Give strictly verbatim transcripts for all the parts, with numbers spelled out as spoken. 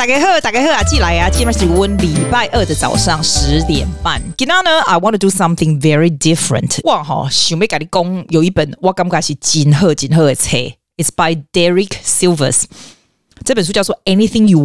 大家好，大家好啊，進來啊，今天是我禮拜二的早上十點半。今天呢 ，I want to do something very different。哇哈，想要跟你講，有一本我感覺是真好真好的冊 ，It's by Derek Sivers。這本書叫做《Anything You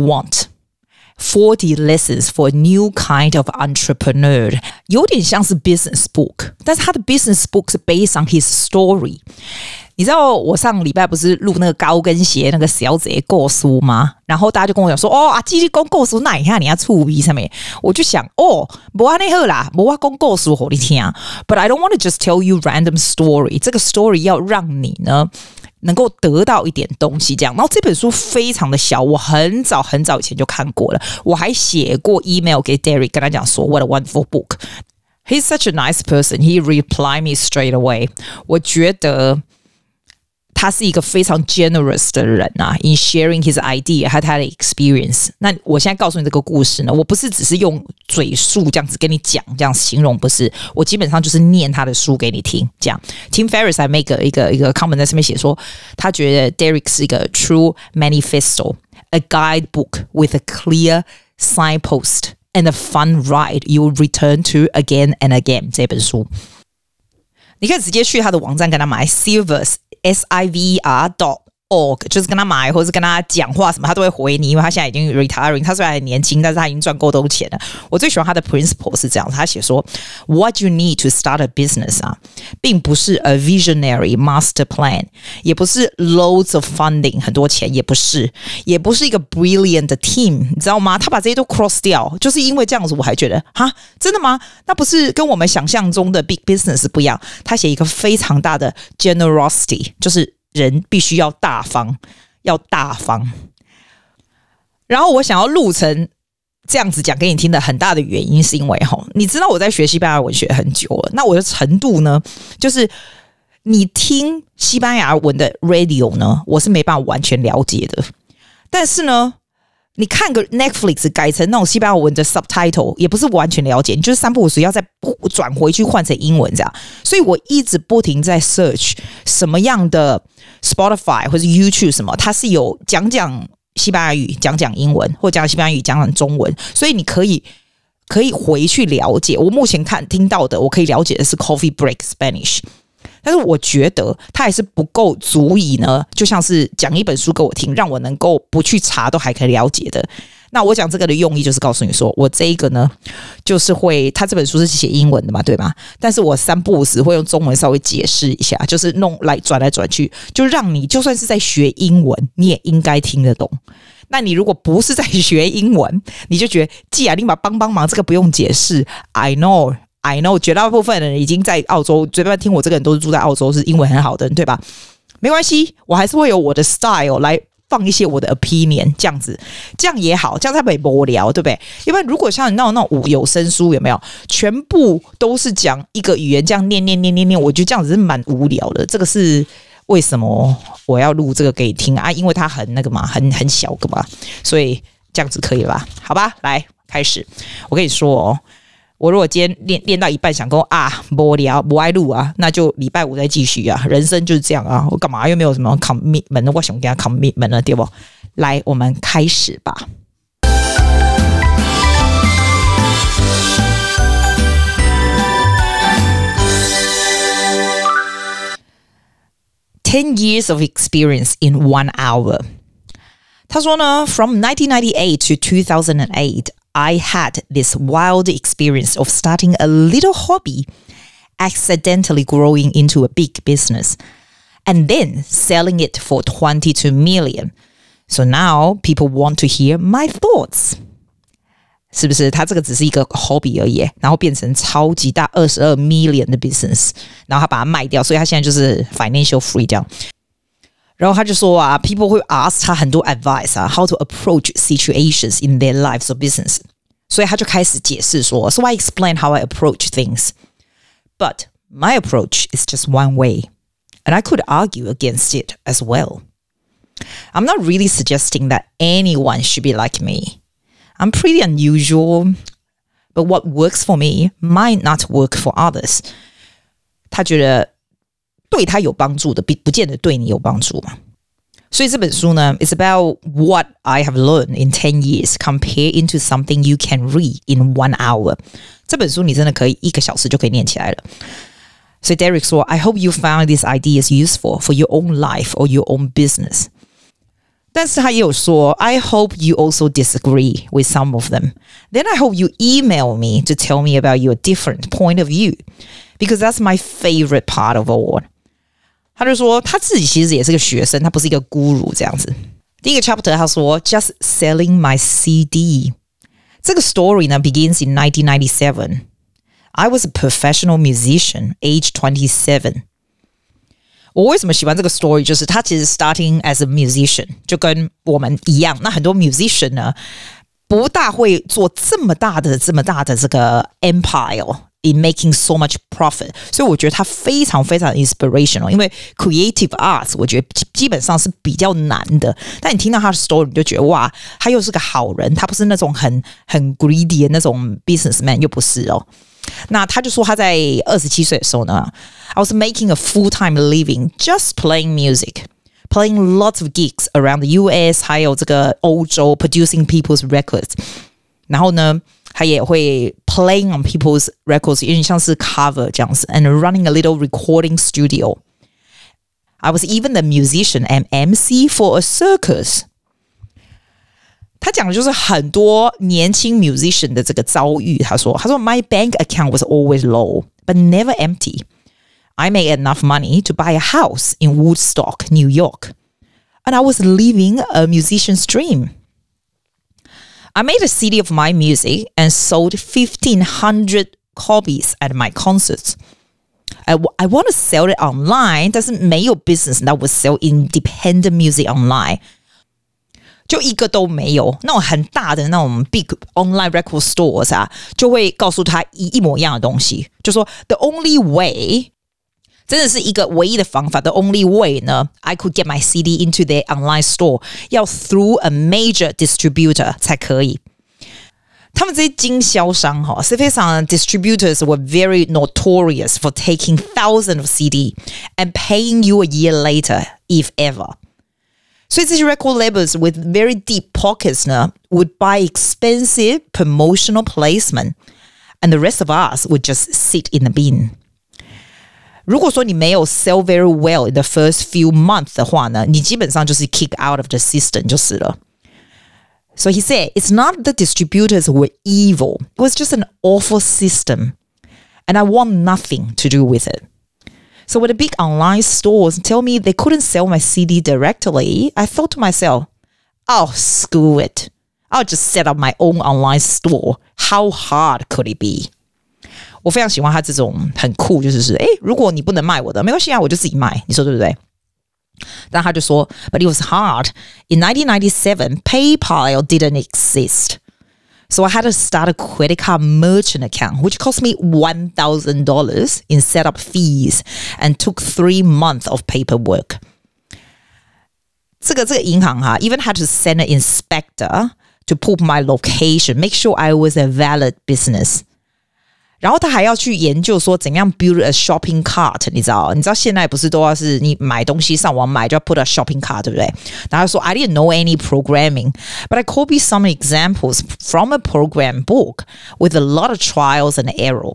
Want》。forty lessons for a new kind of entrepreneur， 有點像是 business book， 但是他的 business book 是 based on his story。你知道我上禮拜不是錄那個高跟鞋那個小姐故事嗎？然後大家就跟我講說，哦，阿基你講故事哪一下你要觸筆上面？我就想，哦，不安尼好啦，不我講故事給你聽。But I don't want to just tell you random story， 這個 story 要讓你呢能夠得到一點東西，這樣。然後這本書非常的小，我很早很早以前就看過了，我還寫過 email 給 Derek， 跟他講說 What a wonderful book。 He's such a nice person. He replied me straight away。 我覺得他是一個非常 generous 的人啊 in sharing his idea 和他的 experience。 那我現在告訴你這個故事呢，我不是只是用嘴述這樣子跟你講，這樣形容，不是，我基本上就是念他的書給你聽。這樣 Tim Ferriss 還 make 一個一個 comment 在上面寫說，他覺得 Derek 是一個 true manifesto, a guidebook with a clear signpost and a fun ride you will return to again and again。 這本書你可以直接去他的網站跟他買 Sivers S I V E R dot org， 就是跟他買或者是跟他講話什麼他都會回你，因為他現在已經 retiring， 他雖然很年輕，但是他已經賺夠多錢了。我最喜歡他的 principle 是這樣，他寫說 What you need to start a business 啊，並不是 a visionary master plan， 也不是 loads of funding 很多錢，也不是也不是一個 brilliant team， 你知道嗎？他把這些都 cross 掉，就是因為這樣子我還覺得哈，真的嗎？那不是跟我們想象中的 big business 不一樣。他寫一個非常大的 generosity， 就是人必須要大方，要大方。然後我想要錄成這樣子講給你聽的很大的原因，是因為齁，你知道我在學西班牙文學很久了，那我的程度呢，就是你聽西班牙文的 radio 呢，我是沒辦法完全了解的。但是呢，你看個 Netflix 改成那種西班牙文的 subtitle， 也不是完全了解，你就是三不五時要再轉回去換成英文這樣。所以我一直不停在 search 什麼樣的 Spotify 或者 YouTube 什麼，它是有講講西班牙語、講講英文，或講西班牙語、講講中文，所以你可以可以回去了解。我目前看聽到的，我可以了解的是 Coffee Break Spanish。但是我覺得它還是不夠足以呢，就像是講一本書給我聽，讓我能夠不去查都還可以了解的。那我講這個的用意就是告訴你說，我這一個呢，就是會，他這本書是寫英文的嘛，對嗎？但是我三不五時會用中文稍微解釋一下，就是弄來轉來轉去，就讓你就算是在學英文，你也應該聽得懂。那你如果不是在學英文，你就覺得既然你把幫幫忙，這個不用解釋 ，I know。I know， 絕大部分人已經在澳洲，隨便聽我這個人都是住在澳洲，是英文很好的人，對吧？沒關係，我還是會有我的 style 來放一些我的 opinion， 這樣子，這樣也好，這樣才不會無聊，對不對？因為如果像你那種那種有聲書，有沒有全部都是講一個語言，這樣念念念念念，我覺得這樣子是蠻無聊的。這個是為什麼我要錄這個給你聽啊？因為它很那個嘛，很很小個嘛，所以這樣子可以吧？好吧，來開始，我跟你說哦。我如果今天練練到一半想跟我啊無聊不愛錄啊，那就禮拜五再繼續啊。人生就是這樣啊，我幹嘛又沒有什麼 commitment， 我想給他 commitment 了，對不？來，我們開始吧。Ten years of experience in one hour。他說呢 ，From nineteen ninety-eight to two thousand eight。I had this wild experience of starting a little hobby, accidentally growing into a big business, and then selling it for twenty-two million. So now people want to hear my thoughts. 是不是？他這個只是一個 hobby 而已，然後變成超級大二十二 million 的 business， 然後他把它賣掉，所以他現在就是 financial freedom。然後他就說啊 people 會 ask 他很多 advice 啊 how to approach situations in their lives or business， 所以他就開始解釋說 so I explain how I approach things, but my approach is just one way and I could argue against it as well. I'm not really suggesting that anyone should be like me. I'm pretty unusual, but what works for me might not work for others. 他覺得對他有幫助的不見得對你有幫助嘛， 所以這本書呢 it's about what I have learned in ten years compare into something you can read in one hour. 這本書你真的可以一個小時就可以念起來了。所以 Derek 說 I hope you found these ideas useful for your own life or your own business. 但是他也有說 I hope you also disagree with some of them. Then I hope you email me to tell me about your different point of view because that's my favorite part of all. 他就說他自己其實也是個學生，他不是一個 guru 這樣子。第一個 chapter 他說 Just selling my C D. 這個 story 呢 begins in nineteen ninety-seven. I was a professional musician, age twenty-seven. 我為什麼喜歡這個 story 就是他其實 starting as a musician 就跟我們一樣，那很多 musician 呢不大會做這麼大的這麼大的這個 empire in making so much profit. 所以我覺得他非常非常 inspirational 因為 creative arts 我覺得基本上是比較難的，但你聽到他的 story 你就覺得哇他又是個好人，他不是那種很很 greedy 的那種 businessman 又不是哦。那他就說他在二十七歲的時候呢 I was making a full-time living just playing music, playing lots of gigs around the U S 還有這個歐洲 producing people's records. 然後呢他也會 playing on people's records 有點像是 cover 這樣子 and running a little recording studio. I was even the musician and M C for a circus. 他講的就是很多年輕 musician 的這個遭遇。他說他說 My bank account was always low but never empty. I made enough money to buy a house in Woodstock, New York. And I was living a musician's dream. I made a C D of my music and sold fifteen hundred copies at my concerts. I, I want to sell it online, 但是没有 business that would sell independent music online. 就一個都沒有，那種很大的那種 big online record stores 啊，就會告訴他一一模一樣的東西，就說 the only way 真的是一個唯一的方法 the only way 呢 I could get my C D into their online store 要 through a major distributor 才可以。他們這些經銷商哈，是非常 distributors were very notorious for taking thousands of C D and paying you a year later if ever。所以這些 record labels with very deep pockets 呢 would buy expensive promotional placement and the rest of us would just sit in the bin. 如果說你沒有 sell very well in the first few months 的話呢，你基本上就是 kick out of the system 就是了。So he said, it's not the distributors who were evil. It was just an awful system. And I want nothing to do with it. So when the big online stores tell me they couldn't sell my C D directly, I thought to myself, oh, screw it. I'll just set up my own online store. How hard could it be? 我非常喜歡他這種很酷，就是是，誒，如果你不能賣我的，沒關係啊，我就自己賣，你說對不對？但他就說 But it was hard. In nineteen ninety-seven, PayPal didn't exist. So I had to start a credit card merchant account, which cost me one thousand dollars in setup fees and took three months of paperwork. 這個這個銀行哈 even had to send an inspector to prove my location, make sure I was a valid business. 然後他還要去研究說怎樣 build a shopping cart， 你知道？你知道現在不是都要是你買東西上網買就要 put a shopping cart， 對不對？然後說 I didn't know any programming, but I copied some examples from a program book with a lot of trials and error.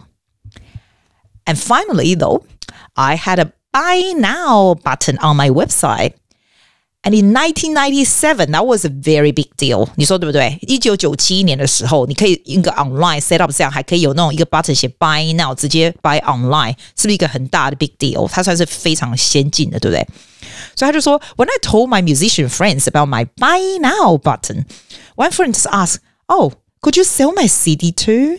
And finally, though, I had a buy now button on my website. And in nineteen ninety-seven, that was a very big deal. 你說對不對？一九九七年的時候，你可以一個 online set up 這樣，還可以有那種一個 button 寫 buy now， 直接 buy online， 是不是一個很大的 big deal？ 它算是非常先進的，對不對？所以他就說 When I told my musician friends about my buy now button, one friend asked, "Oh, could you sell my C D too?"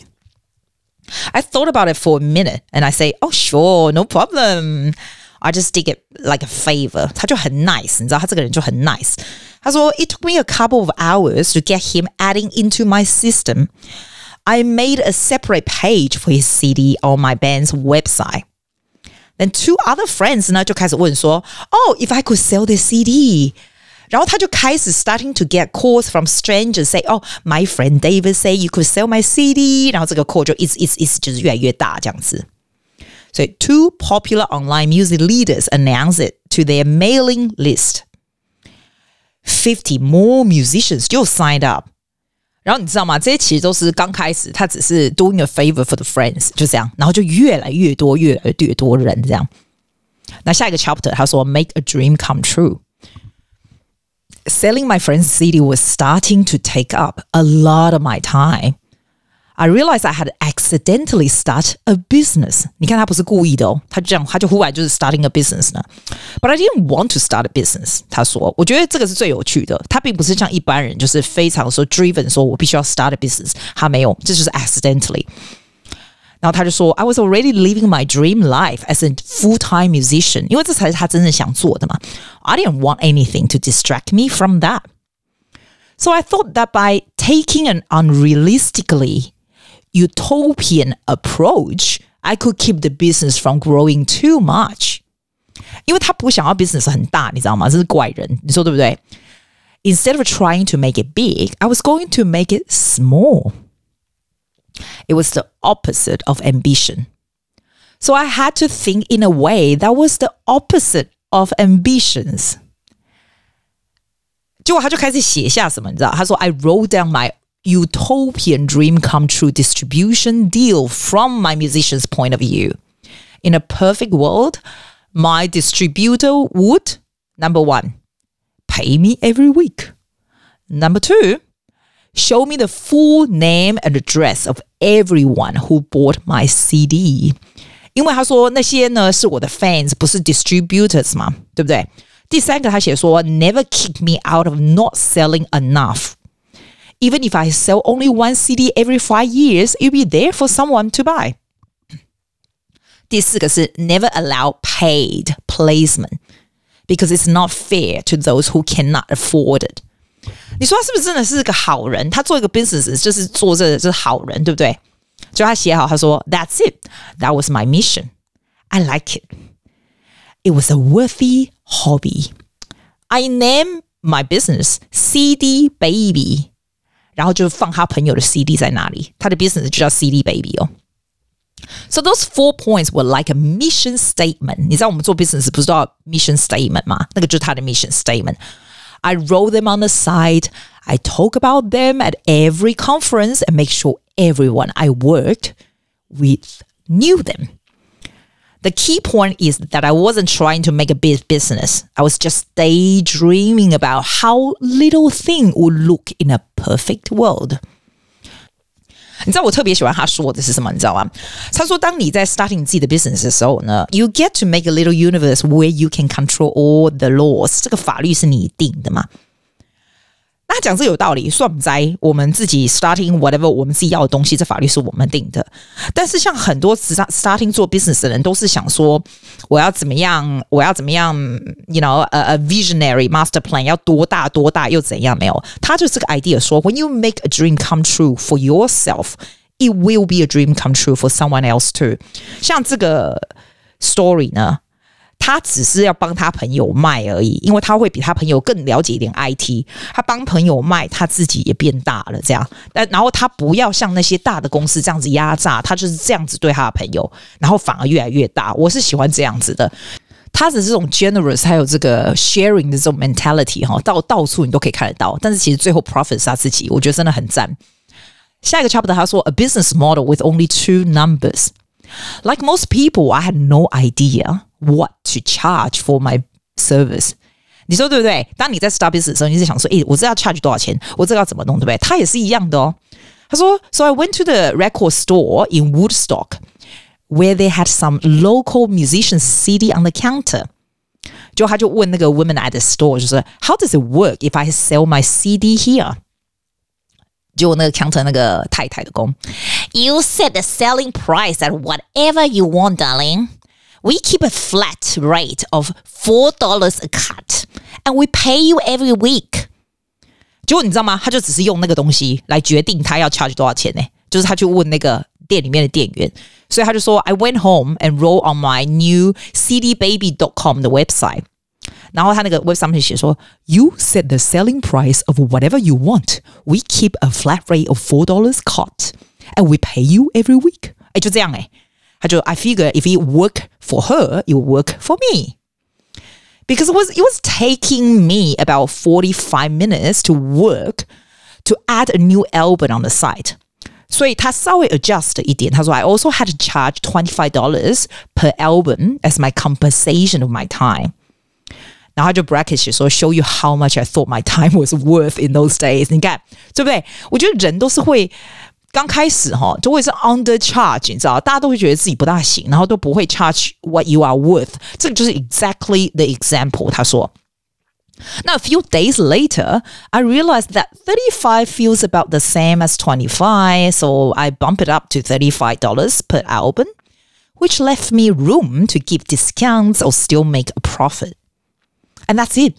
I thought about it for a minute, and I say, "Oh, sure, no problem." I just did it like a favor. 他就很 nice, 你知道他這個人就很 nice. 他說 It took me a couple of hours to get him adding into my system. I made a separate page for his C D on my band's website. Then two other friends 呢就開始問說 Oh, if I could sell this C D. 然後他就開始 starting to get calls from strangers say, Oh, my friend David say you could sell my C D. 然後這個 call 就一直一直一直就是越來越大這樣子。So two popular online music leaders announced it to their mailing list. fifty more musicians 就 signed up。然后你知道嗎？這些其實都是剛開始，他只是 doing a favor for the friends， 就這樣，然後就越來越多，越來越多人這樣。那下一個 chapter 他說 make a dream come true。Selling my friend's C D was starting to take up a lot of my time. I realized I had accidentally started a business. 你看他不是故意的哦，他就這樣，他就忽然就是 starting a business 呢。But I didn't want to start a business. 他說，我覺得這個是最有趣的。他並不是像一般人，就是非常說 driven， 說我必須要 start a business。他沒有，這就是 accidentally。然後他就說 I was already living my dream life as a full-time musician. 因為這才是他真正想做的嘛。I didn't want anything to distract me from that. So I thought that by taking an unrealistically utopian approach, I could keep the business from growing too much. 因為他不想要 business 很大，你知道嗎？這是怪人，你說對不對？ Instead of trying to make it big, I was going to make it small. It was the opposite of ambition. So I had to think in a way that was the opposite of ambitions. 結果他就開始寫下什麼，你知道？他說 I wrote down my utopian dream come true distribution deal from my musician's point of view. In a perfect world, my distributor would, number one, pay me every week. Number two, show me the full name and address of everyone who bought my C D. 因為他說那些呢是我的 fans， 不是 distributors 嘛，對不對？第三個他寫說 never kick me out of not selling enough. Even if I sell only one C D every five years, it'll be there for someone to buy. 第四個是 never allow paid placement because it's not fair to those who cannot afford it. 你說他是不是真的是個好人？他做一個 business 就是做這就是好人，對不對？就他寫好，他說 That's it. That was my mission. I like it. It was a worthy hobby. I named my business C D Baby.然後就放他朋友的 C D 在那裡，他的 business 就叫 C D Baby 哦。So those four points were like a mission statement. 你知道我們做 business 不是都要 mission statement 嗎？那個就是他的 mission statement. I wrote them on the side. I talk about them at every conference and make sure everyone I worked with knew them.The key point is that I wasn't trying to make a big business. I was just daydreaming about how little thing would look in a perfect world. 你知道我特別喜歡他說的是什麼？你知道嗎？他說，當你在 starting 你自己的 business 的時候呢 ，you get to make a little universe where you can control all the laws. 這個法律是你定的嘛？那他講這有道理，算不在我們自己 starting whatever 我們自己要的東西，這法律是我們定的。但是像很多 starting 做 business 的人，都是想說我要怎麼樣，我要怎麼樣 ，you know a, a visionary master plan 要多大多大又怎樣？沒有，他就這個 idea 說 ，when you make a dream come true for yourself, it will be a dream come true for someone else too. 像這個 story 呢？他只是要幫他朋友賣而已，因為他會比他朋友更了解一點 I T。他幫朋友賣，他自己也變大了，這樣。但然後他不要像那些大的公司這樣子壓榨，他就是這樣子對他的朋友，然後反而越來越大。我是喜歡這樣子的，他的這種 generous 還有這個 sharing 的這種 mentality 哈，到到處你都可以看得到。但是其實最後 profit 是他自己，我覺得真的很讚。下一個 chapter 他說 A business model with only two numbers. Like most people, I had no idea.What to charge for my service? 你說對不對？當你在 start business 的時候，你是想說，誒，我這要 charge 多少錢？我這個要怎麼弄，對不對？他也是一樣的哦。他說 ，So I went to the record store in Woodstock, where they had some local musicians' C D on the counter. 就他就問那個 woman at the store， 就是 How does it work if I sell my C D here? 結果那個 counter 那個太太的工 ，You set the selling price at whatever you want, darling.We keep a flat rate of four dollars a cut, and we pay you every week. 結果你知道嗎？他就只是用那個東西來決定他要 charge 多少錢呢？就是他去問那個店裡面的店員，所以他就說 I went home and wrote on my new C D baby dot com 的 website. 然後他那個 website 上面寫說 You set the selling price of whatever you want. We keep a flat rate of four dollars cut, and we pay you every week. 哎，就這樣哎。他就 I figure if it work for her, it will work for me. because it was it was taking me about forty-five minutes to work to add a new album on the site. 所以他稍微 adjust 一点，他說 I also had to charge twenty-five dollars per album as my compensation of my time. 然後他就 bracket 寫說 show you how much I thought my time was worth in those days. 你看對不對？我覺得人都是會剛開始哈，就會是 undercharge， 你知道，大家都會覺得自己不大行，然後都不會 charge what you are worth。這個就是 exactly the example。他說。Now, a few days later, I realized that thirty-five feels about the same as twenty-five, so I bumped it up to thirty-five dollars per album, which left me room to give discounts or still make a profit. And that's it.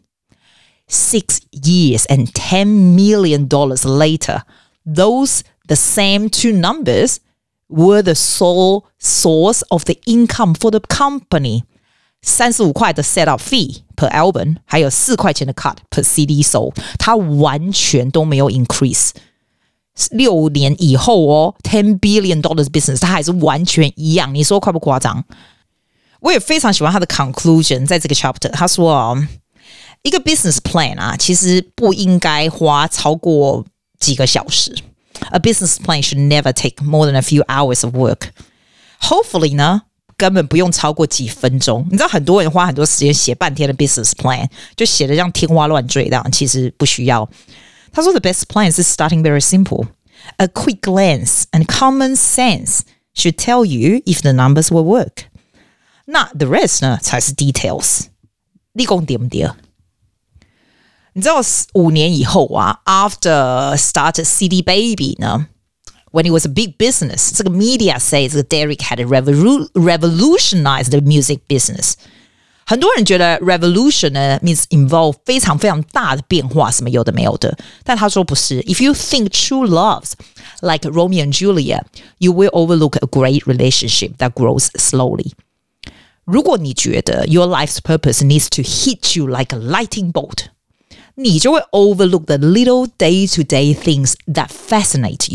Six years and ten million dollars later, those, the same two numbers, were the sole source of the income for the company. 三十五塊的 setup fee per album， 還有四塊錢的 cut per C D sold， 它完全都沒有 increase。六年以後哦 ，ten billion dollars business， 它還是完全一樣。你說誇不誇張？我也非常喜歡他的 conclusion， 在這個 chapter， 他說哦，一個 business plan 啊，其實不應該花超過幾個小時。A business plan should never take more than a few hours of work. Hopefully 呢？根本不用超過幾分鐘，你知道很多人花很多時間寫半天的 business plan， 就寫得像天花亂墜這樣，其實不需要。他說 the best plan is starting very simple. A quick glance and common sense should tell you if the numbers will work. 那 the rest 呢才是 details。你說對不對？你知道五年以後啊 ，after started C D Baby 呢？When it was a big business, 這個 media say 這個 Derek had revolu- revolutionized the music business. 很多人覺得 revolution 呢 means involve 非常非常大的變化，什麼有的沒有的。但他說不是。If you think true loves like Romeo and Juliet, you will overlook a great relationship that grows slowly. 如果你覺得 your life's purpose needs to hit you like a lightning bolt, 你就會 overlook the little day-to-day things that fascinate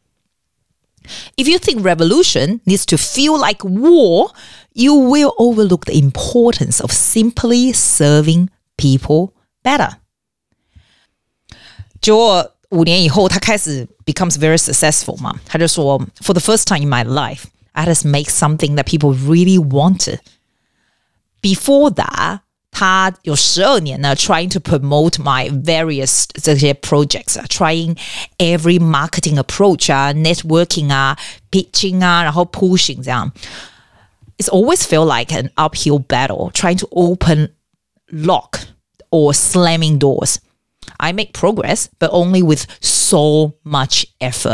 you.If you think revolution needs to feel like war, you will overlook the importance of simply serving people better. 結果五年以後，他開始 becomes very successful 嘛，他就說 For the first time in my life, I had to make something that people really wanted. Before that, 他有十二年呢 trying to promote my various 這些 projects 啊 trying every marketing approach 啊 networking 啊 pitching 啊然後 pushing 這樣 It's always felt like an uphill battle trying to open lock or slamming doors. I make progress but only with so much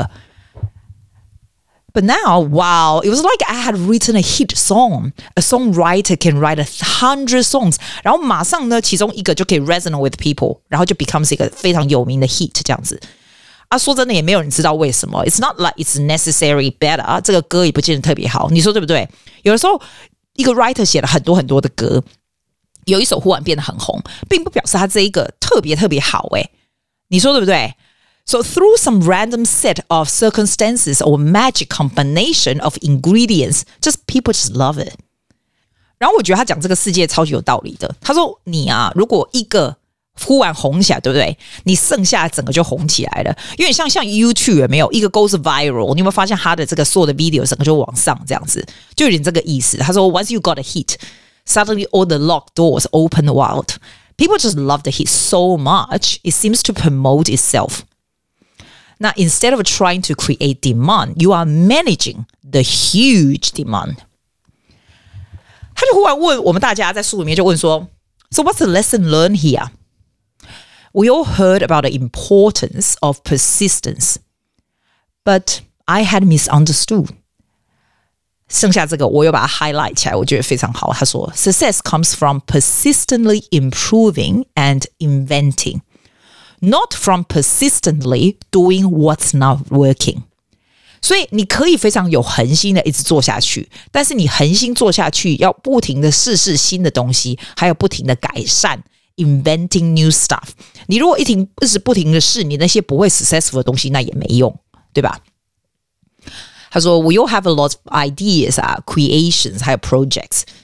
effort.But now, wow, it was like I had written a hit song. A songwriter can write a hundred songs. 然後馬上呢，其中一個就可以 resonate with people. 然後就 becomes 一個非常有名的 hit 這樣子。啊，說真的也沒有人知道為什麼。It's not like it's necessarily better. 這個歌也不見得特別好。你說對不對？有的時候一個 writer 寫了很多很多的歌，有一首忽然變得很紅，並不表示他這一個特別特別好誒。你說對不對？So through some random set of circumstances or magic combination of ingredients, just people just love it. 然後我覺得他講這個世界超級有道理的。他說你啊，如果一個忽然紅起來，對不對？你剩下整個就紅起來了。因為像像 YouTube 有沒有一個 goes viral， 你有沒有發現他的這個所有的 video 整個就往上這樣子，就有點這個意思。他說 once you got a hit, suddenly all the locked doors open wide. People just love the hit so much, it seems to promote itself.Now, instead of trying to create demand, you are managing the huge demand. 他就忽然問我們大家在書裡面就問說 So what's the lesson learned here? We all heard about the importance of persistence, but I had misunderstood. 剩下這個我又把它 highlight 起來，我覺得非常好。他說 Success comes from persistently improving and inventing.Not from persistently doing what's not working. 所以你可以非常有恆心的一直做下去，但是你恆心做下去要不停的試試新的東西，還有不停的改善 inventing new stuff. 你如果一停一直不停的試你那些不會 successful 的東西，那也沒用，對吧？他說 We all have a lot of ideas, uh, creations, 還有 projects.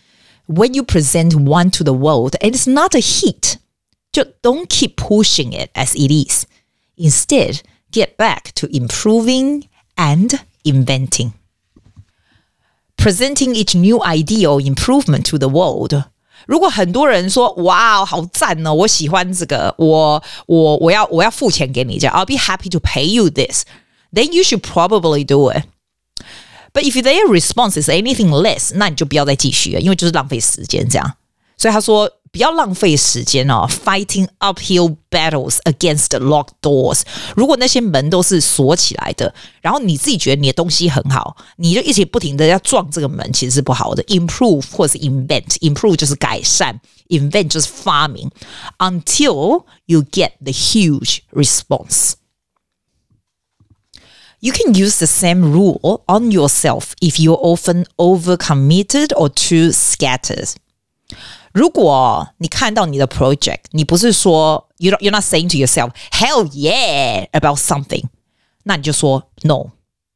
when you present one to the world and it's not a hit, 就 don't keep pushing it as it is. Instead, get back to improving and inventing. Presenting each new idea or improvement to the world. 如果很多人說哇好讚哦，我喜歡這個，我我我要我要付錢給你，這樣 I'll be happy to pay you this. Then you should probably do it. But if their response is anything less, 那你就不要再繼續了，因為就是浪費時間這樣。所以他說不要浪費時間哦 ，fighting uphill battles against locked doors。如果那些門都是鎖起來的，然後你自己覺得你的東西很好，你就一直不停的要撞這個門，其實是不好的。Improve 或是 invent，improve 就是改善 ，invent 就是發明。Until you get the huge response.You can use the same rule on yourself if you're often overcommitted or too scattered. 如果你看到你的 project, 你不是說 you're not, you're not saying to yourself, hell yeah, about something. 那你就說 no.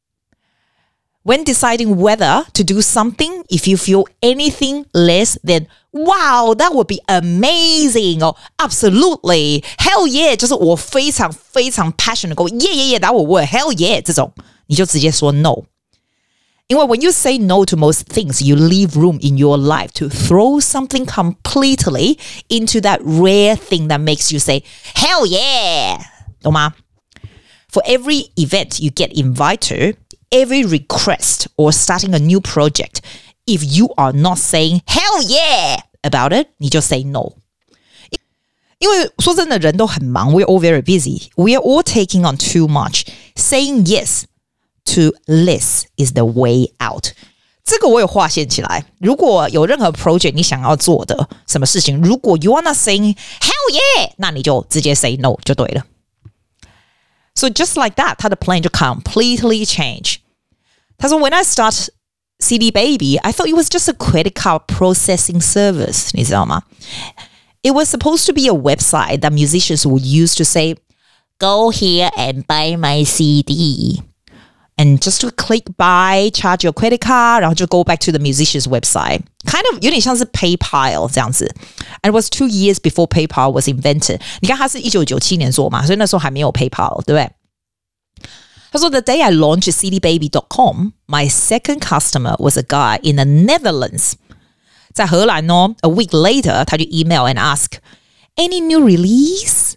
When deciding whether to do something, if you feel anything less than wow, that would be amazing or absolutely, hell yeah, 就是我非常非常 passionate, go yeah, yeah, yeah, that would work, hell yeah, 這種你就直接說 no. 因為 when you say no to most things, you leave room in your life to throw something completely into that rare thing that makes you say, hell yeah, 懂嗎? For every event you get invited to, every request or starting a new project, if you are not saying hell yeah about it, 你就 say no. 因為說真的，人都很忙 we're all very busy. We are all taking on too much. Saying yes to less is the way out. 這個我有劃線起來。如果有任何 project 你想要做的什麼事情，如果 you are not saying hell yeah, 那你就直接 say no 就對了。So just like that, 他的 plan 就 completely change. 他說 When I start C D Baby, I thought it was just a credit card processing service. 你知道嗎? It was supposed to be a website that musicians would use to say, go here and buy my C D. And just to click buy, charge your credit card, 然後就 go back to the musician's website. Kind of 有點像是 PayPal 這樣子. And it was two years before PayPal was invented. 你看他是一九九七年做嘛，所以那時候還沒有 PayPal, 對不對? 他說 The day I launched C D baby dot com, my second customer was a guy in the Netherlands. 在荷蘭哦 A week later, 他就 email and ask, any new release?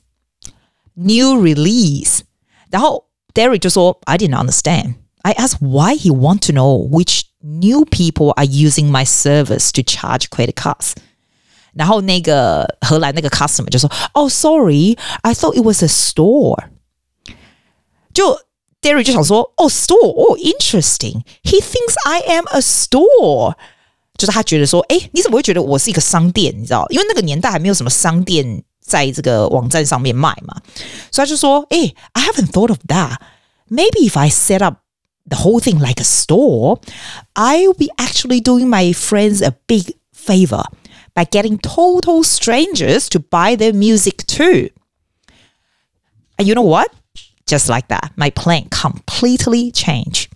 New release. 然後 Derek 就說 I didn't understand. I asked why he want to know which new people are using my service to charge credit cards. 然後那個荷蘭那個 customer 就說 Oh, sorry, I thought it was a store. 就 Derek 就想說 Oh, store, oh, interesting. He thinks I am a store. 就是他覺得說誒你怎麼會覺得我是一個商店你知道因為那個年代還沒有什麼商店在這個網站上面賣嘛所以他就說誒 I haven't thought of that. Maybe if I set up the whole thing like a store, I'll be actually doing my friends a big favor by getting total strangers to buy their music too. And you know what? Just like that, my plan completely changed.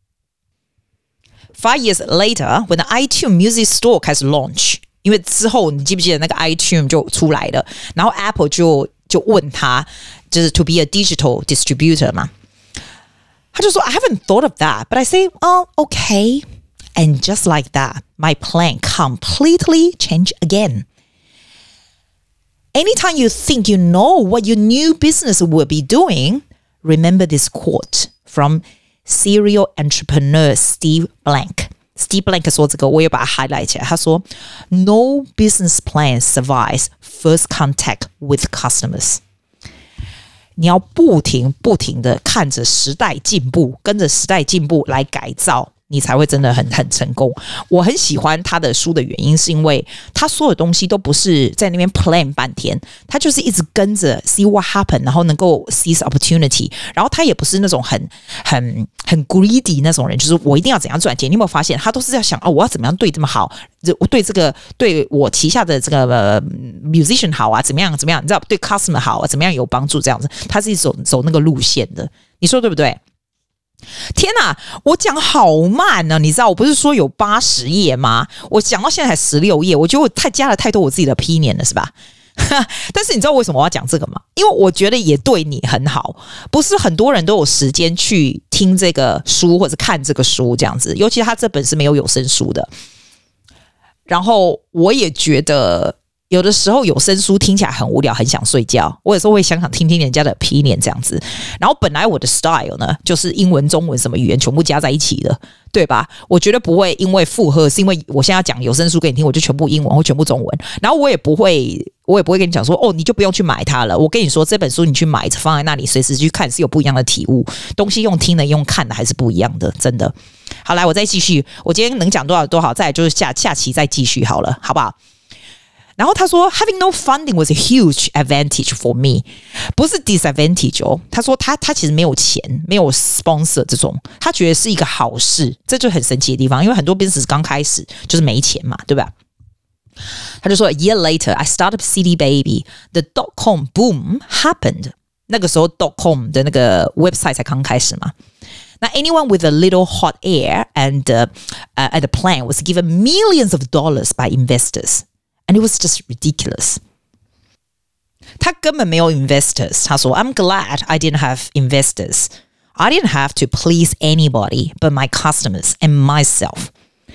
Five years later, when the iTunes Music Store 開始 launch, 因為之後你記不記得那個 iTunes 就出來了，然後 Apple 就就問他，就是 to be a digital distributor 嘛，他就說 I haven't thought of that, but I say, oh, okay. And just like that, my plan completely changed again. Anytime you think you know what your new business will be doing, remember this quote from serial entrepreneur Steve Blank. Steve Blank 說這個我也把它 highlight 起來他說 No business plan survives first contact with customers. 你要不停不停的看着時代進步跟着時代進步來改造你才會真的很很成功。我很喜歡他的書的原因是因為他所有東西都不是在那邊 plan 半天，他就是一直跟着 see what happen， 然後能夠 seize opportunity， 然後他也不是那種很很很 greedy 那種人，就是我一定要怎樣賺錢。你有沒有發現他都是在想哦，我要怎麼樣對這麼好，我對這個對我旗下的這個、呃、musician 好啊，怎麼樣怎麼樣，你知道對 customer 好啊，怎麼樣有幫助這樣子，他是走走那個路線的，你說對不對？ 天哪，我講好慢呢、啊！你知道我不是說有八十頁嗎？我講到現在才十六頁，我覺得我太加了太多我自己的 opinion 了，是吧？但是你知道為什麼我要講這個嗎？因為我覺得也對你很好，不是很多人都有時間去聽這個書或者看這個書這樣子，尤其他這本是沒有有聲書的。然後我也覺得。有的時候有聲書聽起來很無聊，很想睡覺。我有時候會想想聽聽人家的 opinion 這樣子。然後本來我的 style 呢，就是英文、中文什麼語言全部加在一起的，對吧？我覺得不會因為附和，是因為我現在要講有聲書給你聽，我就全部英文或全部中文。然後我也不會，我也不會跟你講說，哦，你就不用去買它了。我跟你說，這本書你去買，放在那裡，隨時去看，是有不一樣的體悟。東西用聽的，用看的還是不一樣的，真的。好，來，我再繼續。我今天能講多少多少，再來就是下下期再繼續好了，好不好？然後他說 ，Having no funding was a huge advantage for me， 不是 disadvantage 哦。他說他他其實沒有錢，沒有 sponsor 這種，他覺得是一個好事，這就很神奇的地方。因為很多 business 剛開始就是沒錢嘛，對吧？他就說 ，A year later, I started C D Baby. The dot com boom happened. 那個時候 dot com 的那個 website 才剛開始嘛。那 anyone with a little hot air and uh, uh, and a plan was given millions of dollars by investors.And it was just ridiculous. 他根本沒有 investors. 他說 I'm glad I didn't have investors. I didn't have to please anybody but my customers and myself.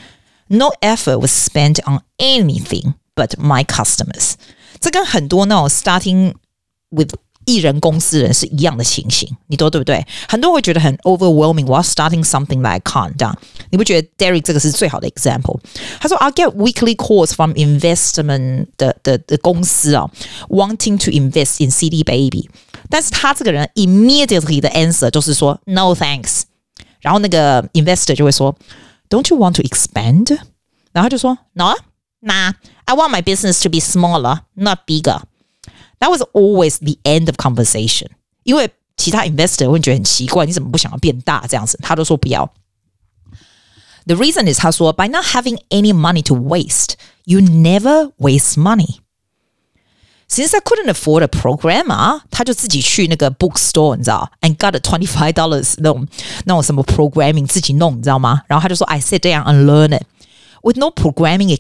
No effort was spent on anything but my customers. 這跟很多那種 starting with 藝人公司人是一樣的情形，你都對不對？很多人會覺得很 overwhelming， 我要 starting something that I can't 這樣，你不覺得 Derek 這個是最好的 example？ 他說 I get weekly calls from investment 的的的公司啊 ，wanting to invest in C D Baby， 但是他這個人 immediately 的 answer 就是說 no thanks， 然後那個 investor 就會說 Don't you want to expand？ 然後他就說 No， nah， I want my business to be smaller, not bigger。That was always the end of conversation. 因為其他 investor 會覺得很奇怪，你怎麼不想要變大這樣子？他都說不要。The reason is 他說 by not having any money to waste, you never waste money. Since I couldn't afford a programmer, 他就自己去那個 bookstore 你知道 and got a twenty-five dollars 那種那種什麼 programming 自己弄你知道嗎？然後他就說 I sit down and learn it. With no programming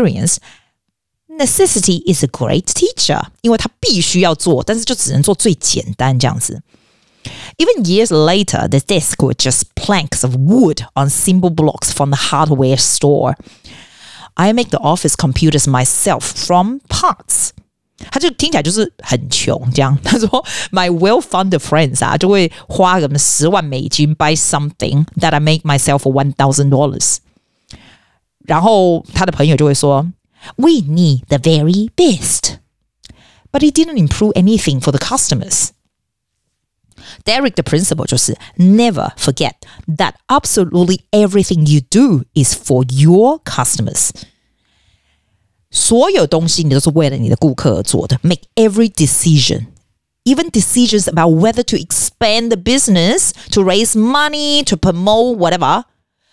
experience,Necessity is a great teacher， 因為他必須要做，但是就只能做最簡單這樣子。Even years later, the desk were just planks of wood on simple blocks from the hardware store. I make the office computers myself from parts. 他就聽起來就是很窮這樣。他說 My well-funded friends 啊，就會花個十萬美金 buy something that I make myself for one thousand dollars。然後他的朋友就會說We need the very best. But it didn't improve anything for the customers. Derek 的 principle 就是 never forget that absolutely everything you do is for your customers. 所有東西你都是為了你的顧客而做的。Make every decision, even decisions about whether to expand the business, to raise money, to promote whatever,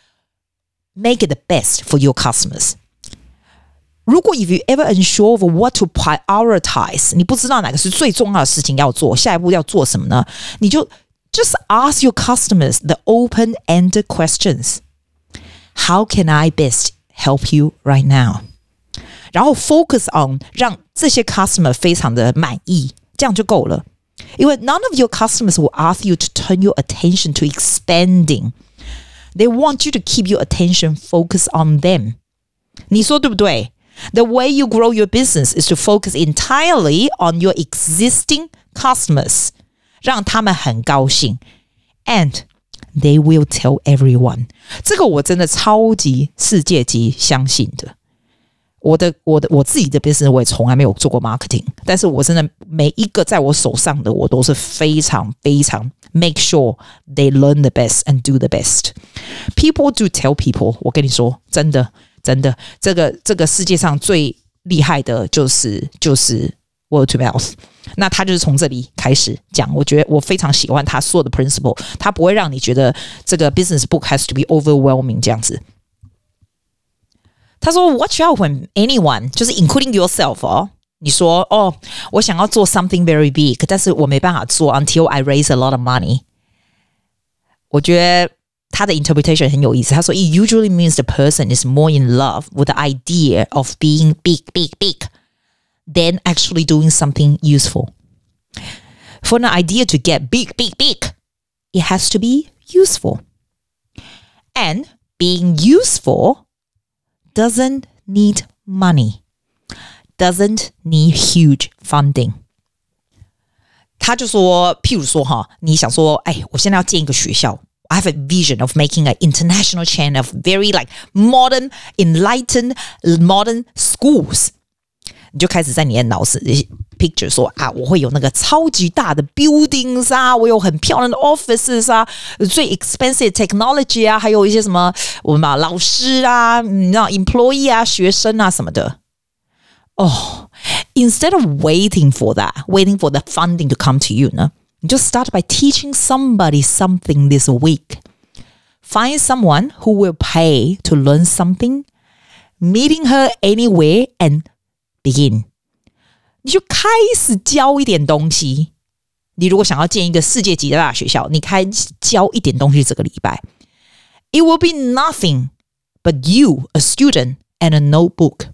make it the best for your customers.如果 if you ever unsure of what to prioritize， 你不知道哪個是最重要的事情要做，下一步要做什麼呢？你就 just ask your customers the open-ended questions. How can I best help you right now? 然後 focus on 讓這些 customer 非常的滿意，這樣就夠了。因為 none of your customers will ask you to turn your attention to expanding. They want you to keep your attention focused on them. 你說對不對？The way you grow your business is to focus entirely on your existing customers. 让他們很高興 And they will tell everyone. 這個我真的超級世界級相信的。我的我的我自己的 business 我也從來沒有做過 marketing， 但是我真的每一個在我手上的我都是非常非常 make sure they learn the best and do the best. People do tell people. 我跟你說真的真的，這個這個世界上最厲害的就是就是 word to mouth。那他就是從這裡開始講，我覺得我非常喜歡他所有的 principle， 他不會讓你覺得這個 business book has to be overwhelming 這樣子。他說 watch out when anyone 就是 including yourself 哦，你說哦，我想要做 something very big， 但是我沒辦法做 until I raise a lot of money。 我覺得他的 interpretation 很有意思。他說 It usually means the person is more in love with the idea of being big, big, big than actually doing something useful. For an idea to get big, big, big, it has to be useful. And being useful doesn't need money, doesn't need huge funding. 他就說，譬如說哈，你想說，哎，我現在要建一個學校。I have a vision of making an international chain of very like modern, enlightened, modern schools. 你就開始在你的腦子裡 picture 說啊，我會有那個超級大的 buildings 啊，我有很漂亮的 offices 啊，最 expensive technology 啊，還有一些什麼我們把老師啊，你知道 employee 啊，學生啊什麼的。Oh, instead of waiting for that, waiting for the funding to come to you 呢？你就 start by teaching somebody something this week. Find someone who will pay to learn something, meeting her anywhere and begin. 你就開始教一點東西。你如果想要建一個世界級的大學校，你開始教一點東西這個禮拜。It will be nothing but you, a student, and a notebook.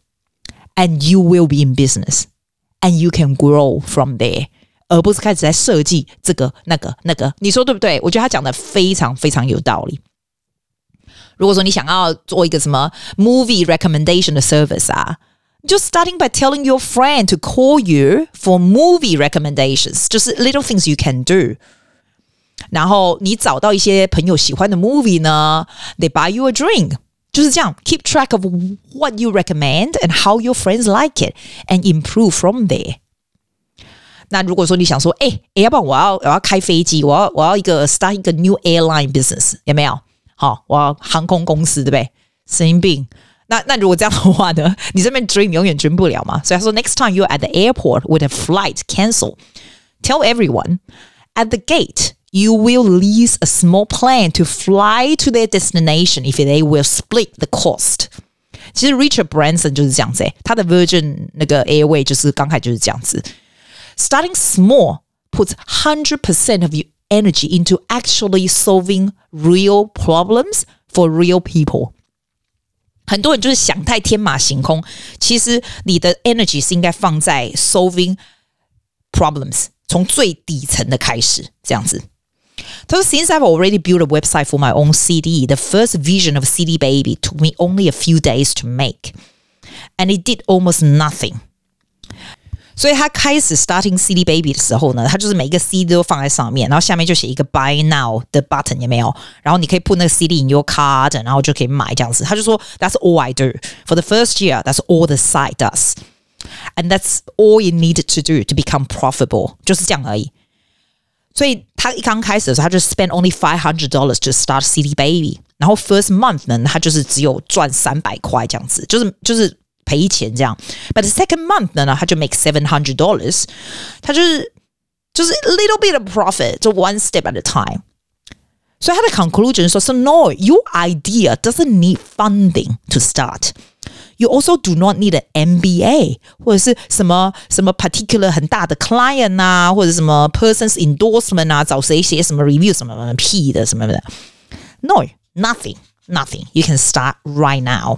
And you will be in business. And you can grow from there.而不是開始在設計這個那個那個，你說對不對？我覺得他講的非常非常有道理。如果說你想要做一個什麼 movie recommendation 的 service 啊，就 starting by telling your friend to call you for movie recommendations， 就是 little things you can do。然後你找到一些朋友喜歡的 movie 呢 ，they buy you a drink。就是這樣 ，keep track of what you recommend and how your friends like it, and improve from there。那如果說你想說，哎哎，要不然我要我要開飛機，我要我要一個 start 一個 new airline business， 有沒有？好，我要航空公司，對不對？神經病。那那如果這樣的話呢，你這邊 dream 永遠 dream 不了嘛。所以他說 ，next time you're at the airport with a flight cancel, tell everyone at the gate you will lease a small plane to fly to their destination if they will split the cost。其實 Richard Branson 就是這樣子，他的 Virgin 那個 Airway 就是剛開始就是這樣子。Starting small puts one hundred percent of your energy into actually solving real problems for real people. 很多人就是想太天馬行空，其實你的 energy 是應該放在 solving problems， 從最底層的開始，這樣子。So since I've already built a website for my own C D, the first vision of C D Baby took me only a few days to make. And it did almost nothing. 所以他開始 starting C D Baby 的時候呢，他就是每一個 C D 都放在上面，然後下面就寫一個 Buy Now 的 button， 有沒有？然後你可以 put 那個 C D in your card， 然後就可以買這樣子。他就說 That's all I do. For the first year, that's all the site does. And that's all it needed to do to become profitable. 就是這樣而已。所以他一剛開始的時候，他就 spend only five hundred dollars to start C D Baby。然後 first month 呢，他就是只有賺三百塊這樣子，就是就是賠錢這樣。But the second month 呢，他就 make seven hundred dollars。他就是就是 a little bit of profit， 就 one step at a time。所以他的 conclusion 說 ，So no, your idea doesn't need funding to start. You also do not need an M B A 或者是什麼什麼 particular 很大的 client 啊，或者什麼 person's endorsement 啊，找誰寫什麼 review 什麼什麼屁的什麼的。No, nothing, nothing. You can start right now.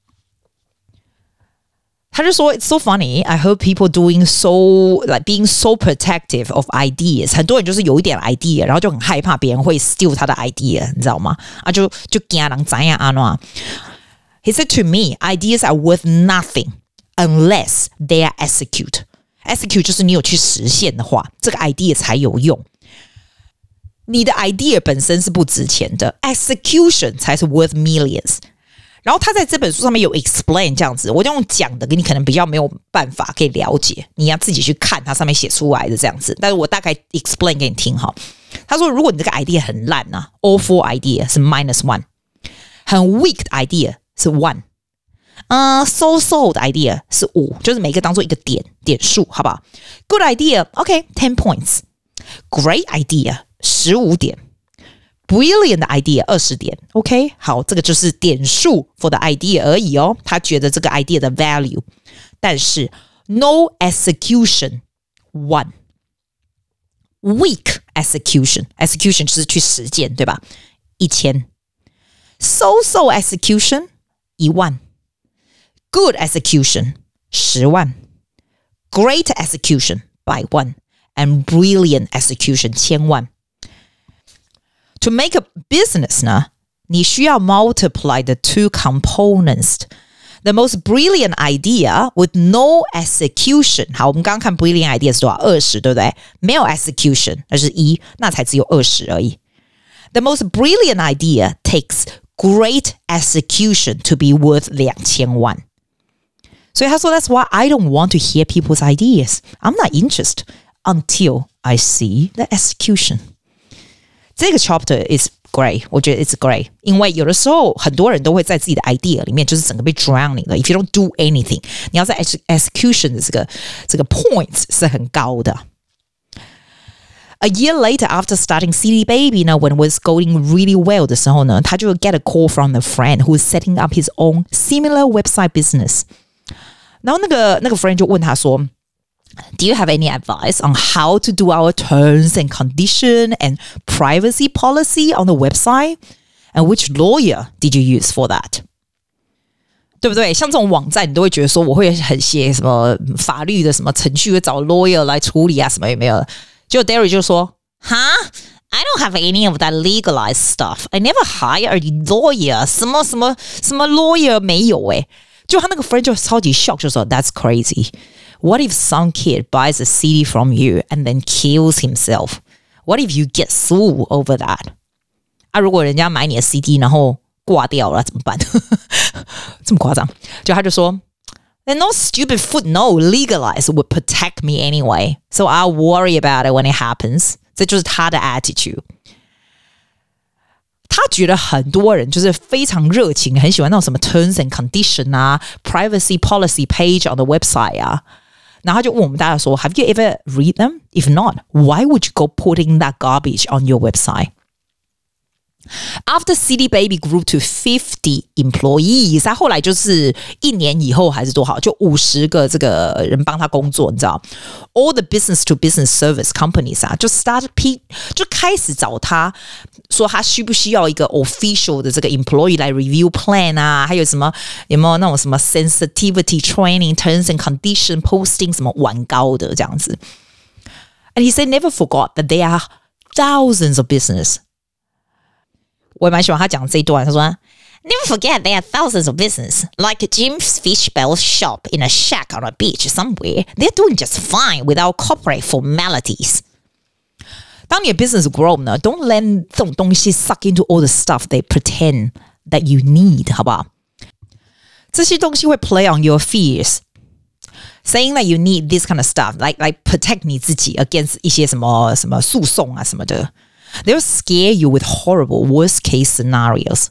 他就說 It's so funny. I heard people doing so like being so protective of ideas. 很多人就是有一點 idea， 然後就很害怕別人會 steal 他的 idea， 你知道嗎？啊，就就驚人怎樣安怎。He said to me, ideas are worth nothing unless they are execute. Execute 就是你有去實現的話，這個 idea 才有用。你的 idea 本身是不值錢的 ，execution 才是 worth millions。然後他在這本書上面有 explain 這樣子，我就用講的，你可能比較沒有辦法可以了解，你要自己去看它上面寫出來的這樣子。但是我大概 explain 給你聽哈。他說，如果你這個 idea 很爛啊 ，awful idea 是 minus one， 很 weak 的 idea。是 one， 嗯、uh, ，so so 的 idea 是五，就是每個當做一個點點數，好不好 ？Good idea，OK，ten、okay, points。Great idea， 十五點。Brilliant 的 idea 二十點 ，OK， 好，這個就是點數 for the idea 而已哦。他覺得這個 idea 的 value， 但是 no execution one， Weak execution, execution 就是去實踐，對吧？一千。So-so execution 一萬。Good execution 十萬。Great execution 百萬。And brilliant execution 千萬。To make a business 呢，你需要 multiply the two components.The most brilliant idea with no execution. 好，我們剛剛看 brilliant idea 是多少？二十，對不對？沒有 execution， 那是一，那才只有二十而已。The most brilliant idea takes great execution to be worth 兩千萬。所以他說 That's why I don't want to hear people's ideas. I'm not interested until I see the execution. 這個 chapter is great， 我覺得 it's great， 因為有的時候很多人都會在自己的 idea 裡面就是整個被 drowning 了。If you don't do anything， 你要在 execution 的這個這個 points 是很高的。A year later, after starting C D Baby 呢 when it was going really well 的時候呢，他就 get a call from a friend who is setting up his own similar website business。然後那個那個 friend 就問他說，Do you have any advice on how to do our terms and condition and privacy policy on the website? And which lawyer did you use for that? 對不對？像這種網站，你都會覺得說，我會很寫什麼法律的什麼程序，會找 lawyer 來處理啊，什麼有沒有？結果 Derry 就說 ，Huh? I don't have any of that legalized stuff. I never hire a lawyer. 什麼什麼什麼 lawyer 沒有誒。就他那個 friend 就超級 shock， 就說 That's crazy.What if some kid buys a C D from you and then kills himself? What if you get sued over that? 啊，如果人家買你的 C D 然後掛掉了怎麼辦？這麼誇張？就他就說 Then no stupid footnote legalized would protect me anyway. So I'll worry about it when it happens. 這就是他的 attitude。他覺得很多人就是非常熱情，很喜歡那種什麼 terms and condition 啊 privacy policy page on the website 啊。然後他就問我們大家說 Have you ever read them? If not, why would you go putting that garbage on your website? After C D Baby grew to fifty employees, 他後來就是一年以後還是多少，就五十個這個人幫他工作，你知道 All the business to business service companies 啊，就 start P 就開始找他說他需不需要一個 official 的這個 employee 來 review plan 啊，還有什麼有沒有那種什麼 sensitivity training, terms and condition posting 什麼晚高的這樣子。And he said never forgot that there are thousands of business.我也蠻喜歡他講這一段，他說 Never forget there are thousands of business like Jim's Fish Bell shop in a shack on a beach somewhere. They're doing just fine without corporate formalities. 當你的 business grow 呢 don't let 這種東西 suck into all the stuff they pretend that you need, 好不好？這些東西會 play on your fears. Saying that you need this kind of stuff, like, like protect 你自己 against 一些什麼什麼訴訟啊什麼的。They'll scare you with horrible worst-case scenarios.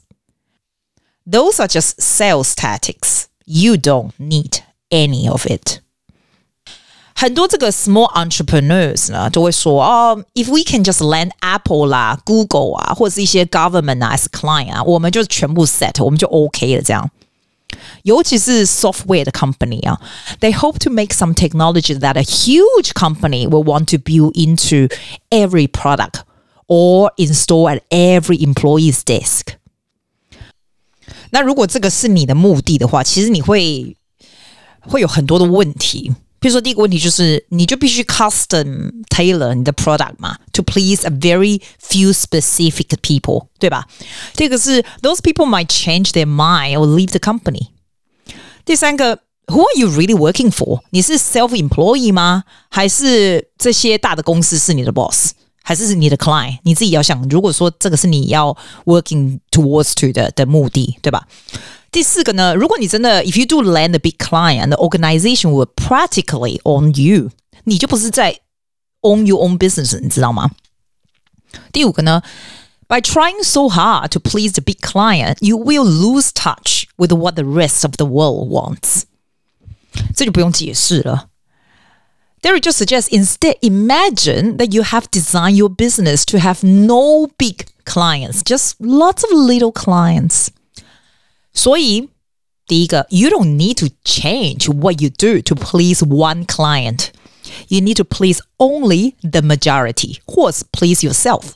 Those are just sales tactics. You don't need any of it. 很多這個 small entrepreneurs 呢，都會說哦 if we can just land Apple 啦 Google 啊，或者是一些 government 啊 as a client 啊，我們就全部 set， 我們就 OK 了這樣。尤其是 software 的 company 啊 they hope to make some technology that a huge company will want to build into every product.Or install at every employee's desk. 那如果這個是你的目的的話，其實你會會有很多的問題。比如說第一個問題就是你就必須 custom tailor 你的 product 嘛 to please a very few specific people, 對吧？第二個是 those people might change their mind or leave the company. 第三個 who are you really working for? 你是 self-employee 嗎？還是這些大的公司是你的 boss?還是你的 client， 你自己要想，如果說這個是你要 working towards to 的的目的，對吧？第四個呢，如果你真的 if you do land a big client, the organization will practically own you， 你就不是在 own your own business， 你知道嗎？第五個呢 by trying so hard to please the big client, you will lose touch with what the rest of the world wants。這就不用解釋了。Derry just suggests instead imagine that you have designed your business to have no big clients, just lots of little clients. 所以第一個 you don't need to change what you do to please one client. You need to please only the majority, 或是 please yourself.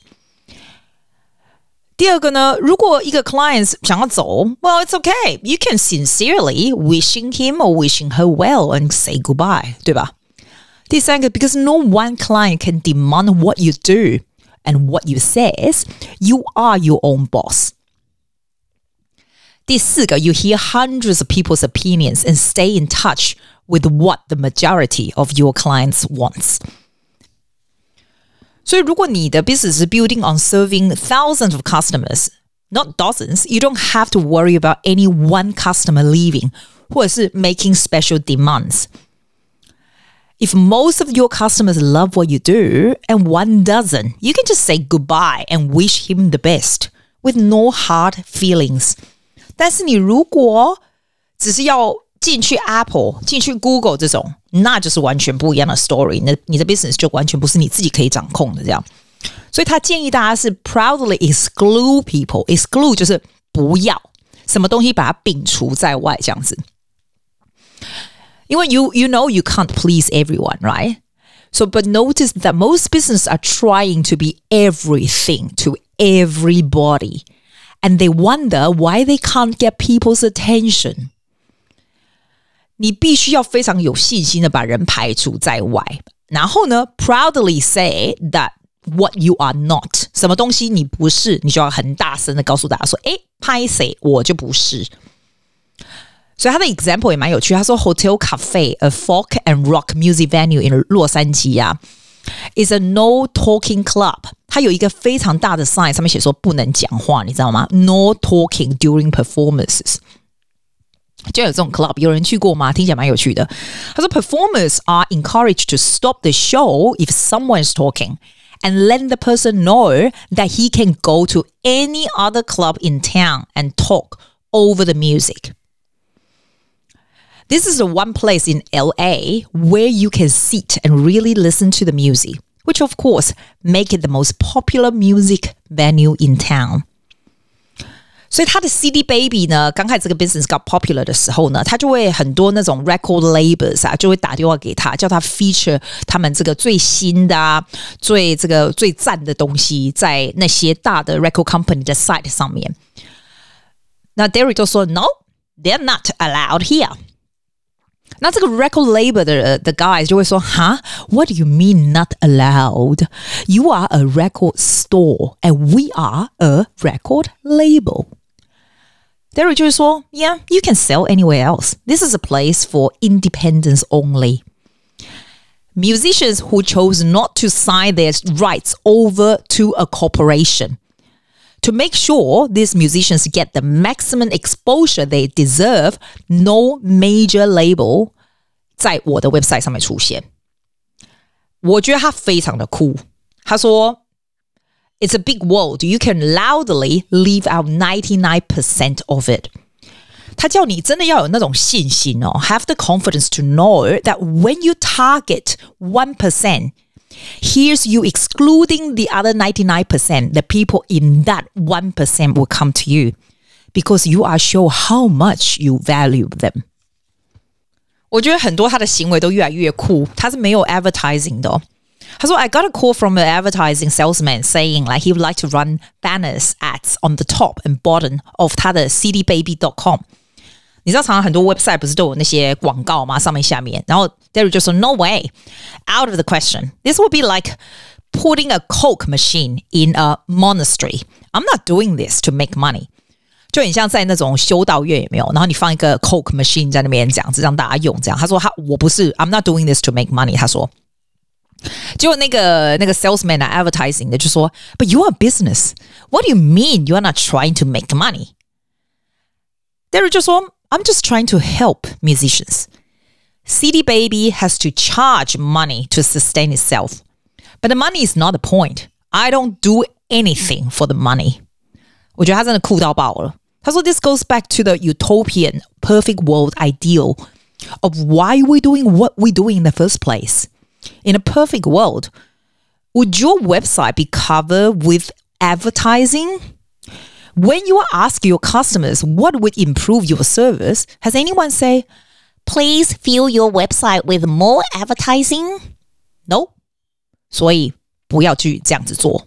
第二個呢，如果一個 client 想要走 well, it's okay. You can sincerely wishing him or wishing her well and say goodbye, 對吧？第三個 because no one client can demand what you do and what you says. You are your own boss. 第四個 you hear hundreds of people's opinions and stay in touch with what the majority of your clients wants. 所以如果你的 business is building on serving thousands of customers, not dozens, you don't have to worry about any one customer leaving 或者是 making special demands. If most of your customers love what you do and one doesn't, you can just say goodbye and wish him the best with no hard feelings. 但是你如果只是要进去 Apple 進去 Google 這種，那就是完全不一樣的 story， 那你的 business 就完全不是你自己可以掌控的這樣。所以他建議大家是 proudly exclude people. Exclude 就是不要什麼東西把它摒除在外這樣子。因為 you, you know you can't please everyone, right? So, but notice that most businesses are trying to be everything to everybody. And they wonder why they can't get people's attention. 你必須要非常有信心的把人排除在外，然後呢 proudly say that what you are not. 什麼東西你不是，你就要很大聲的告訴大家說，誒，拍誰我就不是。所以他的 example 也蠻有趣，他說 Hotel Cafe, a folk and rock music venue in 洛杉磯啊 is a no talking club. 它有一個非常大的 sign 上面寫說不能講話，你知道嗎？ No talking during performances. 就有這種 club， 有人去過嗎？聽起來蠻有趣的。他說 performers are encouraged to stop the show if someone is talking and let the person know that he can go to any other club in town and talk over the music. This is the one place in L A where you can sit and really listen to the music, which of course make it the most popular music venue in town. 所以他的 C D Baby 呢，剛開始這個 business got popular 的時候呢，他就會很多那種 record labels 啊，就會打電話給他，叫他 feature 他們這個最新的啊，最這個最讚的東西在那些大的 record company 的 site 上面。那 Derek 就說 No, they're not allowed here. 那這個 record label 的的 guys 就會說 Huh? What do you mean not allowed? You are a record store and we are a record label.Derek 就是說 Yeah, you can sell anywhere else. This is a place for independents only. Musicians who chose not to sign their rights over to a corporation. To make sure these musicians get the maximum exposure they deserve, no major label 在我的 website 上面出現。我覺得他非常的酷。他說It's a big world. You can loudly leave out ninety-nine percent of it. 他叫你真的要有那種信心哦 Have the confidence to know that when you target one percent, here's you excluding the other ninety-nine percent. The people in that one percent will come to you because you are sure how much you value them. 我覺得很多他的行為都越來越酷。他是沒有 advertising 的哦。他說 I got a call from an advertising salesman saying like he would like to run banners ads on the top and bottom of 他的 C D baby dot com. 你知道常常很多 website 不是都有那些廣告嗎？上面下面。然後 Derek 就說 No way, out of the question. This would be like putting a Coke machine in a monastery. I'm not doing this to make money. 就很像在那種修道院有沒有？然後你放一個 Coke machine 在那邊這樣子讓大家用這樣。他說他我不是 I'm not doing this to make money. 他說結果那個那個 salesman 啊 advertising 的就說 But you are business. What do you mean you are not trying to make money? Derek 就說 I'm just trying to help musicians. C D Baby has to charge money to sustain itself. But the money is not the point. I don't do anything for the money. 我覺得他真的酷到爆了。他說 This goes back to the utopian perfect world ideal of why we're doing what we're doing in the first place.In a perfect world, would your website be covered with advertising? When you ask your customers what would improve your service, has anyone say, please fill your website with more advertising? No， 所以不要去這樣子做。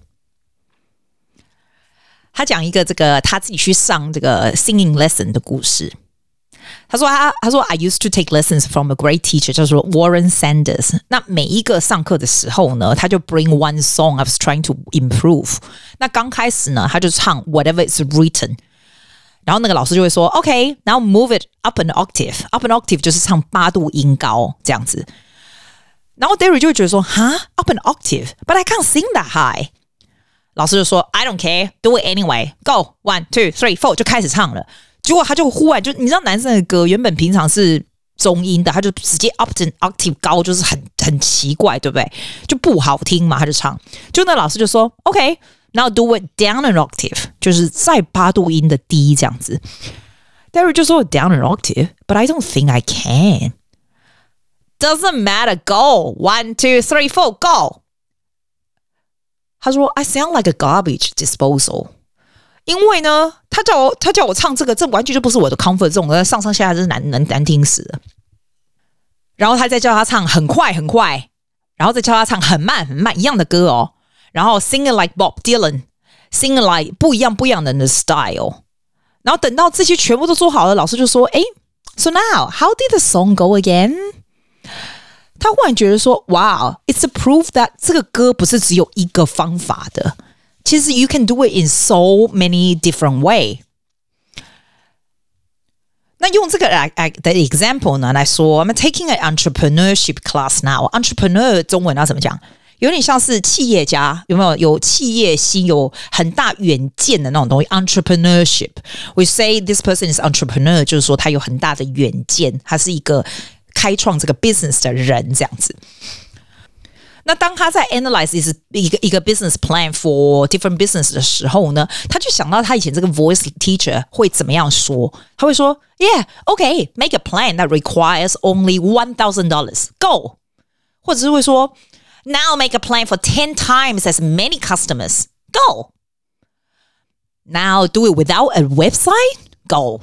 他講一個這個他自己去上這個 singing lesson 的故事。他說他他說 I used to take lessons from a great teacher 叫做 Warren Sanders。那每一個上課的時候呢，他就 bring one song I was trying to improve。那剛開始呢，他就唱 whatever is written。然後那個老師就會說 OK now move it up an octave up an octave 就是唱八度音高這樣子。然後 Derry 就會覺得說哈 up an octave but I can't sing that high。老師就說 I don't care do it anyway go one two three four 就開始唱了。結果他就忽然就你知道男生的歌原本平常是中音的，他就直接 up an octave 高，就是很很奇怪，對不對？就不好聽嘛，他就唱。就那老師就說 OK now do it down an octave 就是再八度音的低這樣子。Derry 就說 down an octave but I don't think I can doesn't matter go one two three four go。他說 I sound like a garbage disposal。因為呢，他叫我他叫我唱這個，這完全就不是我的 comfort zone，上上下下真是難難難聽死了。然後他再叫他唱很快很快，然後再叫他唱很慢很慢一樣的歌哦。然後 singing like Bob Dylan，singing like 不一樣不一樣的人的 style。然後等到這些全部都做好了，老師就說：“哎 ，So now how did the song go again？” 他忽然覺得說 ：“Wow, it's a proof that 這個歌不是只有一個方法的。”其實 you can do it in so many different way。那用這個來的 example 呢來說 I'm taking an entrepreneurship class now。 entrepreneur 中文要怎麼講？有點像是企業家，有沒有？有企業心，有很大遠見的那種東西。entrepreneurship we say this person is entrepreneur 就是說他有很大的遠見，他是一個開創這個 business 的人這樣子。那當他在 analyze 一個一個 business plan for different business 的時候呢，他就想到他以前這個 voice teacher 會怎麼樣說？他會說 Yeah, okay, make a plan that requires only one thousand dollars. Go. 或者是會說 Now make a plan for ten times as many customers. Go. Now do it without a website. Go.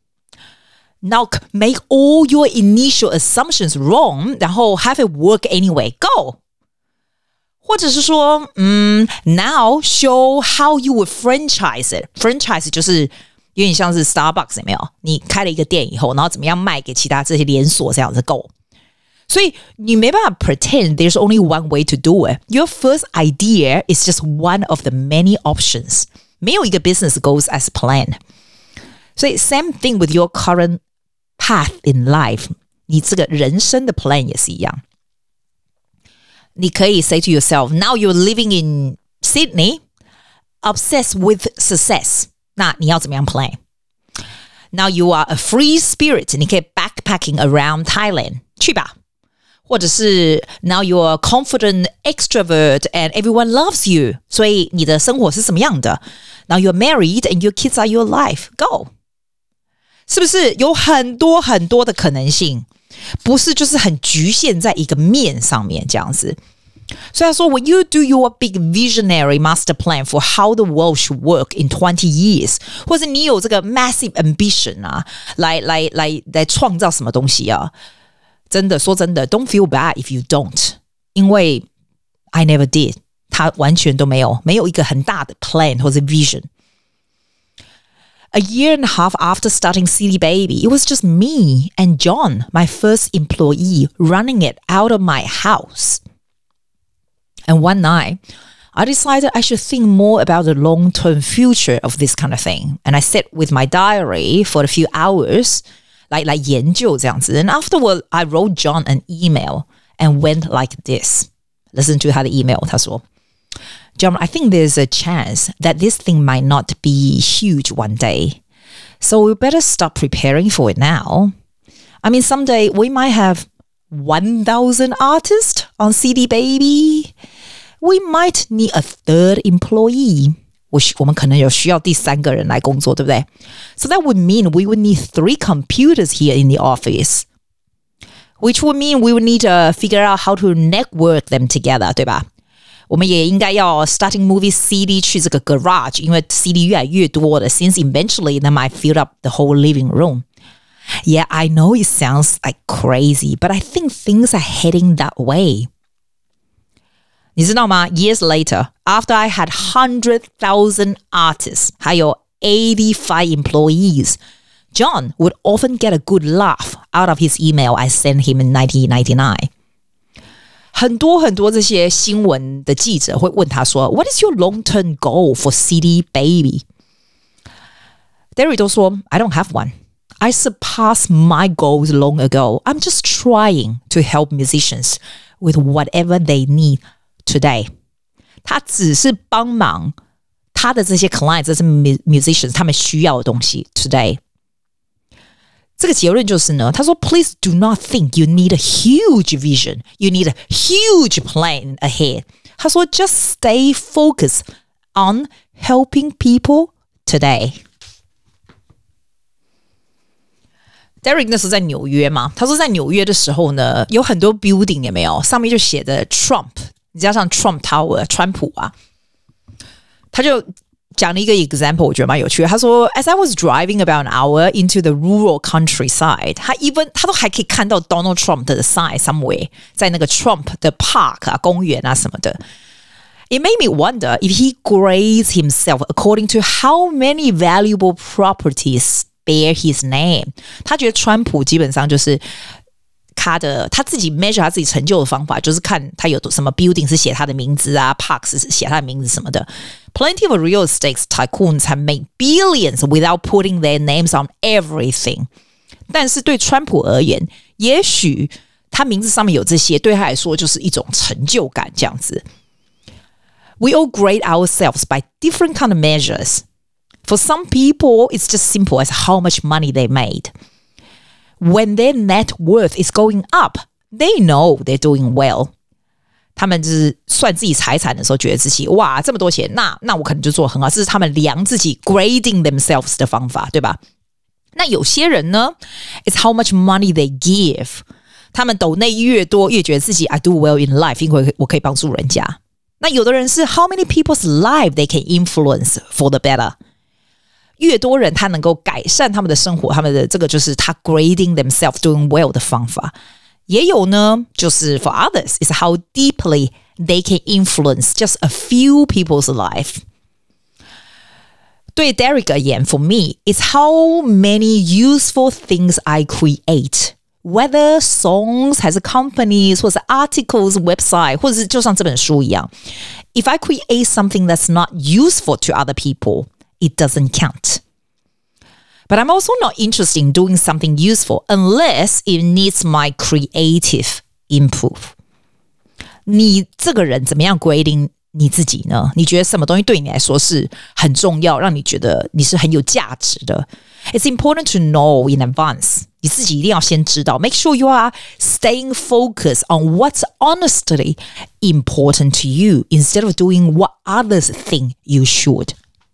Now make all your initial assumptions wrong, 然後 have it work anyway. Go.或者是說，嗯 ，Now show how you would franchise it. Franchise 就是有點像是 Starbucks 有沒有？你開了一個店以後，然後怎麼樣賣給其他這些連鎖這樣子 Go。所以你沒辦法 pretend there's only one way to do it. Your first idea is just one of the many options. 沒有一個 business goes as planned. 所以 same thing with your current path in life. 你這個人生的 plan 也是一樣。你可以 say to yourself, now you're living in Sydney, obsessed with success. 那你要怎麼樣 plan? Now you are a free spirit. 你可以 backpacking around Thailand. 去吧。或者是 now you're a confident extrovert and everyone loves you. 所以你的生活是什麼樣的？ Now you're married and your kids are your life. Go. 是不是有很多很多的可能性？不是就是很局限在一個面上面這樣子。所以他說 when you do your big visionary master plan for how the world should work in twenty years 或者你有這個 massive ambition 啊來來來來創造什麼東西啊，真的說真的 don't feel bad if you don't 因為 I never did 他完全都沒有沒有一個很大的 plan 或者 vision。A year and a half after starting C D Baby, it was just me and John, my first employee, running it out of my house. And one night, I decided I should think more about the long-term future of this kind of thing. And I sat with my diary for a few hours, like, like 研究這樣子. And afterward, I wrote John an email and went like this. Listen to 他的 email, 他說John, I think there's a chance that this thing might not be huge one day. So we better start preparing for it now. I mean, someday we might have one thousand artists on C D Baby. We might need a third employee. 我我們可能有需要第三個人來工作，對不對？ So that would mean we would need three computers here in the office. Which would mean we would need to figure out how to network them together, 對吧？我們也應該要 starting movie C D 去這個 garage 因為 C D 越來越多了 since eventually they might fill up the whole living room. Yeah, I know it sounds like crazy, but I think things are heading that way. 你知道嗎 ？Years later, after I had hundred thousand artists, 還有 eighty-five employees, John would often get a good laugh out of his email I sent him in nineteen ninety-nine. 很多很多這些新聞的記者會問他說 What is your long-term goal for C D Baby? Derek 都說 I don't have one. I surpassed my goals long ago. I'm just trying to help musicians with whatever they need today. 他只是幫忙他的這些 clients, 這些 musicians 他們需要的東西 today. 這個結論就是呢，他說 Please do not think you need a huge vision. You need a huge plan ahead. 他說 Just stay focused on helping people today. Derek 那時候在紐約嘛，他說在紐約的時候呢，有很多 building 有沒有？上面就寫着 Trump， 加上 Trump Tower， 川普啊，他就講了一個 example， 我覺得蠻有趣的。他說 ，As I was driving about an hour into the rural countryside， 他 even 他都還可以看到 Donald Trump 的 sign somewhere， 在那個 Trump 的 park 啊、公園啊什麼的。It made me wonder if he grades himself according to how many valuable properties bear his name. 他覺得川普基本上就是他的他自己 measure 他自己成就的方法，就是看他有什麼 building 是寫他的名字啊 ，park 是寫他的名字什麼的。Plenty of real estate tycoons have made billions without putting their names on everything. 但是對川普而言，也許他名字上面有這些，對他來說就是一種成就感這樣子。We all grade ourselves by different kind of measures.For some people, it's just simple as how much money they made. When their net worth is going up, they know they're doing well. 他們就是算自己財產的時候，覺得自己哇這麼多錢，那那我可能就做得很好。這是他們量自己 grading themselves 的方法，對吧？那有些人呢 ，it's how much money they give. 他們抖內越多，越覺得自己 I do well in life， 因為我可以幫助人家。那有的人是 how many people's life they can influence for the better.越多人他能夠改善他們的生活，他們的這個就是他 grading themselves doing well 的方法。也有呢，就是 for others is how deeply they can influence just a few people's life. 對 Derek 而言 for me, it's how many useful things I create. Whether songs 還是 companies 或者 articles, website 或者是就像這本書一樣 If I create something that's not useful to other people,It doesn't count. But I'm also not interested in doing something useful unless it needs my creative input. 你這個人怎麼樣 grading 你自己呢？你覺得什麼東西對你來說是很重要，讓你覺得你是很有價值的？ It's important to know in advance. 你自己一定要先知道。Make sure you are staying focused on what's honestly important to you instead of doing what others think you should.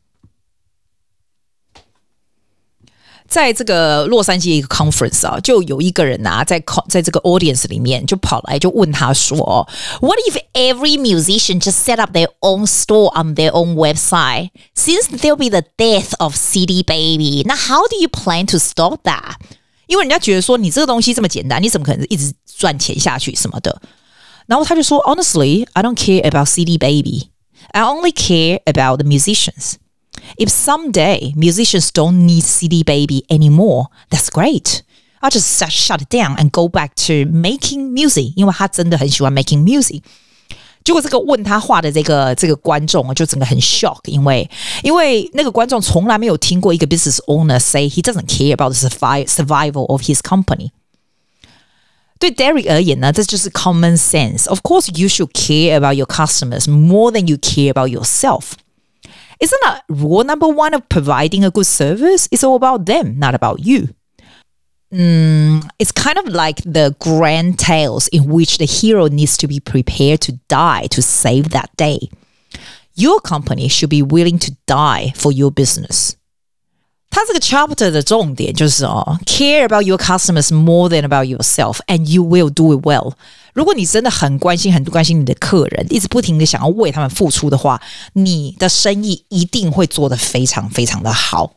在這個洛杉磯一個 conference 啊，就有一個人啊，在在這個 audience 裡面就跑來就問他說 What if every musician just set up their own store on their own website? Since there'll be the death of C D Baby, now how do you plan to stop that? 因為人家覺得說你這個東西這麼簡單，你怎麼可能一直賺錢下去什麼的？然後他就說 Honestly, I don't care about C D Baby. I only care about the musicians.If someday musicians don't need C D Baby anymore, that's great. I'll just shut it down and go back to making music. 因為他真的很喜歡 making music. 結果這個問他話的這個這個觀眾就整個很 shock， 因為因為那個觀眾從來沒有聽過一個 business owner say he doesn't care about the survival of his company. 對 Derek 而言呢，這就是 common sense. Of course, you should care about your customers more than you care about yourself.Isn't that rule number one of providing a good service? It's all about them, not about you. Mm, it's kind of like the grand tales in which the hero needs to be prepared to die to save that day. Your company should be willing to die for your business. 它這個 chapter 的重點就是哦 care about your customers more than about yourself, and you will do it well. 如果你真的很關心很關心你的客人，一直不停的想要為他們付出的話，你的生意一定会做得非常非常的好。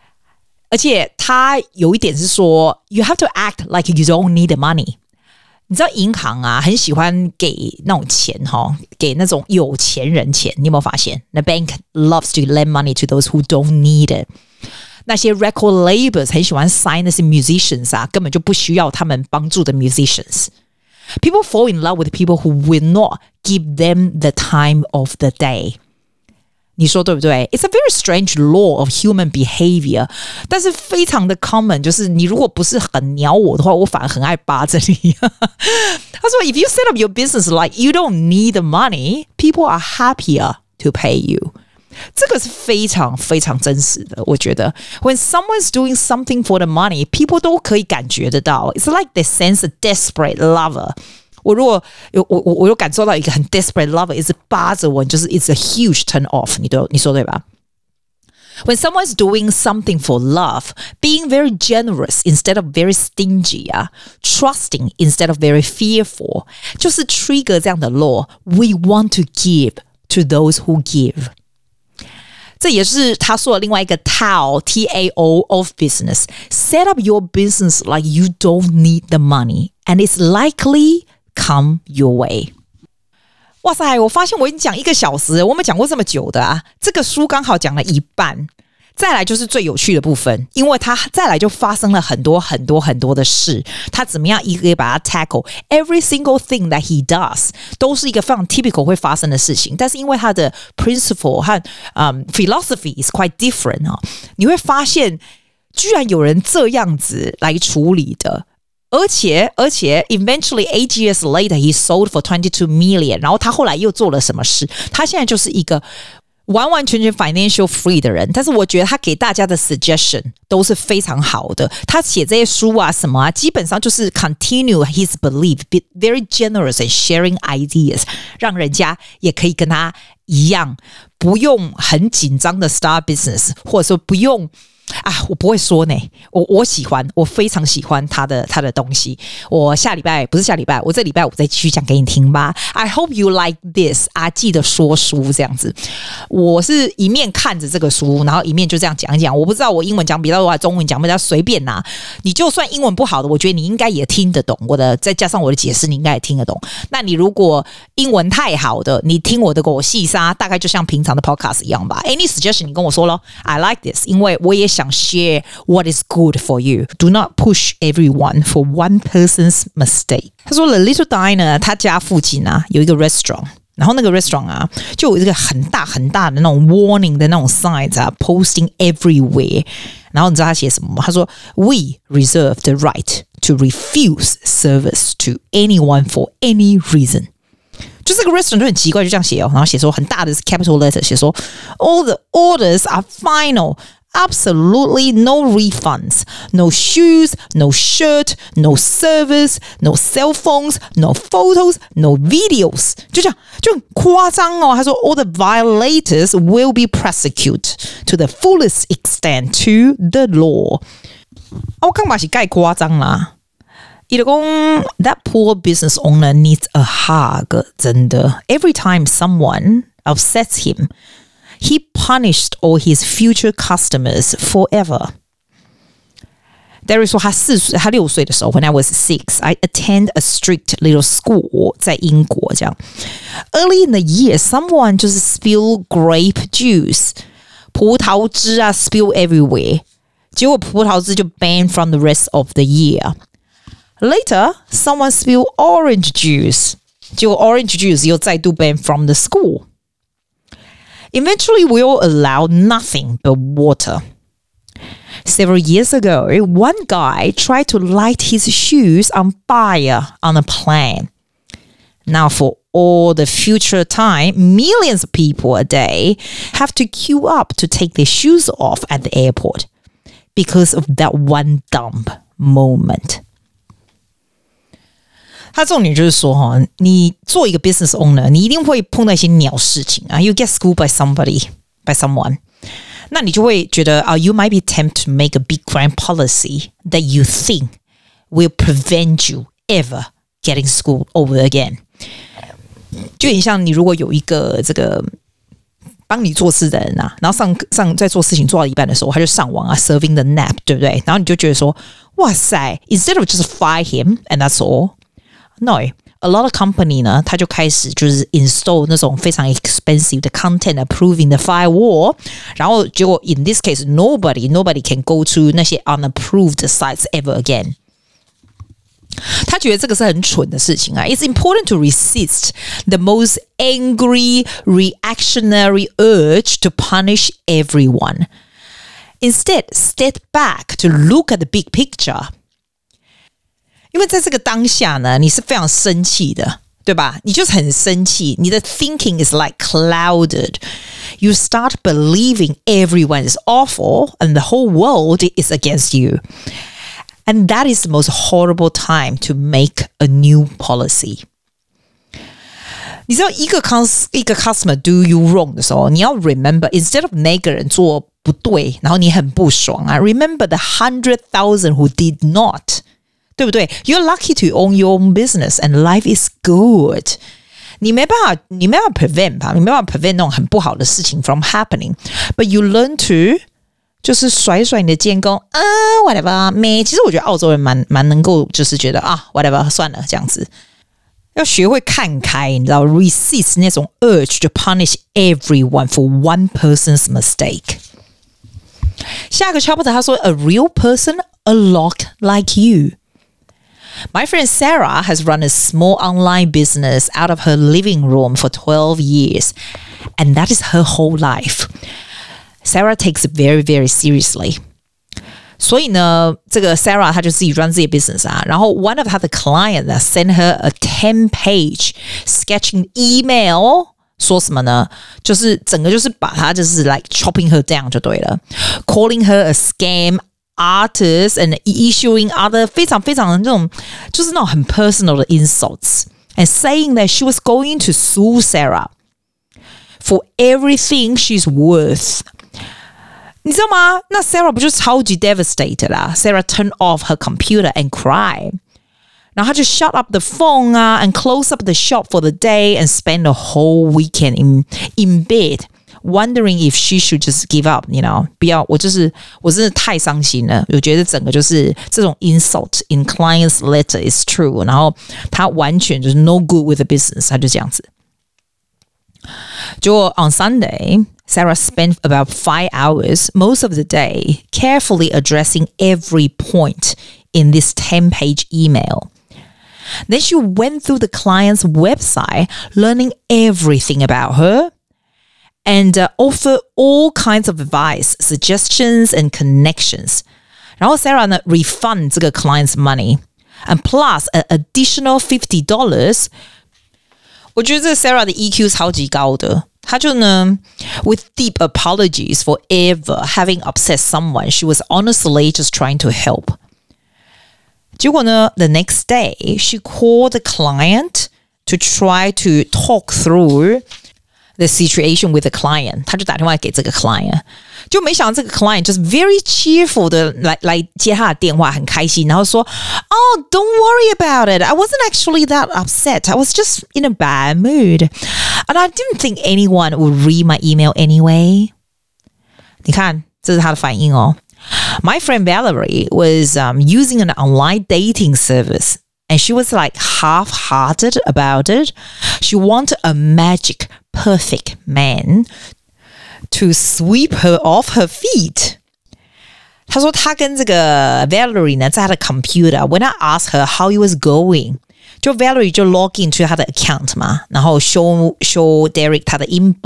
而且他有一點是說 you have to act like you don't need the money. 你知道銀行啊，很喜歡給那種錢哈，給那種有錢人錢。你有沒有發現 ？The bank loves to lend money to those who don't need it。那些 record labels 很喜歡 sign 那些 musicians 啊，根本就不需要他們幫助的 musicians。People fall in love with people who will not give them the time of the day。你說對不對 ？It's a very strange law of human behavior， 但是非常的 common， 就是你如果不是很鳥我的話，我反而很愛扒着你。他說 ，If you set up your business like you don't need the money, people are happier to pay you。这個是非常非常真實的，我覺得。When someone's doing something for the money, people 都可以感覺得到。It's like they sense a desperate lover。我如果有我我我有感受到一個很 desperate lover 一直扒着我，就是 it's a huge turn off。你都你說對吧？ When someone's doing something for love, being very generous instead of very stingy 啊 ，trusting instead of very fearful， 就是 trigger 這樣的 law。We want to give to those who give。這也是他說的另外一個 Tao T A O of business. Set up your business like you don't need the money, and it's likely come your way. 哇塞，我發現我已經講一個小時，我沒講過這麼久的啊！這個書剛好講了一半。再來就是最有趣的部分，因為他再來就發生了很多很多很多的事，他怎麼樣一個一個把它 tackle every single thing that he does 都是一個非常 typical 會發生的事情，但是因為他的 principle 和、um, philosophy is quite different 啊，你會發現居然有人這樣子來處理的。而且而且 eventually eight years later he sold for twenty-two million， 然後他後來又做了什麼事？他現在就是一個完完全全 financial free 的人，但是我覺得他給大家的 suggestion 都是非常好的。他寫這些書啊什麼啊，基本上就是 continue his belief, be very generous and sharing ideas， 讓人家也可以跟他一樣，不用很緊張的 start business， 或者說不用啊，我不會說呢，我我喜歡，我非常喜歡他的他的東西。我下禮拜不是下禮拜，我這禮拜我再繼續講給你聽吧。I hope you like this， 阿記的說書這樣子。我是一面看着這個書，然後一面就這樣講一講。我不知道我英文講比較多，還是中文講比較隨便拿。你就算英文不好的，我覺得你應該也聽得懂我的，再加上我的解釋，你應該也聽得懂。那你如果英文太好的，你聽我的狗細沙，大概就像平常的 podcast 一樣吧。Any suggestion 你跟我說咯 I like this， 因為我也想share what is good for you. Do not push everyone for one person's mistake. 他說 The Little Diner 他家附近啊有一個 restaurant， 然後那個 restaurant 啊就有一個很大很大的那種 warning 的那種 signs 啊 posting everywhere。然後你知道他寫什麼嗎？他說 We reserve the right to refuse service to anyone for any reason。就這個 restaurant 就很奇怪，就這樣寫哦，然後寫說很大的 capital letter 寫說 All the orders are final.Absolutely no refunds, no shoes, no shirt, no service, no cell phones, no photos, no videos. 就這樣，就很誇張哦。他說 All the violators will be prosecuted to the fullest extent to the law. 啊，我剛把是蓋誇張啦。伊就講 That poor business owner needs a hug. 真的 Every time someone upsets him,He punished all his future customers forever. There is 說他四歲，他六歲的時候 ，When I was six, I attend a strict little school 在英國這樣。Early in the year, someone 就是 spill grape juice 葡萄汁啊 spill everywhere， 結果葡萄汁就 banned from the rest of the year. Later, someone spill orange juice， 結果 orange juice 又再度 banned from the school.Eventually, we'll allow nothing but water. Several years ago, one guy tried to light his shoes on fire on a plane. Now, for all the future time, millions of people a day have to queue up to take their shoes off at the airport because of that one dumb moment.他重點就是說哈，你做一個 business owner， 你一定會碰到一些鳥事情啊。You get schooled by somebody, by someone， 那你就會覺得啊、uh, ，you might be tempted to make a big grand policy that you think will prevent you ever getting schooled over again。就很像你如果有一個這個幫你做事的人啊，然後上上在做事情做到一半的時候，他就上網啊 serving the nap， 對不對？然後你就覺得說，哇塞 ，instead of just fire him and that's all。 No, a lot of company 呢，它就開始就是 install 那種非常 expensive 的 content approving 的 firewall， 然後結果 in this case nobody nobody can go to 那些 unapproved sites ever again。他覺得這個是很蠢的事情啊。It's important to resist the most angry reactionary urge to punish everyone. Instead, step back to look at the big picture. 因為在這個當下呢，你是非常生氣的，對吧？你就是很生氣，你的 thinking is like clouded. You start believing everyone is awful and the whole world is against you. And that is the most horrible time to make a new policy. 你知道一個 cons 一個 customer do you wrong 的時候，你要 remember instead of 那個人做不對，然後你很不爽啊 ，remember the hundred thousand who did not. 對不對 ？You're lucky to own your own business and life is good. 你沒辦法，你沒辦法 prevent 吧？你沒辦法 prevent 那種很不好的事情 from happening. But you learn to 就是甩甩你的肩膀啊 ，whatever 沒。其實我覺得澳洲人蠻蠻能夠，就是覺得啊 ，whatever 算了這樣子。要學會看開，你知道 ，resist 那種 urge to punish everyone for one person's mistake. 下一個 chapter 他說 ，a real person, a lot like you.My friend Sarah has run a small online business out of her living room for twelve years, and that is her whole life. Sarah takes it very, very seriously. 所以呢，這個 Sarah 她就自己 run 自己 business 啊，然後 one of 她的 client sent her a ten-page sketching email， 說什麼呢？就是整個就是把她就是 like chopping her down 就對了 ，calling her a scam.Artists and issuing other 非常非常的那種就是那種很 personal 的 insults and saying that she was going to sue Sarah for everything she's worth. 你知道嗎？那 Sarah 不就超級 devastated 啦 ？Sarah turned off her computer and cried. 然後她就 shut up the phone 啊 and close up the shop for the day and spend the whole weekend in in bed.Wondering if she should just give up, you know? 不要，我就是我真的太傷心了。我覺得整個就是這種 insult in client's letter is true. 然後他完全就是 no good with the business. 他就這樣子。結果 on Sunday, Sarah spent about five hours most of the day carefully addressing every point in this ten-page email. Then she went through the client's website, learning everything about her.And uh, offer all kinds of advice, suggestions, and connections. 然後 Sarah 呢 refund 這個 client's money, and plus an additional fifty dollars. 我覺得這個 Sarah 的 E Q 超級高的，她就呢 with deep apologies for ever having upset someone, she was honestly just trying to help. 結果呢 the next day, she called the client to try to talk through.The situation with the client， 他就打電話給這個 client， 就沒想到這個 client 就是 very cheerful 的來來接他的電話，很開心，然後說 ，Oh, don't worry about it. I wasn't actually that upset. I was just in a bad mood, and I didn't think anyone would read my email anyway. 你看，這是他的反應哦。My friend Valerie was um, using an online dating service.And she was like half-hearted about it. She wanted a magic, perfect man to sweep her off her feet. 她說她跟這個 Valerie 呢，在她的 computer. When I asked her how it was going, 就 Valerie 就 log into 她的 account 嘛，然後 show show Derek 她的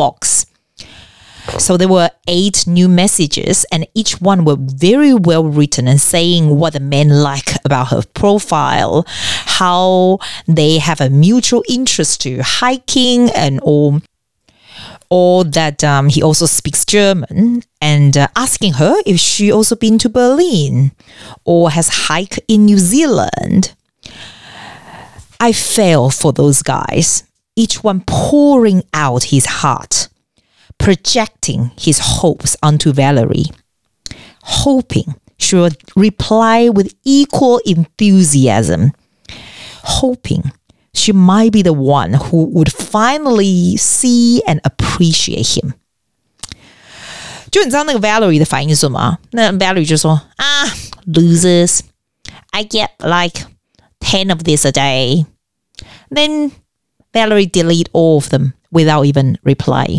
inbox.So there were eight new messages, and each one were very well written and saying what the men like about her profile, how they have a mutual interest to hiking, and all, or that um, he also speaks German, and uh, asking her if she also been to Berlin or has hiked in New Zealand. I fell for those guys, each one pouring out his heart.Projecting his hopes onto Valerie, hoping she would reply with equal enthusiasm, hoping she might be the one who would finally see and appreciate him. 就你知道那個 Valerie 的反應是什麼？那 Valerie 就說啊 ，losers, I get like ten of this a day. Then Valerie delete all of them without even replying.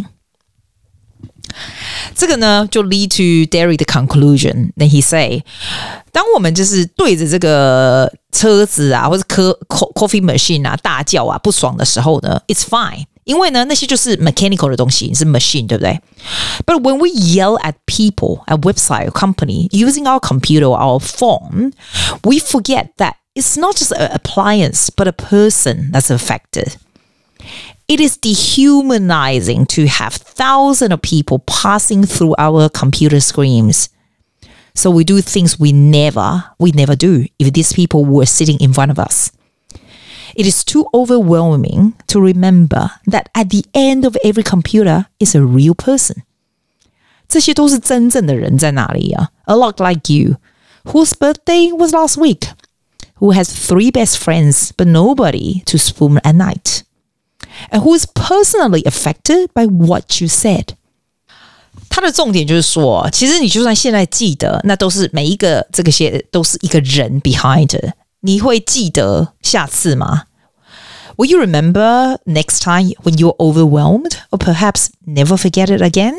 這個呢就 lead to Derry 的 conclusion. Then he say, 當我們就是對着這個車子啊，或者 coffee machine 啊大叫啊不爽的時候呢 ，it's fine. 因為呢那些就是 mechanical 的東西，是 machine 對不對 ？But when we yell at people, at website or company using our computer or our phone, we forget that it's not just an appliance, but a person that's affected. It is dehumanizing to have thousands of people passing through our computer screens. So we do things we never, we never do if these people were sitting in front of us. It is too overwhelming to remember that at the end of every computer is a real person. 這些都是真正的人在哪裡啊 A lot like you, whose birthday was last week, who has three best friends but nobody to spoon at night.And who is personally affected by what you said? 他的重点就是说，其實你就算現在記得，那都是每一個這個些都是一個人 behind it. 你會記得下次嗎 Will you remember next time when you're overwhelmed, or perhaps never forget it again?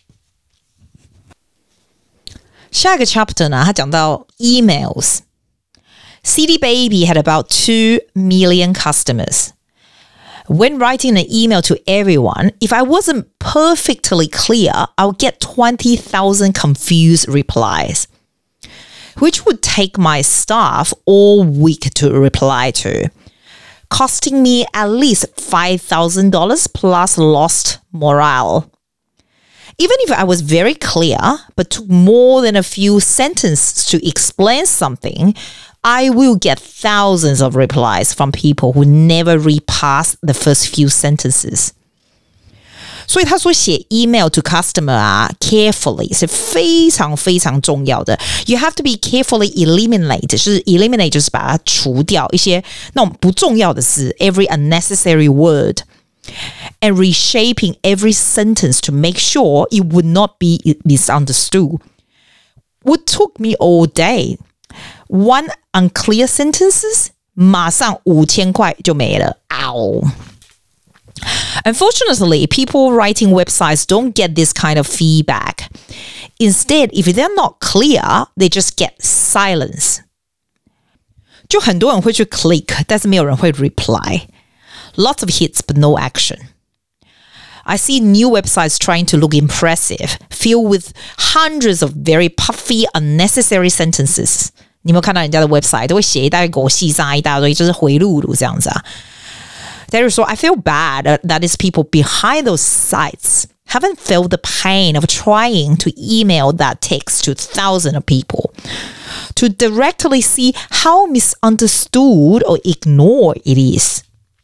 下一個 chapter 呢，他講到 emails. C D Baby had about two million customers.When writing an email to everyone, if I wasn't perfectly clear, I would get twenty thousand confused replies, which would take my staff all week to reply to, costing me at least five thousand dollars plus lost morale. Even if I was very clear, but took more than a few sentences to explain something,I will get thousands of replies from people who never read past the first few sentences. 所以他說寫 email to customer 啊 carefully 是非常非常重要的 You have to be carefully eliminate 就是 eliminate 就是把它除掉一些那種不重要的字 every unnecessary word and reshaping every sentence to make sure it would not be misunderstood. What took me all day?One unclear sentences, 馬上五千塊就沒了 Ow. Unfortunately, people writing websites don't get this kind of feedback. Instead, if they're not clear, they just get silence. 就很多人會去 click, 但是沒有人會 reply. Lots of hits, but no action. I see new websites trying to look impressive, filled with hundreds of very puffy, unnecessary sentences.你有沒有看到人家的 website 都會寫一大堆狗屁啥一大堆就是回路路這樣子啊 There is so I feel bad that these people behind those sites haven't felt the pain of trying to email that text to thousands of people to directly see how misunderstood or ignored it is.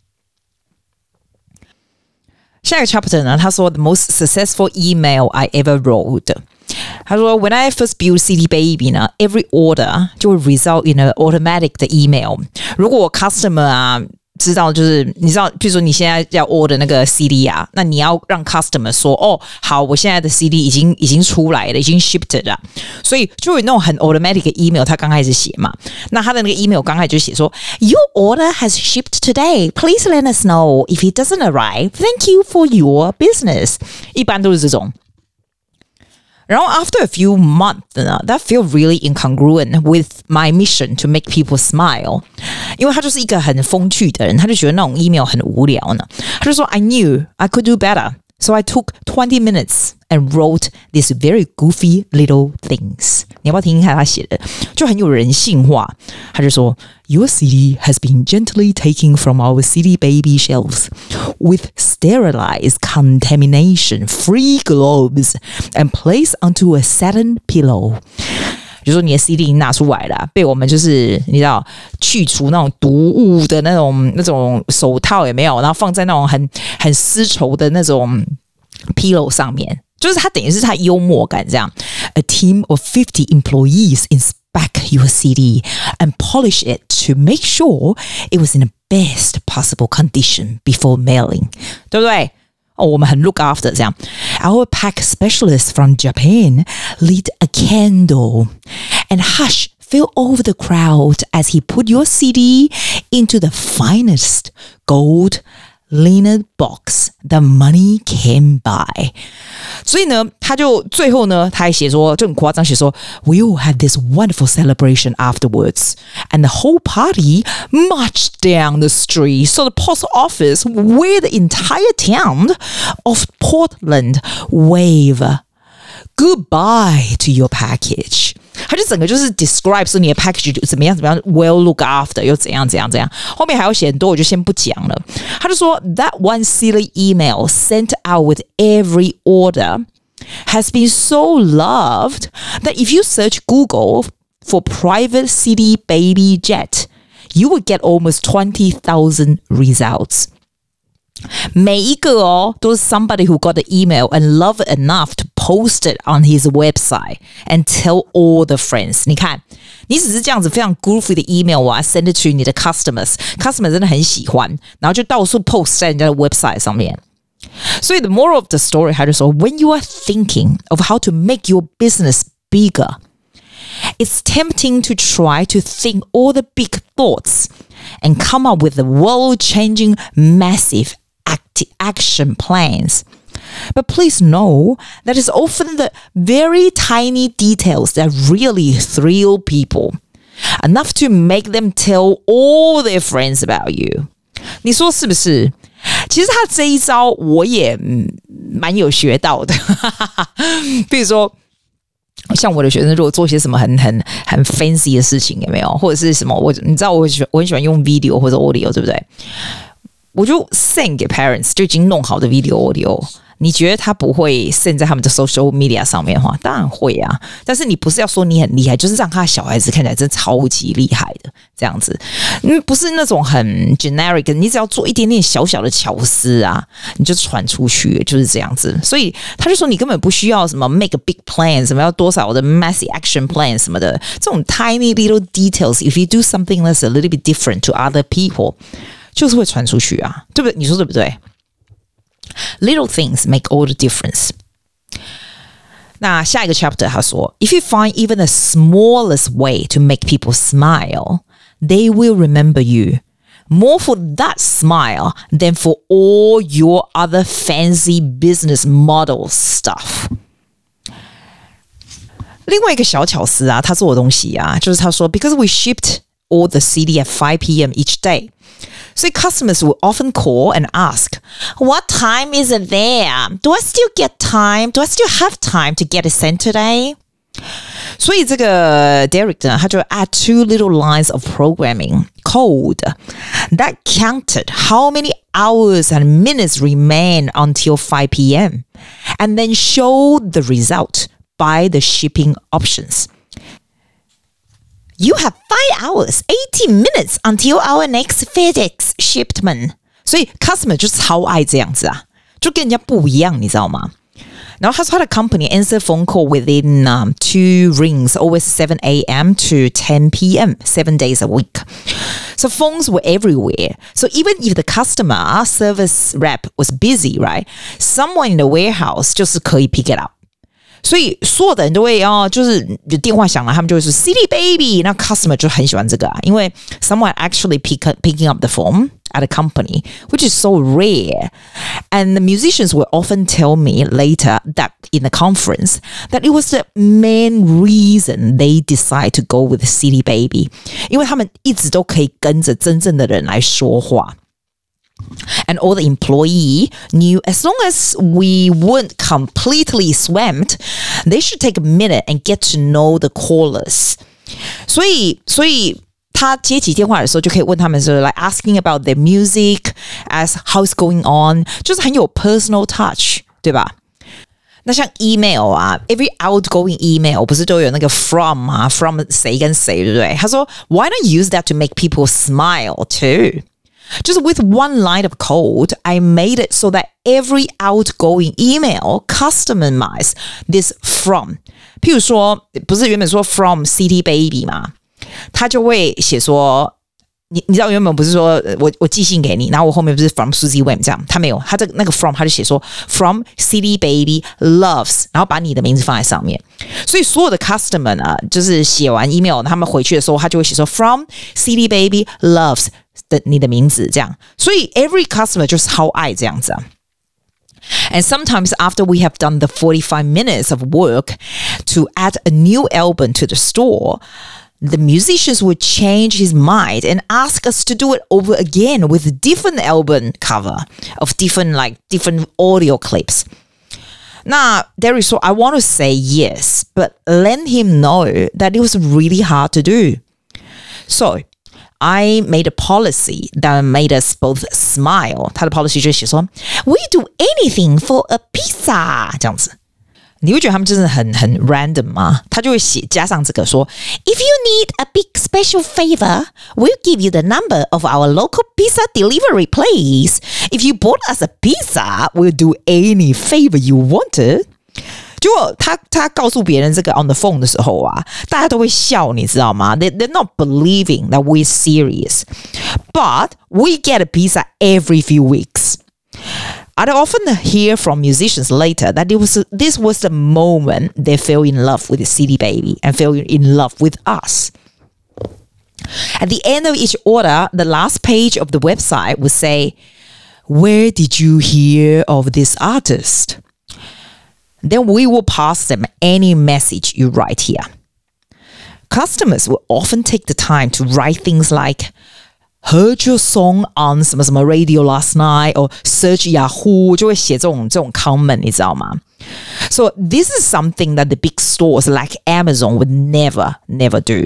下一個 chapter 呢，他說 The most successful email I ever wrote.他說 When I first built C D Baby 呢 every order 就會 result in an automatic 的 email 如果我 customer 啊知道就是你知道譬如說你現在要 order 那個 C D 啊那你要讓 customer 說哦好我現在的 C D 已經已經出來了已經 shipped 了所以就有那種很 automatic 的 email 他剛開始寫嘛那他的那個 email 剛開始就寫說 Your order has shipped today Please let us know if it doesn't arrive Thank you for your business 一般都是這種然後 after a few months, that feel really incongruent with my mission to make people smile. 因為他就是一個很風趣的人，他就覺得那種 email 很無聊呢。他就說 I knew I could do better. So I took twenty minutes and wrote these very goofy little things. 你要不要聽聽看他寫的？就很有人性化。他就說 Your C D has been gently taken from our C D Baby shelves with sterilized contamination-free gloves and placed onto a satin pillow. 就說你的 C D 拿出来了，被我們就是你知道去除那種毒物的那種那種手套有沒有？然後放在那種很很絲綢的那種 pillow 上面，就是他等於是他幽默感這樣。A team of fifty employees inspect your C D and polish it to make sure it was in the best possible condition before mailing， 对不对？哦，我們很 look after 這樣。Our pack specialist from Japan lit a candle and hush fill over the crowd as he put your C D into the finest gold linen box the money can buy. 所以呢，他就最後呢，他還寫說，就很誇張，寫說 We all had this wonderful celebration afterwards, and the whole party marched down the street so the post office where the entire town of Portland wave goodbye to your package. 他就整個就是 describe 說你的 package 怎麼樣怎麼樣 well look after 又怎樣怎樣怎樣，後面還要寫很多，我就先不講了。他就說 that one silly email sent out with every order has been so loved that if you search Google for private C D baby jet, you would get almost twenty thousand results. 每一個哦都是 somebody who got the email and loved it enough to post it on his website and tell all the friends. 你看，你只是這樣子非常 goofy 的 email 啊 send it to 你的 customers， customer 真的很喜歡，然後就到處 post 在人家的 website 上面。所以 the moral of the story 他就說 when you are thinking of how to make your business bigger, it's tempting to try to think all the big thoughts and come up with the world-changing massive act- action plans. But please know that it's often the very tiny details that really thrill people, enough to make them tell all their friends about you. 你說是不是？其實他這一招我也蠻有學到的。比如說像我的學生如果做些什麼很很很 fancy 的事情，有沒有？或者是什麼我你知道我我很喜歡用 video 或者 audio， 對不對？我就 send 給 parents 就已經弄好的 video audio。你覺得他不會 send 在他們的 social media 上面的話，當然會啊。但是你不是要說你很厲害，就是讓他的小孩子看起來真的超級厲害的這樣子。嗯，不是那種很 generic， 你只要做一點點小小的巧思啊，你就傳出去，就是這樣子。所以他就說你根本不需要什麼 make a big plan， 什麼要多少的 massive action plan 什麼的，這種 tiny little details，if you do something that's a little bit different to other people， 就是會傳出去啊，對不對？你說對不對？Little things make all the difference. 那下一個 chapter 他說 If you find even the smallest way to make people smile, they will remember you more for that smile than for all your other fancy business model stuff. 另外一個小巧思啊，他做的東西啊，就是他說 Because we shipped all the C D at five p.m. each day.So customers will often call and ask, what time is it there? Do I still get time? Do I still have time to get it sent today? 所以這個 Derek 呢，他就 add two little lines of programming code that counted how many hours and minutes remain until five p.m. and then showed the result by the shipping options.You have five hours, eighty minutes until our next FedEx shipment. 所以 customer 就超愛這樣子啊，就跟人家不一樣，你知道嗎？然後他說他的 company answer phone call within um, two rings, always seven a.m. to ten p.m., seven days a week. So phones were everywhere. So even if the customer service rep was busy, right? Someone in the warehouse 就是可以 pick it up.所以所有的人都會哦，就是有電話響了，他們就會說 C D baby， 那 customer 就很喜歡這個啊，因為 someone actually pick, picking up the phone at a company, which is so rare. And the musicians will often tell me later that in the conference that it was the main reason they decide to go with C D baby, 因為他們一直都可以跟着真正的人來說話。And all the employee knew as long as we weren't completely swamped, they should take a minute and get to know the callers. 所以，所以他接起電話的時候，就可以問他們說 like asking about their music, as how's going on， 就是很有 personal touch， 對吧？那像 email 啊 ，every outgoing email 不是都有那個 from 啊 ，from 誰跟誰，對不對？他說 Why not use that to make people smile too？就是 with one line of code, I made it so that every outgoing email customized this from. 譬如說，不是原本說 from C D baby 嘛，他就會寫說你你知道原本不是說我我寄信給你，然後我後面不是 from Susie Wem 這樣，他沒有，他這個那個 from 他就寫說 from City Baby loves， 然後把你的名字放在上面，所以所有的 customer 呢，就是寫完 email 他們回去的時候，他就會寫說 from City Baby loves 的你的名字這樣，所以 every customer 就是超愛這樣子啊。And sometimes after we have done the forty-five minutes of work to add a new album to the store, the musicians would change his mind and ask us to do it over again with a different album cover of different like different audio clips. Now, Derek said, I want to say yes, but let him know that it was really hard to do. So, I made a policy that made us both smile. 他的 policy 就是說 We do anything for a pizza 這樣子。你會覺得他們真的很很 random 嗎？他就會寫加上這個說 If you need a big special favor, we'll give you the number of our local pizza delivery place. If you bought us a pizza, we'll do any favor you wanted. 結果他他告訴別人這個 on the phone 的時候啊，大家都會笑，你知道嗎？ They, they're not believing that we're serious. But we get a pizza every few weeks. I'd often hear from musicians later that it was this was the moment they fell in love with the City Baby and fell in love with us. At the end of each order, the last page of the website would say, Where did you hear of this artist? Then we will pass them any message you write here. Customers will often take the time to write things like, Heard your song on 什麼什麼 radio last night, or search Yahoo, 就會寫這種這種 comment, 你知道嗎？ So this is something that the big stores like Amazon would never, never do.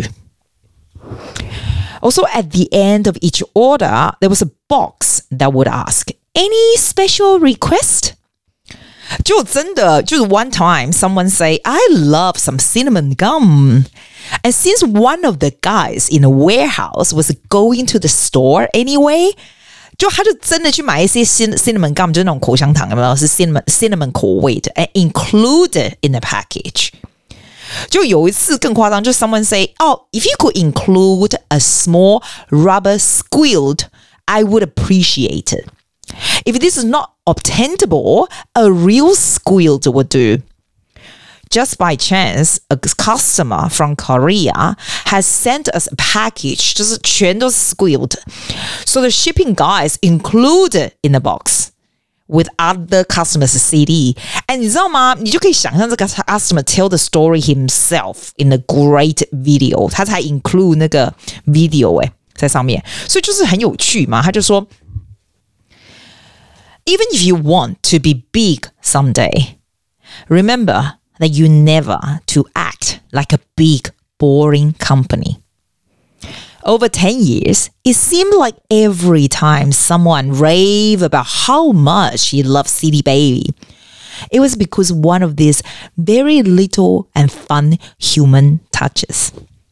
Also, at the end of each order, there was a box that would ask, Any special request? 就真的就是 one time someone say I love some cinnamon gum, and since one of the guys in the warehouse was going to the store anyway, 就他就真的去買一些 cinnamon gum, 就是那種口香糖，有沒有？是 cinnamon cinnamon 口味的 and included in the package. 就有一次更誇張，就 someone say, oh, if you could include a small rubber squirt, I would appreciate it. If this is not obtainable, a real squirt would do. Just by chance, a customer from Korea has sent us a package, 就是全都是 squirt. So the shipping guys included in the box with other customers' C D. And 你知道嗎？你就可以想象這個 customer tell the story himself in a great video. 他才 include 那個 video 誒，在上面，所以就是很有趣嘛。他就說 Even if you want to be big someday, remember that you never to act like a big, boring company. Over ten years, it seemed like every time someone raved about how much he loved City Baby, it was because one of these very little and fun human touches.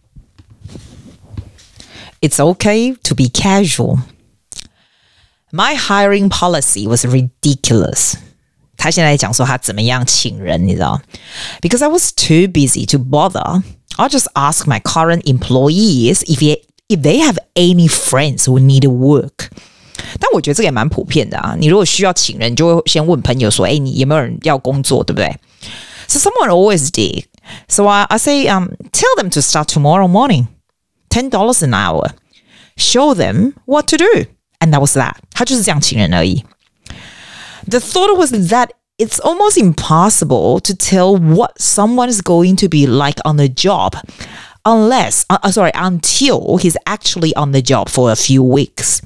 It's okay to be casual.My hiring policy was ridiculous. 他現在講說他怎麼樣請人，你知道？ Because I was too busy to bother, I'll just ask my current employees if they, if they have any friends who need work. 但我覺得這個也蠻普遍的啊。你如果需要請人，你就會先問朋友說，哎，你有沒有人要工作，對不對？ So someone always did. So I, I say, um, tell them to start tomorrow morning. ten dollars an hour. Show them what to do.And that was that. 他就是這樣請人而已。The thought was that it's almost impossible to tell what someone is going to be like on the job unless, uh, sorry, until he's actually on the job for a few weeks.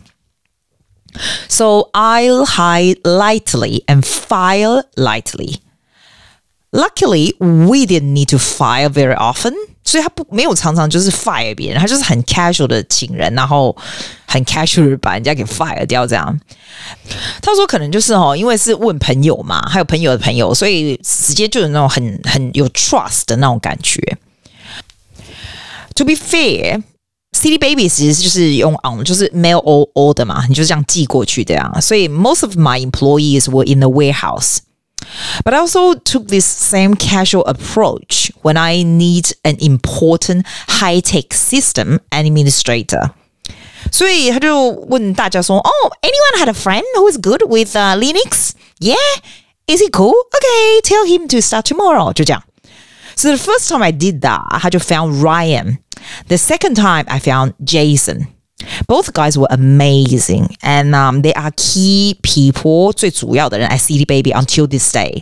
So I'll hire lightly and fire lightly. Luckily, we didn't need to fire very often. 所以他不没有常常就是 fire 別人，他就是很 casual 的請人，然後很 casual 的把人家給 fire 掉這樣。他說可能就是哦，因為是問朋友嘛，還有朋友的朋友，所以直接就有那種很很有 trust 的那種感覺。To be fair, City Baby 其實就是用 on 就是 mail order 嘛，你就是這樣寄過去這樣。所以 most of my employees were in the warehouse.But I also took this same casual approach when I need an important high-tech system administrator. 所以他就問大家說 Oh, anyone had a friend who is good with、uh, Linux? Yeah? Is he cool? Okay, tell him to start tomorrow. 就這樣。So the first time I did that, 他就 found Ryan. The second time I found Jason. Both guys were amazing. And um, they are key people, 最主要的人 at C D Baby until this day.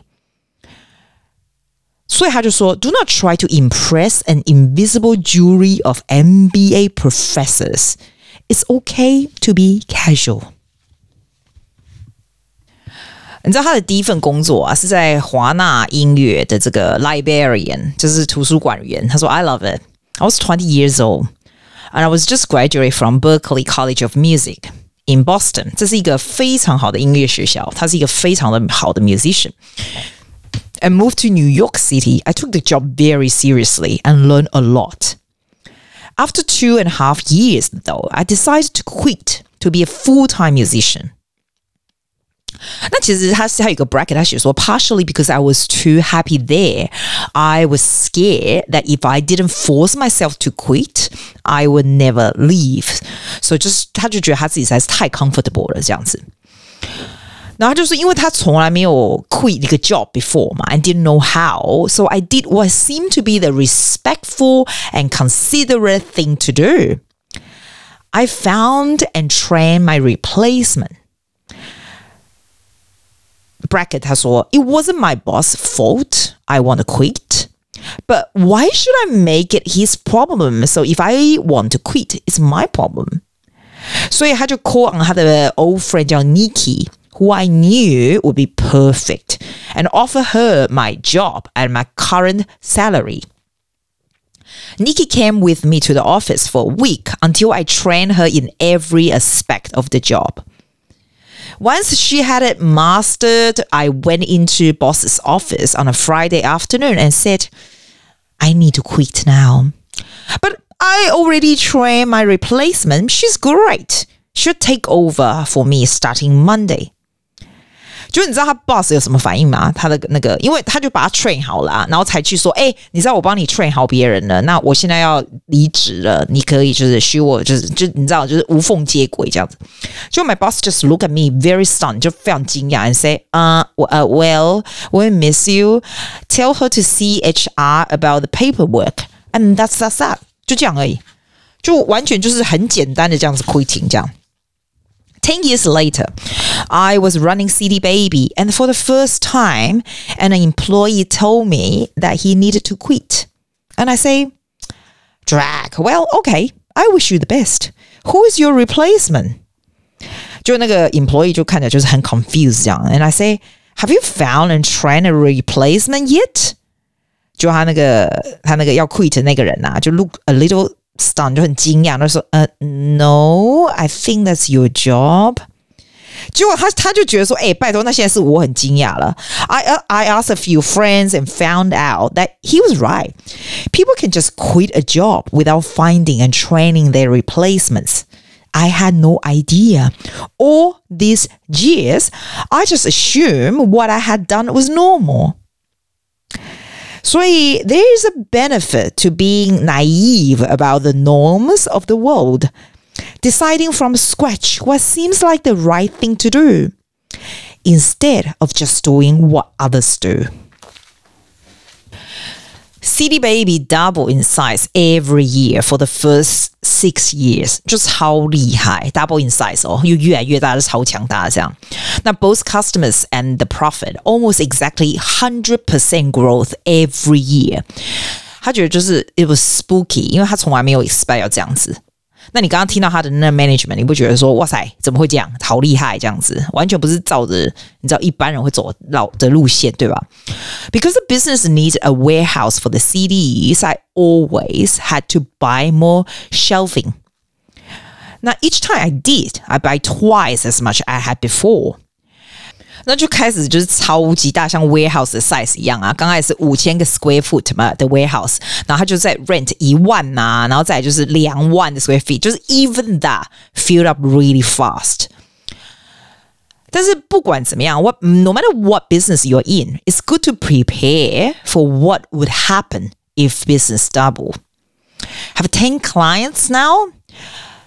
所以他就說 Do not try to impress an invisible jury of M B A professors. It's okay to be casual. 你知道他的第一份工作啊，是在華納音樂的這個 librarian， 就是圖書館員。他說 I love it. I was twenty years old and I was just graduated from Berklee College of Music in Boston. 這是一個非常好的音樂學校，他是一個非常的好的 musician. And moved to New York City. I took the job very seriously and learned a lot. After two and a half years, though, I decided to quit to be a full-time musician. 那其實他他有一個 bracket， 他寫說 partially because I was too happy there. I was scared that if I didn't force myself to quit, I would never leave. So 就是他就覺得他自己實在是太 comfortable 了這樣子。然後就是因為他從來沒有 quit 一個 job before 嘛 and didn't know how, so I did what seemed to be the respectful and considerate thing to do. I found and trained my replacement. Bracket 他說 It wasn't my boss' fault I want to quit, but why should I make it his problem? So if I want to quit, it's my problem. 所以他就 call on 他的 old friend 叫 Nikki, who I knew would be perfect, and offer her my job at my current salary. Nikki came with me to the office for a week until I trained her in every aspect of the job. Once she had it mastered, I went into boss's office on a Friday afternoon and said, I need to quit now. But I already trained my replacement. She's great. She'll take over for me starting Monday. 就你知道他 boss 有什麼反應嗎？他的那個，因為他就把他 train 好了，然後才去說，哎，你知道我幫你 train 好別人了，那我現在要離職了，你可以就是許我就是就你知道就是無縫接軌這樣子。就 my boss just look at me very stunned， 就非常驚訝 and say, uh, uh, well, we miss you. Tell her to see H R about the paperwork. And that's that's that. 就這樣而已，就完全就是很簡單的這樣子 quitting 這樣。Ten years later, I was running C D Baby, and for the first time, an employee told me that he needed to quit. And I say, Drag, well, okay, I wish you the best. Who is your replacement? 就那個 employee 就看起來就是很 confused 這樣。And I say, have you found and trained a replacement yet? 就他那個他那個要 quit 的那個人啊，就 look a little stunned， 就很驚訝，他說，呃、uh, ，No, I think that's your job. 結果他他就覺得說，哎，拜託，那現在是我很驚訝了。I I asked a few friends and found out that he was right. People can just quit a job without finding and training their replacements. I had no idea. All these years, I just assumed what I had done was normal. 所以 there is a benefit to being naive about the norms of the world, deciding from scratch what seems like the right thing to do, instead of just doing what others do. C D Baby doubled in size every year for the first six years， 就超厲害 ，double in size 哦，又越來越大，是超強大這樣。那 both customers and the profit almost exactly one hundred percent growth every year。他覺得就是 it was spooky， 因為他從來沒有 expect 要這樣子。那你剛剛聽到他的那 management， 你不覺得說哇塞，怎麼會這樣？好厲害這樣子，完全不是照着你知道一般人會走的路線，對吧？ Because the business needs a warehouse for the C Ds, I always had to buy more shelving. Now each time I did, I buy twice as much I had before. 那就開始就是超級大，像 warehouse 的 size 一樣啊。剛開始五千個 square foot 嘛的 warehouse， 然後他就在 rent 一萬吶、啊，然後再來就是兩萬的 square feet， 就是 even that filled up really fast。但是不管怎麼樣 what, no matter what business you're in, it's good to prepare for what would happen if business double. Have ten clients now?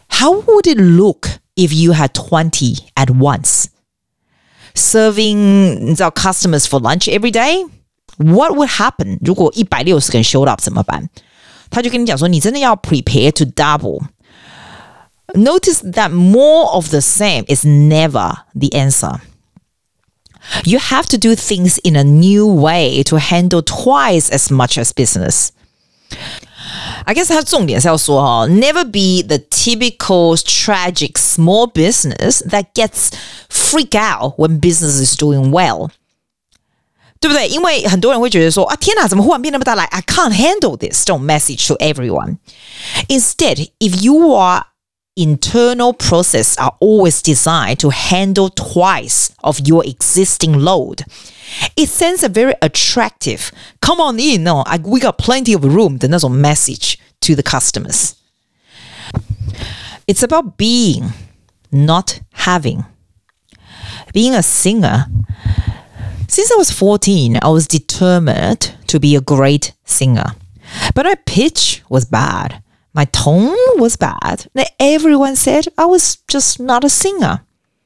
How would it look if you had twenty at once? Serving 你知道 customers for lunch every day? What would happen 如果一百六十个人 showed up 怎麼辦？他就跟你講說，你真的要 prepare to double. Notice that more of the same is never the answer. You have to do things in a new way to handle twice as much as business. I guess 它重點是要說哈 never be the typical tragic small business that gets freak out when business is doing well. 對不對？因為很多人會覺得說啊，天哪，怎麼忽然變那麼大來 I can't handle this. Don't message to everyone. Instead, if your internal process are always designed to handle twice of your existing load, it sends a very attractive, come on in, no, I, we got plenty of room 的那種 message to the customers. It's about being, not having. Being a singer, since I was fourteen, I was determined to be a great singer. But my pitch was bad. My tone was bad. Everyone said I was just not a singer.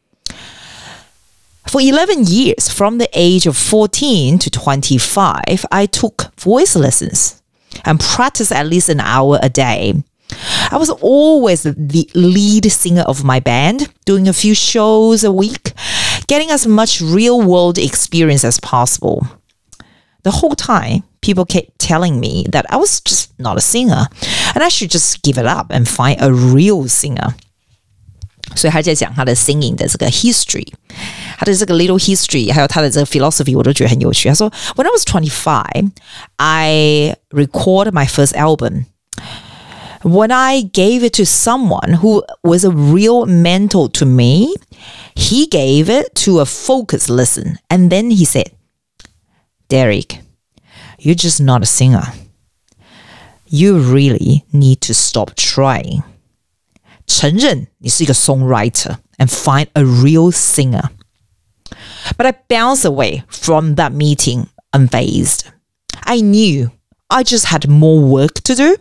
For eleven years, from the age of fourteen to twenty-five, I took voice lessons and practiced at least an hour a day. I was always the lead singer of my band, doing a few shows a week, getting as much real-world experience as possible. The whole time, people kept telling me that I was just not a singer, and I should just give it up and find a real singer. 所以他在講他的 singing 的這個 history， 他的這個 little history， 還有他的這個 philosophy， 我都覺得很有趣。他說 When I was twenty-five, I recorded my first album. When I gave it to someone who was a real mentor to me, he gave it to a focus listen. And then he said, Derek, you're just not a singer. You really need to stop trying. 承認你是一個 songwriter and find a real singer. But I bounced away from that meeting unfazed. I knew I just had more work to do.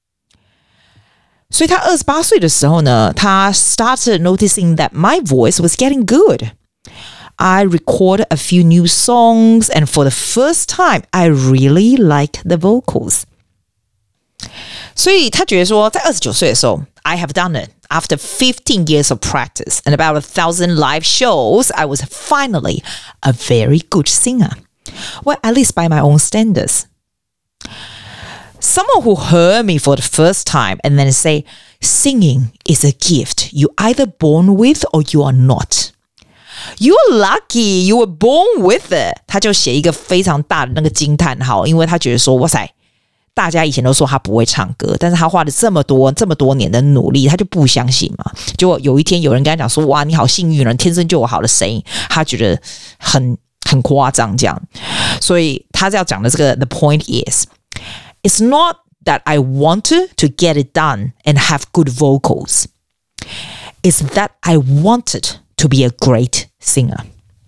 所以他二十八歲的時候呢，他 started noticing that my voice was getting good. I recorded a few new songs, and for the first time, I really liked the vocals. 所以他覺得說，在二十九歲的時候 I have done it. After fifteen years of practice and about a thousand live shows, I was finally a very good singer. Well, at least by my own standards. Someone who heard me for the first time and then say, singing is a gift you either born with or you are not. You're lucky you were born with it. 他就寫一個非常大的那個驚嘆號，因為他覺得說，哇塞，大家以前都說他不會唱歌，但是他花了這麼多這麼多年的努力，他就不相信嘛。結果有一天有人跟他講說，哇，你好幸運了，天生就有好的聲音，他覺得很很誇張這樣。所以他要講的這個 the point is, it's not that I wanted to get it done and have good vocals. It's that I wanted to be a great singer.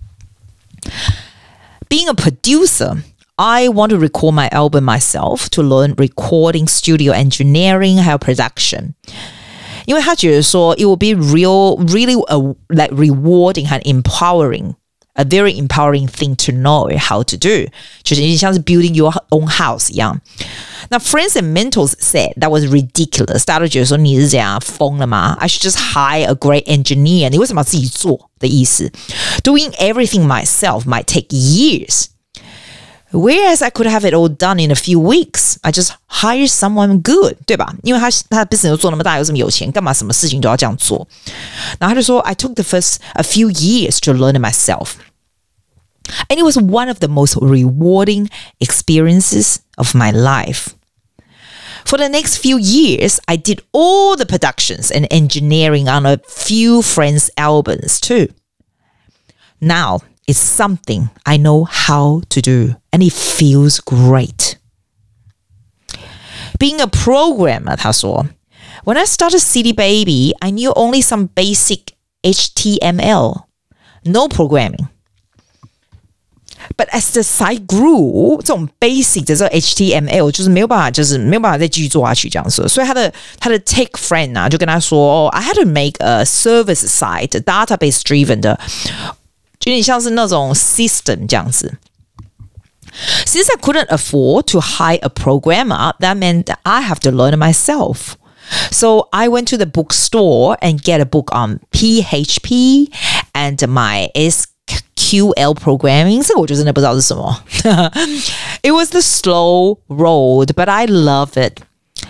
Being a producer, I want to record my album myself to learn recording, studio engineering, 還有 production. 因為他覺得說 it will be real, really a, like rewarding and empowering, a very empowering thing to know how to do. 就是像是 building your own house 一樣。那 friends and mentors said that was ridiculous. 大家都覺得說你是這樣瘋了嗎？ I should just hire a great engineer. 你為什麼要自己做的意思？ Doing everything myself might take years. Whereas I could have it all done in a few weeks. I just hire someone good, 對吧？因為他他的 business 做那麼大，有這麼有錢，幹嘛什麼事情都要這樣做？然後他就說 I took the first a few years to learn it myself. And it was one of the most rewarding experiences of my life. For the next few years, I did all the productions and engineering on a few friends' albums too. Now, it's something I know how to do, and it feels great. Being a programmer, 他說 When I started City Baby, I knew only some basic H T M L. No programming. But as the site grew， 這種 basic 的這個 H T M L 就是沒有辦法，就是沒有辦法再繼續做下去這樣子。所以他的他的 tech friend 啊，就跟他說、哦、I had to make a service site, database driven 的，就有點像是那種 system 這樣子。Since I couldn't afford to hire a programmer, that meant that I have to learn it myself. So I went to the bookstore and get a book on P H P and my S Q L programming. 這個我就真的不知道是什麼。It was the slow road, but I love it.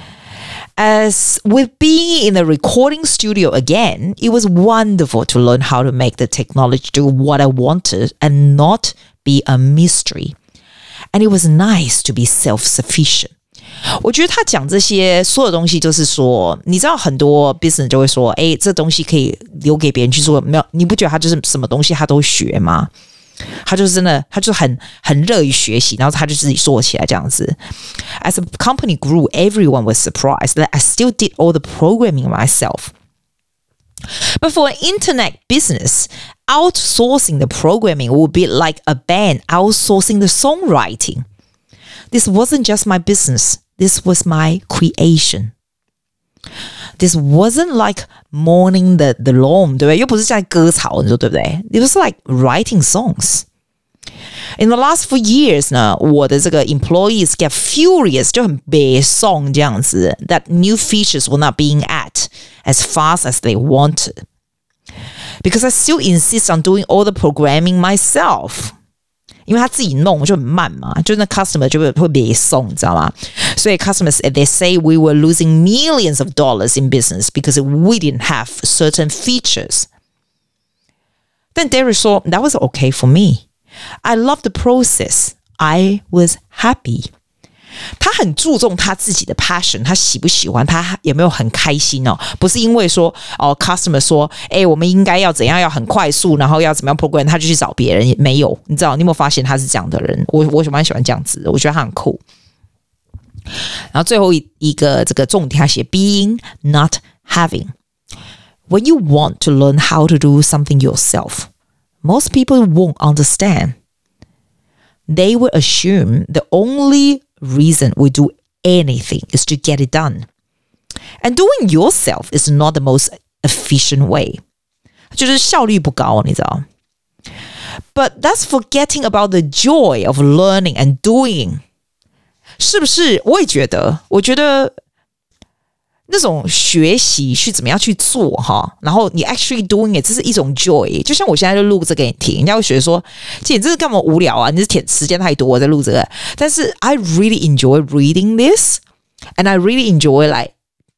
As with being in the recording studio again, it was wonderful to learn how to make the technology do what I wanted and not be a mystery.And it was nice to be self-sufficient. 我覺得他講這些所有東西就是說，你知道很多 business 就會說，哎，這東西可以留給別人去做，沒有？你不覺得他就是什麼東西他都學嗎？他就是真的，他就很很樂於學習，然後他就自己做起來這樣子。As the company grew, everyone was surprised that I still did all the programming myself.But for an internet business, outsourcing the programming would be like a band outsourcing the songwriting. This wasn't just my business. This was my creation. This wasn't like mowing the, the lawn, 对不对？又不是在割草，你說对不對？ It was like writing songs. In the last few years 呢，我的這個 employees get furious 就很悲傷這樣子 that new features were not being at as fast as they wanted. Because I still insist on doing all the programming myself. 因為他自己弄就很慢嘛，就那 customer 就會會悲傷，你知道嗎？所以 customers, they say we were losing millions of dollars in business because we didn't have certain features. 但 Derek 說 that was okay for me.I love the process. I was happy. 他很注重他自己的 passion， 他喜不喜歡，他有沒有很開心哦？不是因為說哦 ，customer 說，哎，我們應該要怎樣，要很快速，然後要怎麼樣 program， 他就去找別人。沒有，你知道，你有沒有發現他是這樣的人？我我蠻喜歡這樣子的，我覺得他很酷。然後最後一一個這個重點，他寫 being not having. When you want to learn how to do something yourself.Most people won't understand. They will assume the only reason we do anything is to get it done. And doing yourself is not the most efficient way. 就是效率不高，你知道。But that's forgetting about the joy of learning and doing. 是不是？我也覺得，我覺得那種學習去怎麼樣去做哈，然後你 actually doing it， 這是一種 joy。就像我現在就錄這個給你聽，人家會覺得說，姐你這是幹嘛無聊啊？你是填時間太多我在錄這個。但是 I really enjoy reading this, and I really enjoy like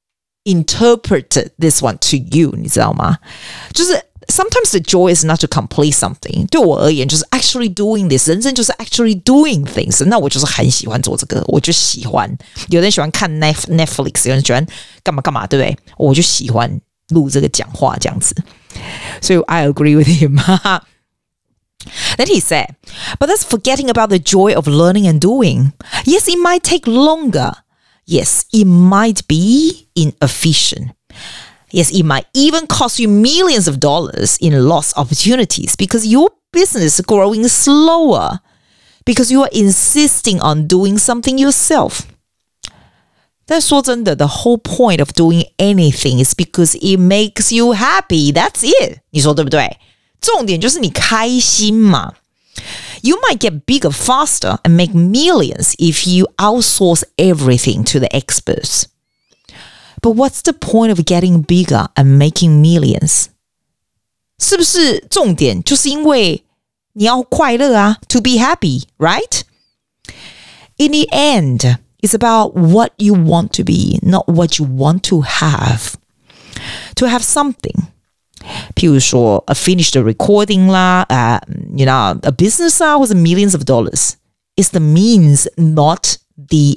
interpret this one to you， 你知道嗎？就是。Sometimes the joy is not to complete something. 對我而言，就是 actually doing this. 人生就是 actually doing things. 那我就是很喜歡做這個，我就喜歡。有人喜歡看 Netflix， 有人喜歡幹嘛幹嘛，對不對？我就喜歡錄這個講話這樣子。所以 I agree with him. Then he said, but that's forgetting about the joy of learning and doing. Yes, it might take longer. Yes, it might be inefficient.Yes, it might even cost you millions of dollars in lost opportunities because your business is growing slower because you are insisting on doing something yourself. 但說真的 the whole point of doing anything is because it makes you happy. That's it. 你說對不對？重點就是你開心嘛。You might get bigger faster and make millions if you outsource everything to the experts.But what's the point of getting bigger and making millions? 是不是重點就是因為你要快樂啊 to be happy, right? In the end, it's about what you want to be, not what you want to have. To have something. 譬如說 a finished recording 啦 uh, you know, a business 啊或者 millions of dollars. It's the means, not the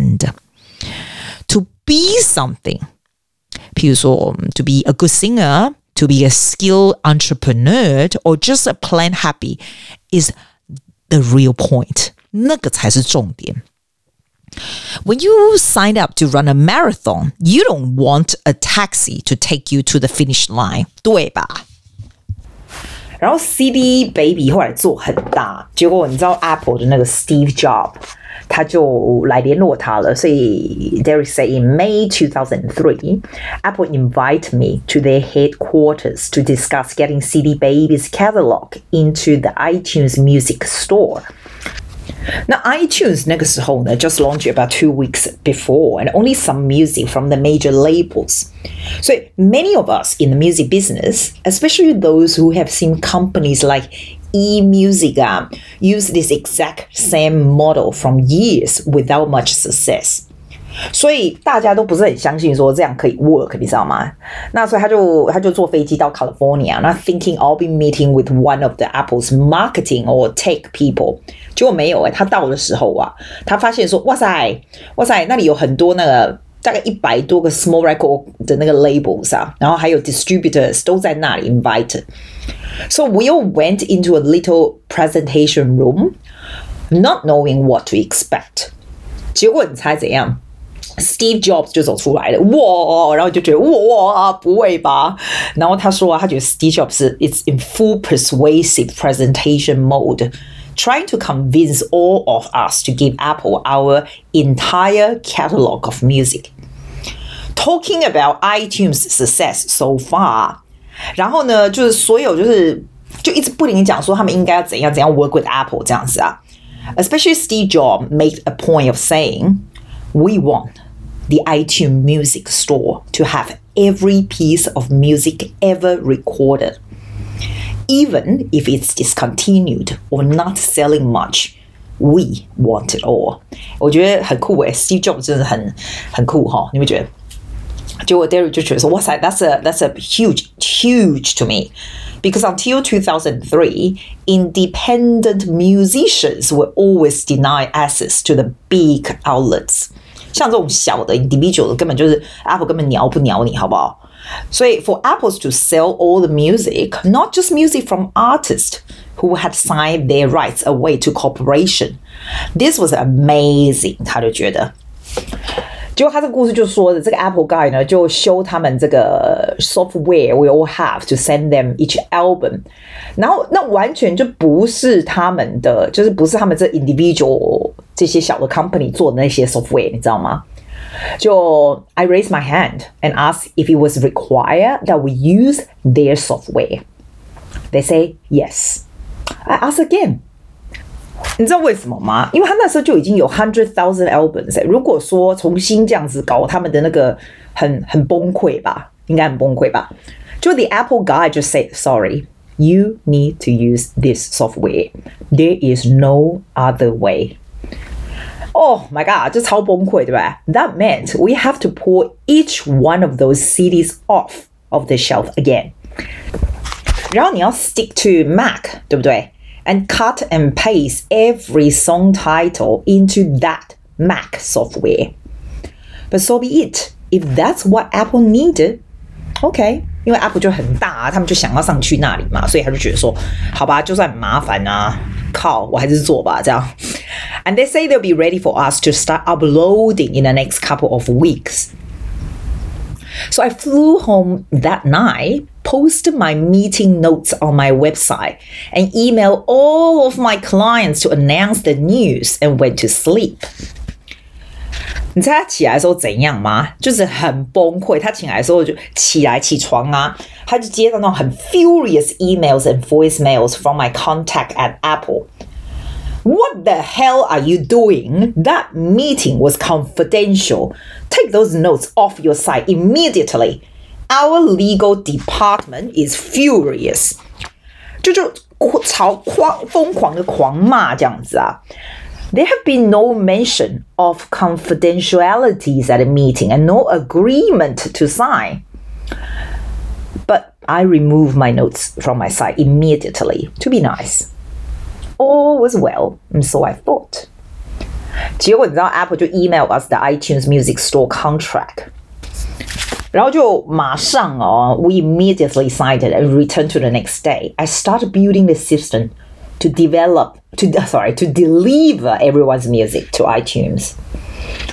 end.To be something. 譬如說 to be a good singer, to be a skilled entrepreneur, or just a plain happy is the real point. 那個才是重點。When you sign up to run a marathon, you don't want a taxi to take you to the finish line. 對吧？ 然後 C D Baby 後來做很大，結果你知道 Apple 的那個 Steve Jobs 他就來聯絡他了，所以 Derek said in May two thousand three, Apple invited me to their headquarters to discuss getting C D Baby's catalog into the iTunes Music Store. 那 iTunes 那個時候呢 just launched about two weeks before and only some music from the major labels. So many of us in the music business, especially those who have seen companies like eMusic uh, use this exact same model from years without much success. 所以大家都不是很相信说這樣可以 work， 你知道嗎？那所以他就他就坐飛機到 California， 那 thinking I'll be meeting with one of the Apple's marketing or tech people， 結果沒有誒、欸、他到的時候啊，他發現說哇塞哇塞，那裡有很多那個大概一百多個 small record 的那個 labels 啊，然後還有 distributors 都在那裡 invited。So we all went into a little presentation room, not knowing what to expect. 結果你猜怎樣？ Steve Jobs 就走出來了，哇！然後就覺得哇，不會吧？然後他說啊，他覺得 Steve Jobs is in full persuasive presentation mode, trying to convince all of us to give Apple our entire catalog of music. Talking about iTunes success so far. 然後呢，就是所有就是就一直不停講說他們應該要怎樣怎樣 work with Apple 這樣子啊。Especially Steve Jobs made a point of saying, "We want the iTunes Music Store to have every piece of music ever recorded, even if it's discontinued or not selling much. We want it all." 我覺得很酷誒 Steve Jobs 真的很很酷哈，你會覺得？結果 Derek 就覺得說，哇塞 ，that's a that's a huge huge to me, because until two thousand three, independent musicians were always denied access to the big outlets. 像這種小的 individual 的根本就是 Apple 根本鳥不鳥你，好不好？所以 for Apples to sell all the music, not just music from artists who had signed their rights away to corporation, this was amazing. 他就覺得。結果他這個故事就說的，這個 Apple guy 呢就修他們這個 software we all have to send them each album， 然後那完全就不是他們的，就是不是他們這 individual 這些小的 company 做的那些 software， 你知道嗎？就 I raised my hand and asked if it was required that we use their software. They say yes. I asked again.你知道為什麼嗎？因為他那時候就已經有 hundred thousand albums， 如果說重新這樣子搞，他們的那個很很崩潰吧，應該很崩潰吧。就 the Apple guy just said, "Sorry, you need to use this software. There is no other way." Oh my god， 這超崩潰，對吧？ That meant we have to pull each one of those C Ds off of the shelf again. 然後你要 stick to Mac， 對不對？And cut and paste every song title into that Mac software. But so be it. If that's what Apple needed, okay. 因為 Apple 就很大啊，他們就想要上去那裡嘛，所以他就覺得說，好吧，就算很麻煩啊，靠，我還是做吧，這樣。And they say they'll be ready for us to start uploading in the next couple of weeks. So I flew home that night, posted my meeting notes on my website, and emailed all of my clients to announce the news and went to sleep. 你猜他起來的時候怎樣嗎？就是很崩潰。他起來的時候就起來起床啊，他就接到那種很 furious emails and voicemails from my contact at Apple. What the hell are you doing? That meeting was confidential. Take those notes off your site immediately. Our legal department is furious. 就就吵狂疯狂的狂罵這樣子啊。There have been no mention of confidentialities at a meeting and no agreement to sign. But I removed my notes from my site immediately to be nice.All was well, and so I thought. 結果你知道 Apple 就 email us the iTunes Music Store contract. 然後就馬上哦 we immediately signed it and returned to the next day. I started building the system to develop, to sorry, to deliver everyone's music to iTunes.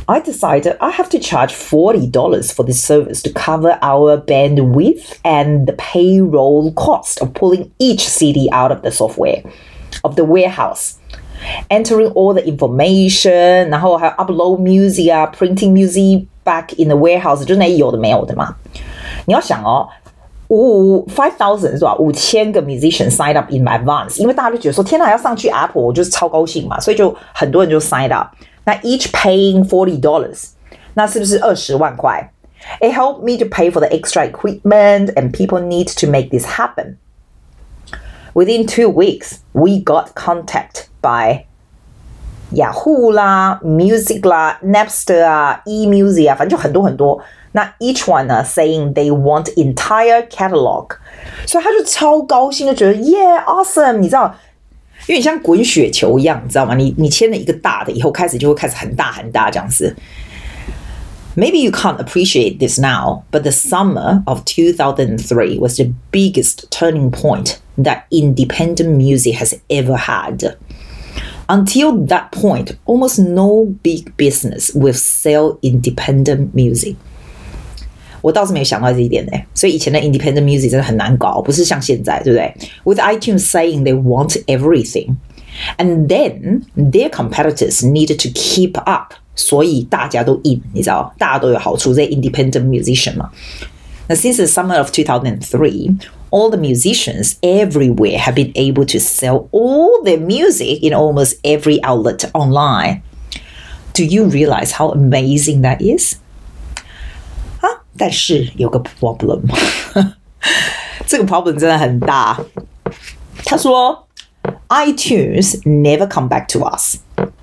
I decided I have to charge forty dollars for this service to cover our bandwidth and the payroll cost of pulling each C D out of the software, of the warehouse, entering all the information, 然後還有 upload music 啊 printing music back in the warehouse， 就是那有的沒有的嘛。你要想哦，五 five thousand 是吧？五千個 musician sign up in advance， 因為大家就覺得說，天哪，要上去 Apple， 我就是超高興嘛，所以就很多人就 sign up。那 each paying forty dollars， 那是不是二十萬塊？ It helped me to pay for the extra equipment and people need to make this happen. Within two weeks, we got contact by Yahoo 啦 Music 啦 Napster 啊 eMusic 啊，反正就很多很多。那 each one 呢 saying they want entire catalog， 所以他就超高興，就覺得 yeah awesome， 你知道，因為你像滾雪球一樣，你知道嗎？你你簽了一個大的以後，開始就會開始很大很大這樣子。Maybe you can't appreciate this now, but the summer of two thousand three was the biggest turning point that independent music has ever had. Until that point, almost no big business will sell independent music. 我倒是沒有想到這一點呢，所以以前的 independent music 真的很難搞，不是像現在，對不對？ With iTunes saying they want everything, and then their competitors needed to keep up. 所以大家都 in， 你知道，大家都有好處，這些 independent musician 嘛。Now, since the summer of two thousand three, all the musicians everywhere have been able to sell all their music in almost every outlet online. Do you realize how amazing that is? 啊，但是有個 problem， 這個 problem 真的很大。他說 ，iTunes never come back to us.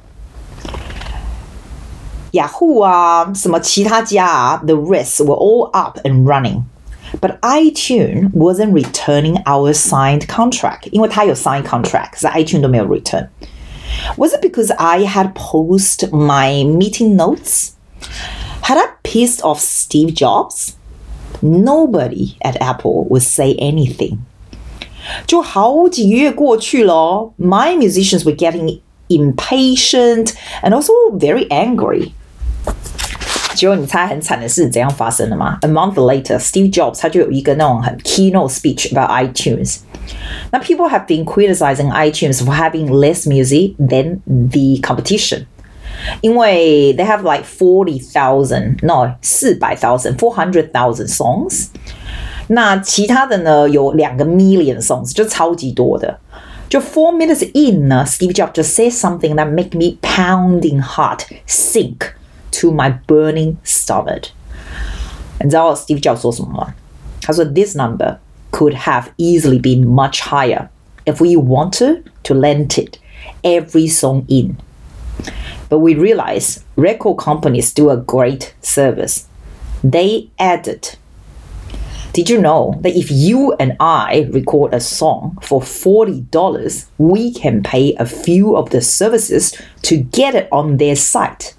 Yahoo 啊，什麼其他家啊 the rest were all up and running. But iTunes wasn't returning our signed contract. 因為他有 signed contract, 可是 iTunes 都沒有 return. Was it because I had posted my meeting notes? Had I pissed off Steve Jobs? Nobody at Apple would say anything. 就好幾個月過去了 My musicians were getting impatient and also very angry. 結果你猜很慘的事怎樣發生的嗎？ A month later, Steve Jobs 他就有一個那種很 keynote speech about iTunes. Now people have been criticizing iTunes for having less music than the competition. 因為 they have like forty thousand, no, four hundred thousand, four hundred thousand songs. 那其他的呢有兩個 million songs, 就超級多的。就 four minutes in 呢 Steve Jobs just said something that make me pounding heart sink to my burning stomach. 你知道 Steve Jobs 說什麼嗎？他說 This number could have easily been much higher if we wanted to lend it every song in. But we realize record companies do a great service. They added, did you know that if you and I record a song for forty dollars, we can pay a few of the services to get it on their site?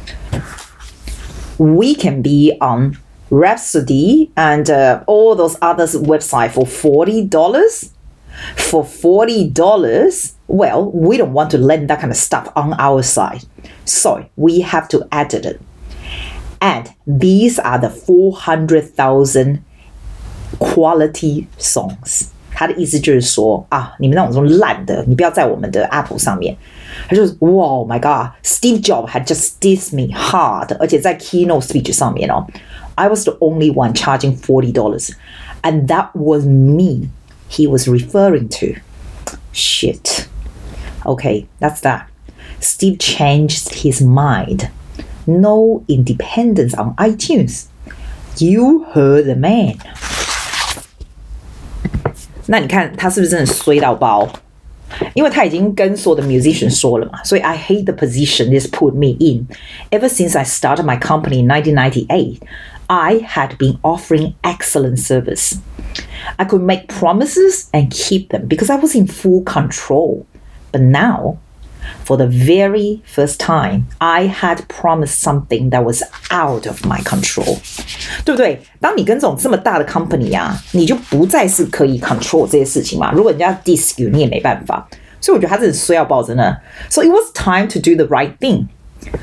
We can be on Rhapsody and uh, all those other websites for forty dollars. For forty dollars, well, we don't want to lend that kind of stuff on our side. So we have to edit it. And these are the four hundred thousand quality songs. 他的意思就是说啊，你们那種爛的，你不要在我們的 Apple 上面。他就是哇 ，Oh my God, Steve Jobs had just dissed me hard， 而且在 keynote speech 上面哦 ，I was the only one charging forty dollars, and that was me. He was referring to. Shit. Okay, that's that. Steve changed his mind. No independence on iTunes. You heard the man. 那你看他是不是真的衰到爆？因為他已經跟所有的 musician 說了嘛，所以 I hate the position this put me in. Ever since I started my company in nineteen ninety-eight, I had been offering excellent service. I could make promises and keep them because I was in full control. But now, for the very first time, I had promised something that was out of my control. 对不对？當你跟這種這麼大的 company 啊，你就不再是可以 control 這些事情嘛。如果人家 diss you， 你也沒辦法。所以我覺得他真的衰到爆，真的。So it was time to do the right thing.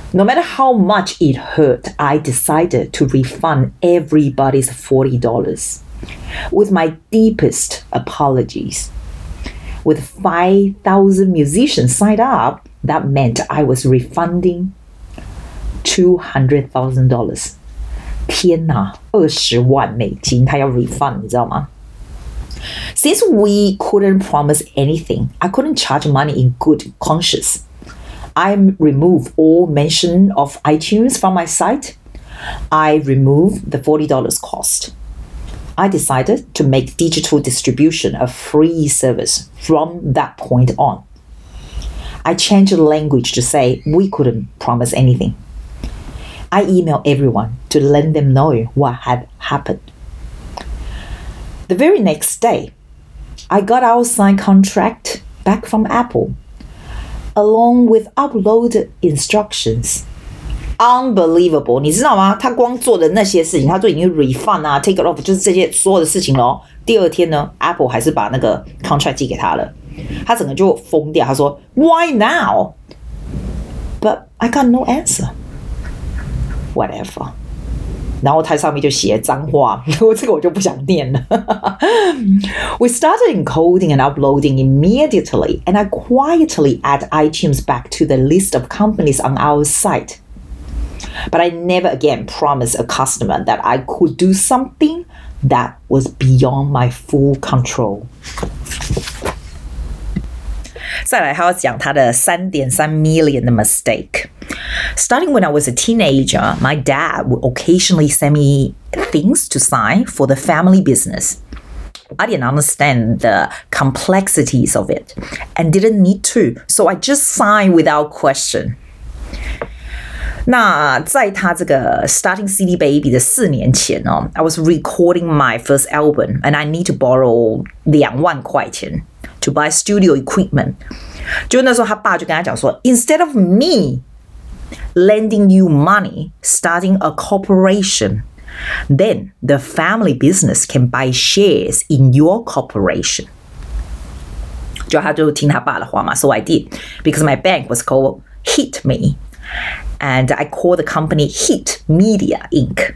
No matter how much it hurt, I decided to refund everybody's forty dollars with my deepest apologies. With five thousand musicians signed up, that meant I was refunding two hundred thousand dollars. 天哪，二十萬美金，他要 refund， 你知道嗎？ Since we couldn't promise anything, I couldn't charge money in good conscience. I removed all mention of iTunes from my site. I removed the forty dollars cost. I decided to make digital distribution a free service from that point on. I changed the language to say we couldn't promise anything. I emailed everyone to let them know what had happened. The very next day, I got our signed contract back from Apple, along with uploaded instructions. Unbelievable, 你知道嗎？他光做的那些事情，他都已經 refund 啊 take it off， 就是這些所有的事情咯。第二天呢 Apple 還是把那個 contract 寄給他了，他整個就瘋掉。他說 Why now? But I got no answer. Whatever. 然後它上面就寫髒話，我這個我就不想念了。We started encoding and uploading immediately, and I quietly add iTunes back to the list of companies on our site. But I never again promised a customer that I could do something that was beyond my full control. 再來，他要講他的三點三 million 的 mistake. Starting when I was a teenager, my dad would occasionally send me things to sign for the family business. I didn't understand the complexities of it and didn't need to, so I just signed without question. 那在他這個 starting C D Baby 的四年前哦 I was recording my first album and I need to borrow 兩萬塊錢 to buy studio equipment. 就那時候他爸就跟他講說 Instead of me lending you money, starting a corporation, then the family business can buy shares in your corporation. 就他就聽他爸的話嘛 So I did, because my bank was called Hit Me. And I called the company Hit Media Incorporated.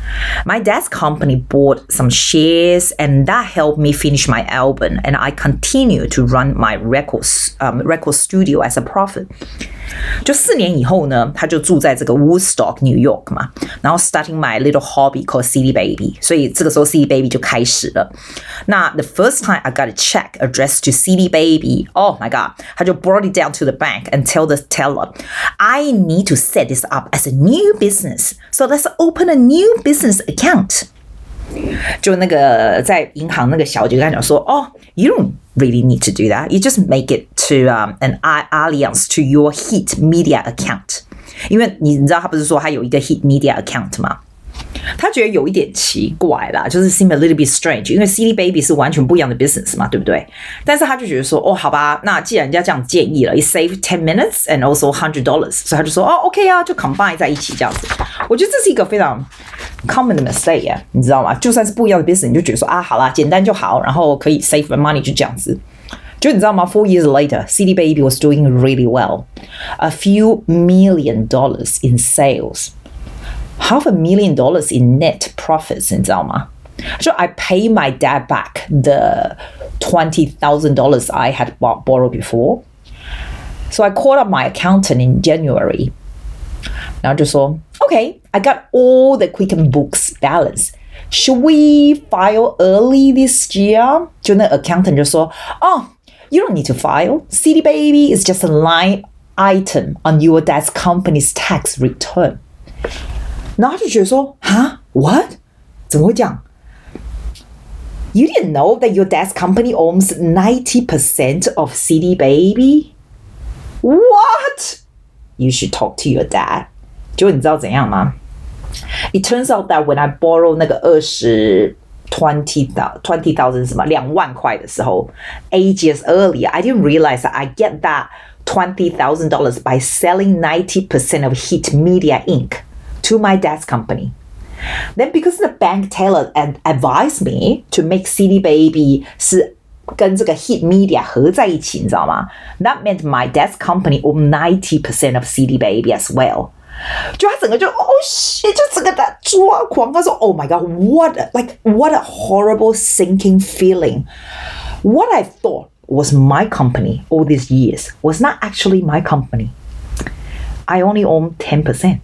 My dad's company bought some shares and that helped me finish my album and I continue to run my records, um, record studio as a profit. 就四年以後呢，他就住在這個 Woodstock, New York 嘛，然後 starting my little hobby called C D Baby. 所以這個時候 C D Baby 就開始了。那 the first time I got a check addressed to C D Baby, oh my god, 他就 brought it down to the bank and tell the teller, I need to set this up as a new business. So let's open a new business account. 就那個在銀行那個小姐跟他講說 Oh, you don't really need to do that. You just make it to um, an alliance to your Hit Media account. 因為你知道他不是說他有一個 Hit Media account 嗎？他覺得有一點奇怪啦，就是 seem a little bit strange， 因為 C D Baby 是完全不一樣的 business 嘛，對不對？但是他就覺得說，哦，好吧，那既然人家這樣建議了 ，it save ten minutes and also one hundred dollars， 所以他就說，哦 ，OK 啊，就 combine 在一起這樣子。我覺得這是一個非常 common 的 mistake 啊，你知道嗎？就算是不一樣的 business， 你就覺得說啊，好啦，簡單就好，然後可以 save the money 就這樣子。就你知道嗎 ？Four years later, C D Baby was doing really well, a few million dollars in sales. Half a million dollars in net profits, 你知道嗎？ So I pay my dad back the twenty thousand dollars I had borrowed before. So I called up my accountant in January. 然後就說 Okay, I got all the Quicken books balance. Should we file early this year? 就那 accountant 就說 Oh, you don't need to file. C D Baby is just a line item on your dad's company's tax return. 然後他就覺得說，哈 ，what？ 怎麼會這樣 ？You didn't know that your dad's company owns ninety percent of C D Baby? What? You should talk to your dad. 結果你知道怎樣嗎 ？It turns out that when I borrow 那個二十 twenty twenty thousand 什麼兩萬塊的時候 ，eight years earlier, I didn't realize that I get that twenty thousand dollars by selling ninety percent of Hit Media Incorporated. To my dad's company. Then because the bank teller advised me to make C D Baby 是跟這個 Hit Media 合在一起，你知道嗎？ That meant my dad's company owned ninety percent of C D Baby as well. 就他整個就哦 shit， 就整個在抓狂。他說 Oh my God, what like what a horrible sinking feeling. What I thought was my company all these years was not actually my company. I only own ten percent.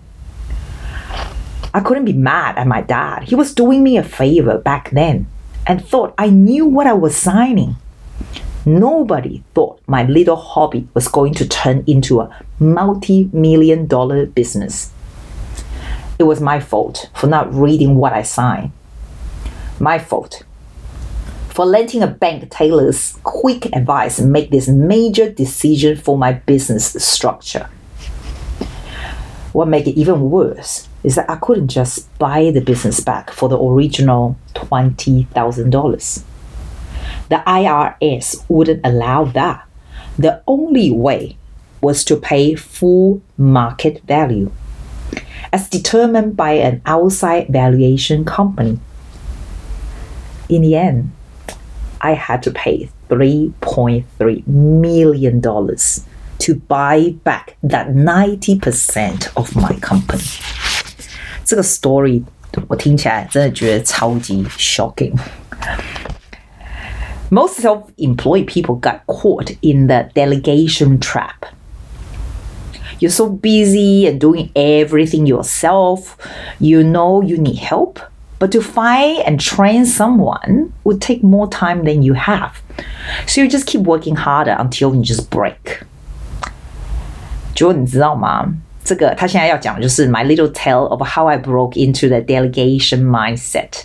I couldn't be mad at my dad. He was doing me a favor back then and thought I knew what I was signing. Nobody thought my little hobby was going to turn into a multi-million dollar business. It was my fault for not reading what I signed. My fault for letting a bank tailor's quick advice make this major decision for my business structure. What made it even worse is that I couldn't just buy the business back for the original twenty thousand dollars. The I R S wouldn't allow that. The only way was to pay full market value, as determined by an outside valuation company. In the end, I had to pay three point three million dollars to buy back that ninety percent of my company. 這個 story 我聽起來真的覺得超級 shocking. Most self-employed people got caught in the delegation trap. You're so busy and doing everything yourself, you know you need help, but to find and train someone would take more time than you have. So you just keep working harder until you just break. 結果你知道嗎？這個他現在要講的就是 my little tale of how I broke into the delegation mindset.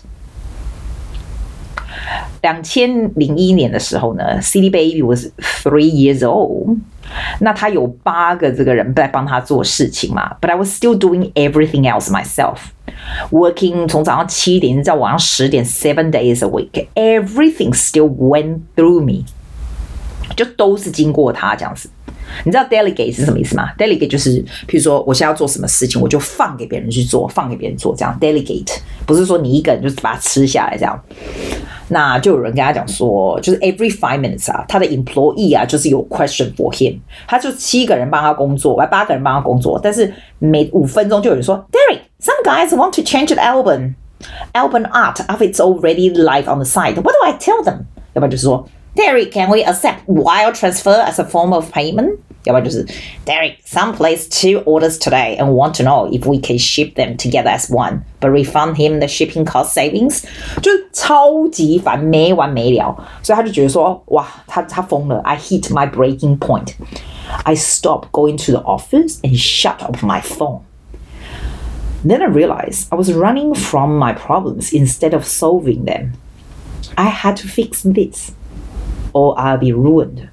二零零一年的時候呢 C D Baby was three years old. 那他有八個這個人在幫他做事情嘛 But I was still doing everything else myself. Working 從早上七點到晚上十點 seven days a week. Everything still went through me. 就都是經過他這樣子。你知道 delegate 是什麼意思嗎？ Delegate 就是譬如說我現在要做什麼事情我就放給別人去做放給別人做這樣 Delegate 不是說你一個人就把它吃下來這樣。那就有人跟他講說就是 every five minutes 啊他的 employee 啊就是有 question for him 他就七個人幫他工作八個人幫他工作但是每五分鐘就有人說 Derek some guys want to change the album album art if it's already live on the site what do I tell them 要不然就是說Derek, can we accept wire transfer as a form of payment? 要不然就是 Derek, some place two orders today and want to know if we can ship them together as one, but refund him the shipping cost savings. 就是超級煩，沒完沒了。所以他就覺得說，哇，他他瘋了。I hit my breaking point. I stopped going to the office and shut off my phone. Then I realized I was running from my problems instead of solving them. I had to fix this.Or I'll be ruined.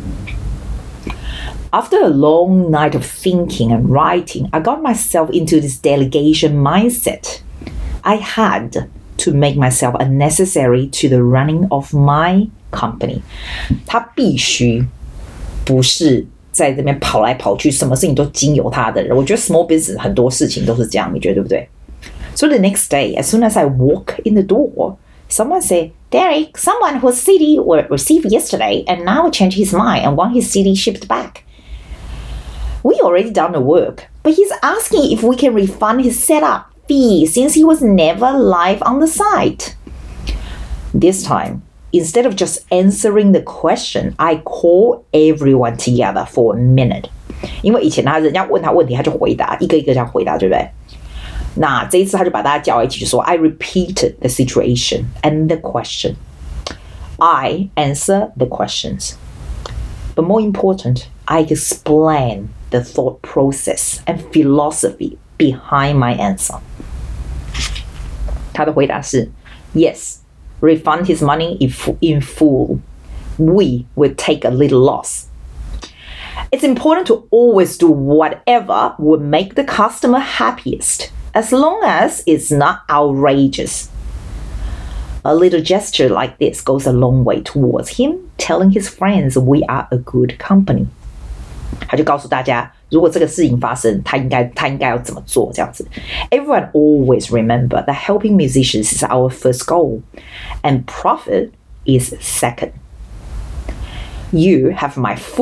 After a long night of thinking and writing, I got myself into this delegation mindset. I had to make myself unnecessary to the running of my company. 他必須不是在這邊跑來跑去，什麼事情都經由他的人。我覺得 small business 很多事情都是這樣，你覺得對不對？ So the next day, as soon as I walk in the door,Someone said, Derek, someone whose C D were received yesterday and now changed his mind and want his C D shipped back. We already done the work, but he's asking if we can refund his setup fee since he was never live on the site. This time, instead of just answering the question, I call everyone together for a minute. 因為以前他人家問他問題，他就回答，一個一個這樣回答，對不對？那這一次他就把大家叫一起就說 I repeated the situation and the question. I answer the questions. But more important, I explain the thought process and philosophy behind my answer. 他的回答是 Yes, refund his money in full. We will take a little loss. It's important to always do whatever would make the customer happiest.As long as it's not outrageous. A little gesture like this goes a long way towards him telling his friends we are a good company. 他就告訴大家，如果這個事情發生，他應該他應該要怎麼做這樣子。Everyone always remember that helping musicians is our first goal, and profit is second. You have my full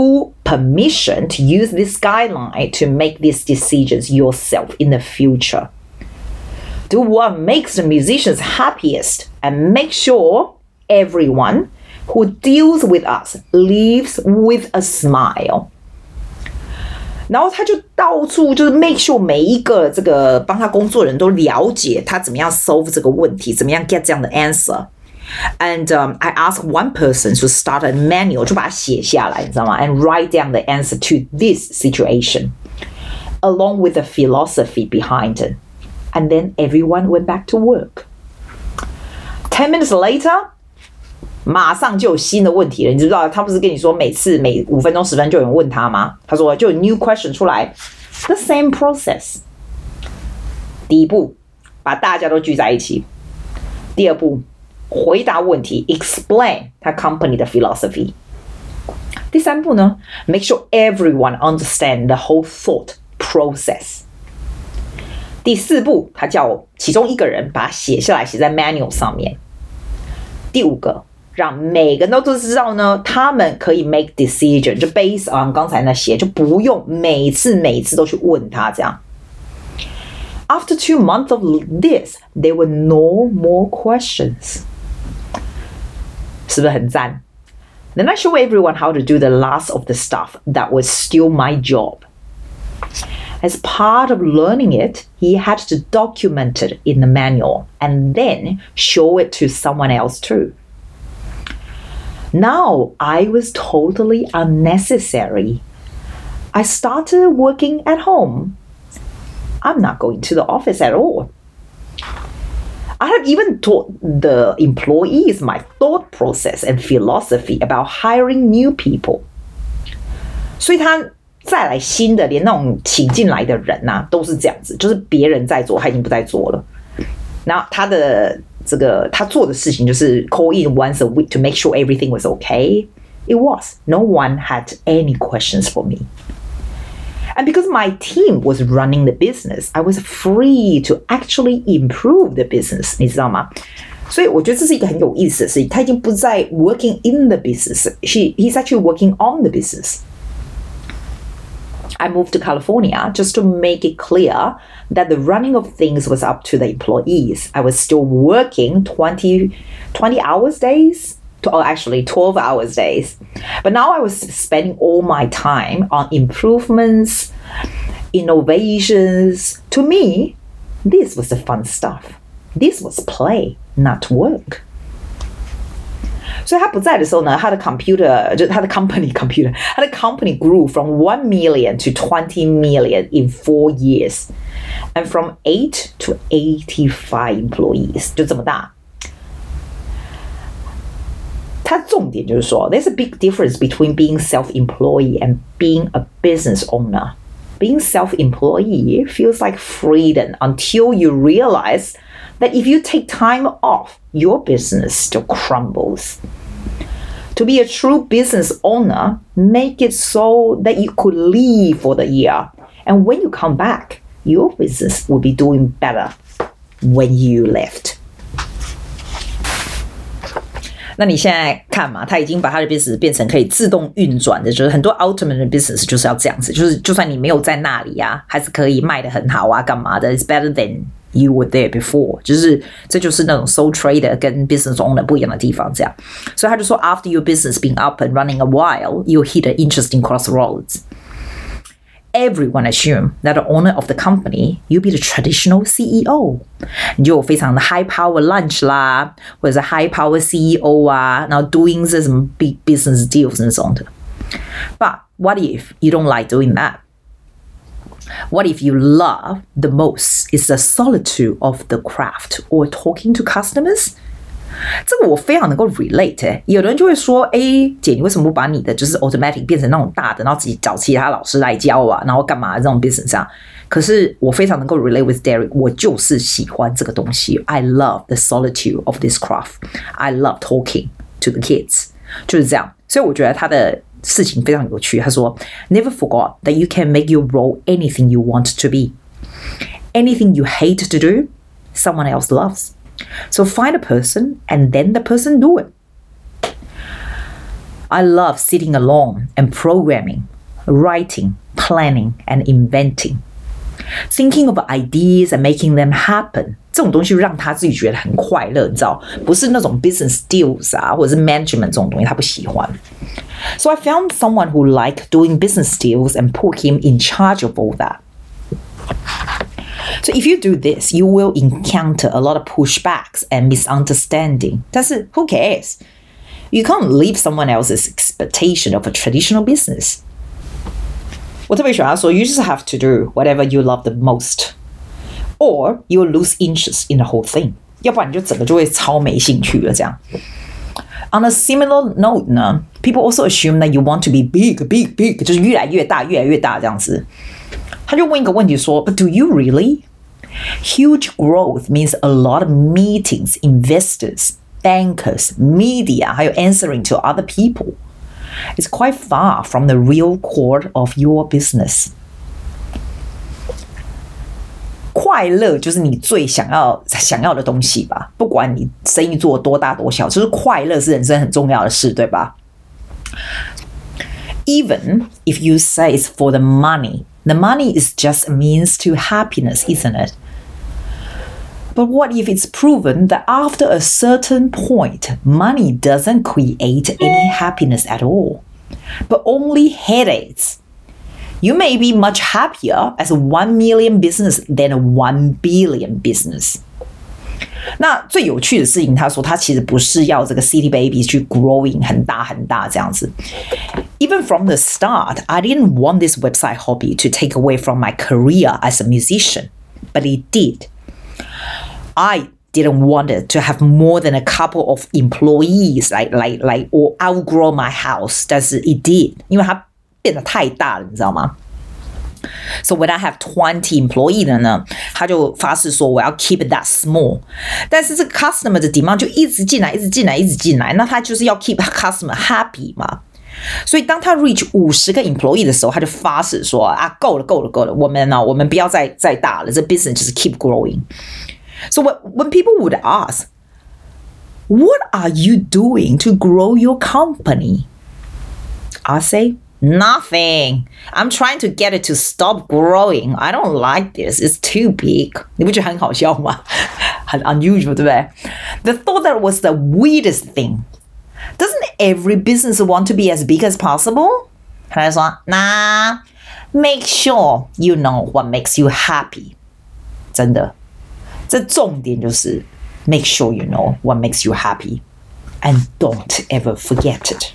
permission to use this guideline to make these decisions yourself in the future. Do what makes the musicians happiest and make sure everyone who deals with us leaves with a smile. 然後他就到處就是 make sure 每一個這個幫他工作的人都了解他怎麼樣 solve 這個問題，怎麼樣 get 這樣的 answer. And um, I asked one person to start a manual 就把它寫下來，你知道嗎？ And write down the answer to this situation, along with the philosophy behind it. And then everyone went back to work. Ten minutes later, 馬上就有新的問題了，你知不知道？他不是跟你說每次每五分鐘十分就有人問他嗎？他說就有 new question 出來 ，the same process。第一步，把大家都聚在一起；第二步，回答問題 ，explain 他 company 的 philosophy。第三步呢 ，make sure everyone understand the whole thought process。第四步，他叫其中一個人把它寫下來，寫在 manual 上面。第五個。讓每個人都知道呢，他們可以 make decision， 就 based on 剛才那些，就不用每次每次都去問他這樣。After two months of this, there were no more questions. 是不是很讚？ Then I show everyone how to do the last of the stuff that was still my job. As part of learning it, he had to document it in the manual and then show it to someone else too.Now I was totally unnecessary. I started working at home. I'm not going to the office at all. I have even taught the employees my thought process and philosophy about hiring new people. 所以他再来新的，连那種請進來的人啊，都是這樣子，就是別人在做，他已經不在做了。然後他的這個他做的事情就是 call in once a week to make sure everything was okay. It was. No one had any questions for me. And because my team was running the business, I was free to actually improve the business. 你知道嗎？所以我覺得這是一個很有意思的事情。他已經不在 working in the business. He, he's actually working on the business. I moved to California just to make it clear that the running of things was up to the employees. I was still working twenty, twenty hours days, or actually twelve hours days. But now I was spending all my time on improvements, innovations. To me, this was the fun stuff. This was play, not work. 所以他不在的時候呢，他的 computer 就是他的 company computer， 他的 company grew from one million to twenty million in four years, and from eight to eighty-five employees， 就這麼大。他重點就是說 ，there's a big difference between being self-employed and being a business owner. Being self-employed feels like freedom until you realize that if you take time off, your business still crumbles. To be a true business owner, make it so that you could leave for the year. And when you come back, your business will be doing better when you left. 那你現在看嘛，他已經把他的 business 變成可以自動運轉的，就是很多 ultimate 的 business 就是要這樣子，就是就算你沒有在那裡啊，還是可以賣得很好啊，幹嘛的 ？It's better than you were there before， 就是這就是那種 sole trader 跟 business owner 不一樣的地方，這樣。所以他就說 ，after your business been up and running a while, you'll hit an interesting crossroads. Everyone assume that the owner of the company, you'll be the traditional C E O. 你就有非常的 high power lunch 啦，或者是 high power C E O 啊，然後 doing 這什麼 big business deals 那種的。But what if you don't like doing that? What if you love the most is the solitude of the craft or talking to customers? 這個我非常能夠 relate、欸、有的人就會說，哎，姐，你為什麼不把你的就是 automatic 變成那種大的，然後自己找其他老師來教啊，然後幹嘛這種 business 啊？可是我非常能夠 relate with Derek， 我就是喜歡這個東西。I love the solitude of this craft. I love talking to the kids， 就是這樣。所以我覺得他的事情非常有趣。他說 ，Never forget that you can make your role anything you want to be. Anything you hate to do, someone else loves.So find a person and then the person do it. I love sitting alone and programming writing, planning, and inventing. Thinking of ideas and making them happen. 這種東西讓他自己覺得很快樂，你知道，不是那種 business deals 啊，或者是 management 這種東西，他不喜歡。So I found someone who liked doing business deals and put him in charge of all that. So if you do this, you will encounter a lot of pushbacks and misunderstanding. 但是 who cares? You can't leave someone else's expectation of a traditional business. 我特別喜歡他說 You just have to do whatever you love the most, or you'll lose interest in the whole thing. 要不然你就整個就會超沒興趣了這樣。On a similar note 呢 people also assume that you want to be big, big, big, 就是越來越大，越來越大這樣子。他就問一個問題說 But do you really? Huge growth means a lot of meetings, investors, bankers, media, 還有 answering to other people. It's quite far from the real core of your business. 快樂就是你最想要想要的東西吧，不管你生意做多大多小，就是快樂是人生很重要的事，对吧？ Even if you say it's for the money, the money is just a means to happiness, isn't it? But what if it's proven that after a certain point, money doesn't create any happiness at all, but only headaches? You may be much happier as a one million business than a one billion business. 那最有趣的事情，他說他其實不是要這個 City Babies 去 growing 很大很大這樣子。Even from the start, I didn't want this website hobby to take away from my career as a musician, but it did. I didn't want it to have more than a couple of employees, like like like or outgrow my house. 但是 it did, 因為它變得太大了，你知道嗎？ So when I have twenty employees 的呢，他就發誓說我要 keep it that small。但是這個 customer 的 demand 就一直進來，一直進來，一直進來，那他就是要 keep customer happy 嘛。所以當他 reach 五十個 employee 的時候，他就發誓說啊，夠了，夠了，夠了，我們呢，我們不要再再大了，這 business 就是 keep growing。So when, when people would ask, what are you doing to grow your company? I say, nothing. I'm trying to get it to stop growing. I don't like this. It's too big. 你不覺得很好笑嗎？很 unusual, 對不對？ The thought that was the weirdest thing. Doesn't every business want to be as big as possible? 他就說 Nah, make sure you know what makes you happy. 真的，這重點就是 make sure you know what makes you happy. And don't ever forget it.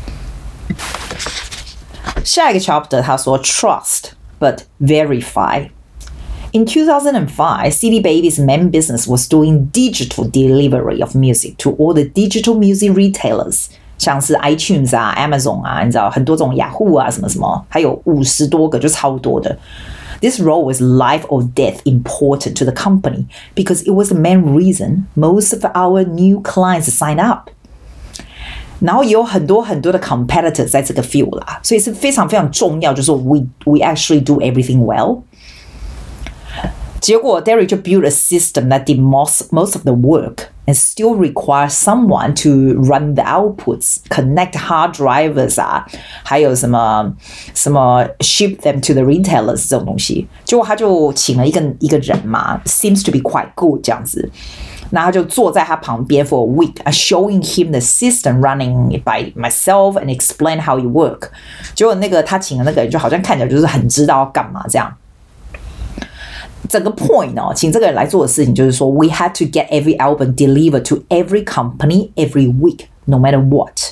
下一個 chapter 他說 trust but verify. In two thousand five, City Baby's main business was doing digital delivery of music to all the digital music retailers. 像是 iTunes 啊 Amazon 啊，你知道很多種 Yahoo 啊什麼什麼，還有五十多個就超多的。This role was life or death important to the company because it was the main reason most of our new clients signed up. 然後也有很多很多的 competitors 在這個 field 啦，所以是非常非常重要，就是說 we we actually do everything well. 結果 Derek 就 built a system that did most most of the work and still requires someone to run the outputs, connect hard drivers 啊，還有什麼什麼 ship them to the retailers 這種東西。結果他就請了一個一個人嘛 ，seems to be quite good 這樣子。那他就坐在他旁邊 for a week, showing him the system running by myself and explain how it work. 結果那個他請的那個人就好像看起來就是很知道要幹嘛這樣。整個 point 哦，請這個人來做的事情就是說 we had to get every album delivered to every company every week, no matter what.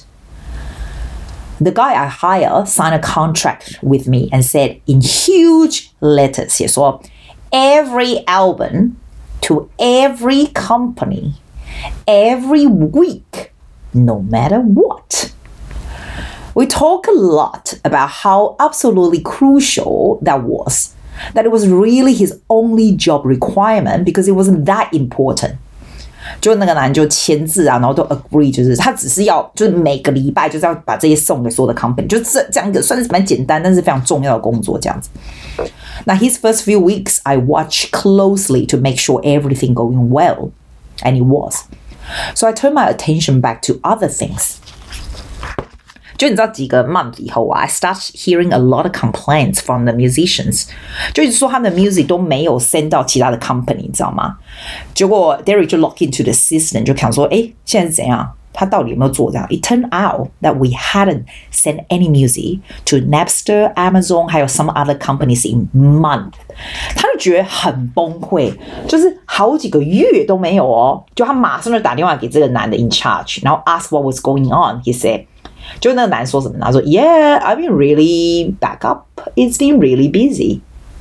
The guy I hired signed a contract with me and said in huge letters 寫說 every album to every company, every week, no matter what. We talk a lot about how absolutely crucial that was, that it was really his only job requirement because it wasn't that important. 就那個男就簽字啊，然後都 agree， 就是他只是要，就是每個禮拜就是要把這些送給所有的 company， 就這這樣一個算是蠻簡單，但是非常重要的工作這樣子。Now his first few weeks, I watched closely to make sure everything going well, and it was. So I turned my attention back to other things. 就你知道幾個 month 以後啊 I start hearing a lot of complaints from the musicians， 就是說他們的 music 都沒有 send 到其他的 company， 你知道嗎？結果 Derek 就 log into the system， 就看說，誒，現在是怎樣？他到底有沒有做這樣 ？It turned out that we hadn't sent any music to Napster、Amazon 還有 some other companies in month。他就覺得很崩潰，就是好幾個月都沒有哦。就他馬上就打電話給這個男的 in charge， 然後 ask what was going on。He said， 就那個男說什麼？他說 ，Yeah, I've been really back up. It's been really busy.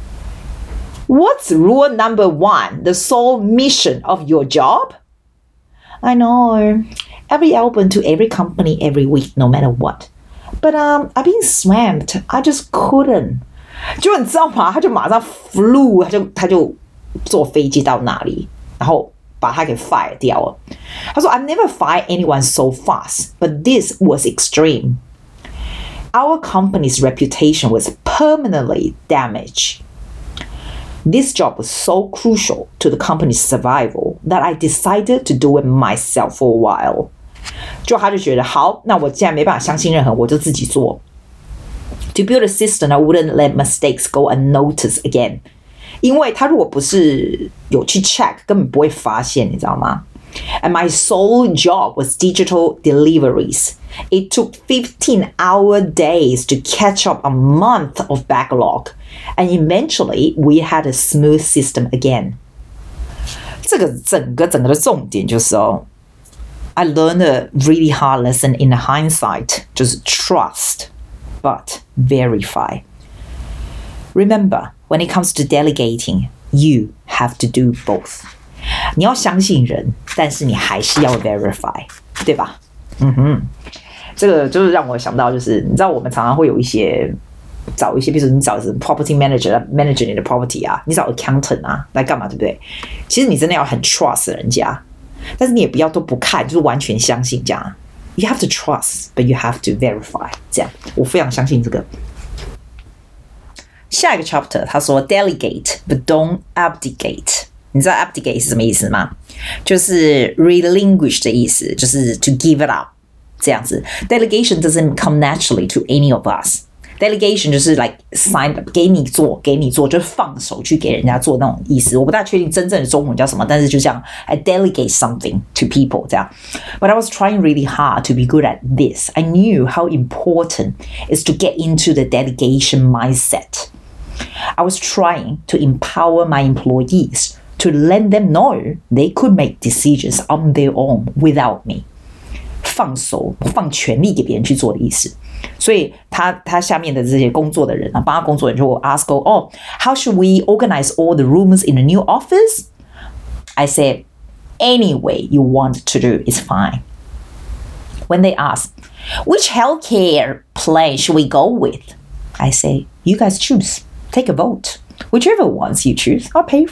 What's rule number one? The sole mission of your job? I know.Every album to every company every week, no matter what. But um, I've been swamped. I just couldn't. 就你知道嗎？他就馬上 flew， 他就他就坐飛機到那裡，然後把他給 fire 掉了。他說 I've never fired anyone so fast, but this was extreme. Our company's reputation was permanently damaged.This job was so crucial to the company's survival that I decided to do it myself for a while. 就他就覺得好，那我既然沒辦法相信任何人，我就自己做。To build a system that wouldn't let mistakes go unnoticed again. 因為他如果不是有去 check， 根本不會發現，你知道嗎？ And my sole job was digital deliveries. It took fifteen-hour days to catch up a month of backlog, and eventually we had a smooth system again. 这個整個整個的重點就是哦 I learned a really hard lesson in hindsight, 就是 trust, but verify. Remember, when it comes to delegating, you have to do both. 你要相信人，但是你還是要 verify， 對吧？嗯哼，這個就是讓我想到，就是你知道我們常常會有一些找一些，比如說你找是 property manager manage 你的 property 啊，你找 accountant 啊來幹嘛，對不對？其實你真的要很 trust 人家，但是你也不要都不看，就是完全相信這樣。You have to trust, but you have to verify。這樣，我非常相信這個。下一個 chapter 他說 delegate, but don't abdicate。你知道 abdicate 是什麼意思嗎？就是 relinquish 的意思，就是 to give it up 這樣子。Delegation doesn't come naturally to any of us. Delegation 就是 like sign up 給你做，給你做，就是放手去給人家做那種意思。我不大確定真正的中文叫什麼，但是就這樣 I delegate something to people 這樣。But I was trying really hard to be good at this. I knew how important it is to get into the delegation mindset. I was trying to empower my employees.To let them know they could make decisions on their own without me. 放手放權力給別人去做的意思。所以他他下面的這些工作的人啊，幫他工作的人就會 ask, oh, how should we organize all the rooms in the new office? I said, any way you want to do is fine. When they ask, which healthcare plan should we go with? I say, you guys choose. Take a vote. Whichever ones you choose, I'll pay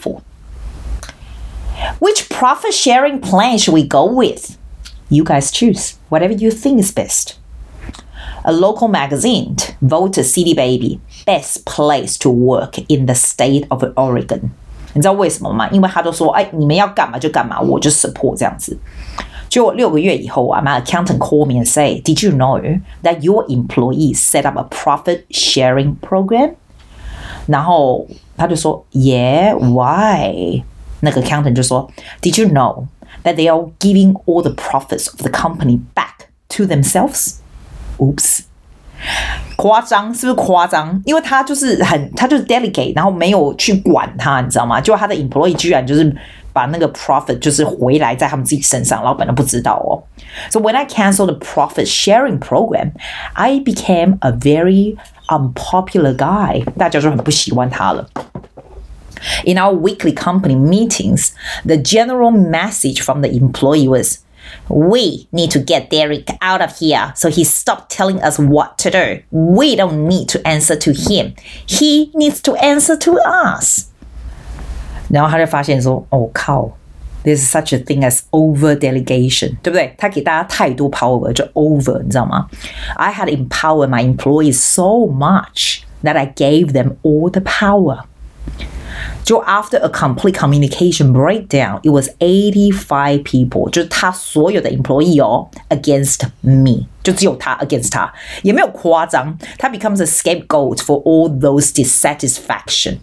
for.Which profit sharing plan should we go with? You guys choose. Whatever you think is best. A local magazine voted City Baby best place to work in the state of Oregon. 你知道為什麼嗎？因為他都說，哎，你們要幹嘛就幹嘛，我就 support 這樣子。就六個月以後啊 my accountant called me and say, did you know that your employees set up a profit sharing program? 然後他就說 Yeah, why?那個 accountant 就說 Did you know that they are giving all the profits of the company back to themselves? Oops. 誇張是不是誇張？因為他就是很他就是 delegate 然後沒有去管他，你知道嗎？就他的 employee 居然就是把那個 profit 就是回來在他們自己身上，老闆都不知道哦。So when I canceled the profit sharing program, I became a very unpopular guy. 大家就很不喜歡他了。In our weekly company meetings, the general message from the employee was, we need to get Derek out of here so he stopped telling us what to do. We don't need to answer to him. He needs to answer to us. 然後他就發現說，哦靠 there's such a thing as over delegation, 對不對？他給大家太多 power 就 over, 你知道嗎？ I had empowered my employees so much that I gave them all the power. 就 after a complete communication breakdown, it was eighty-five people， 就是他所有的 employee 哦 against me， 就只有他 against 他，也沒有誇張，他 becomes a scapegoat for all those dissatisfaction.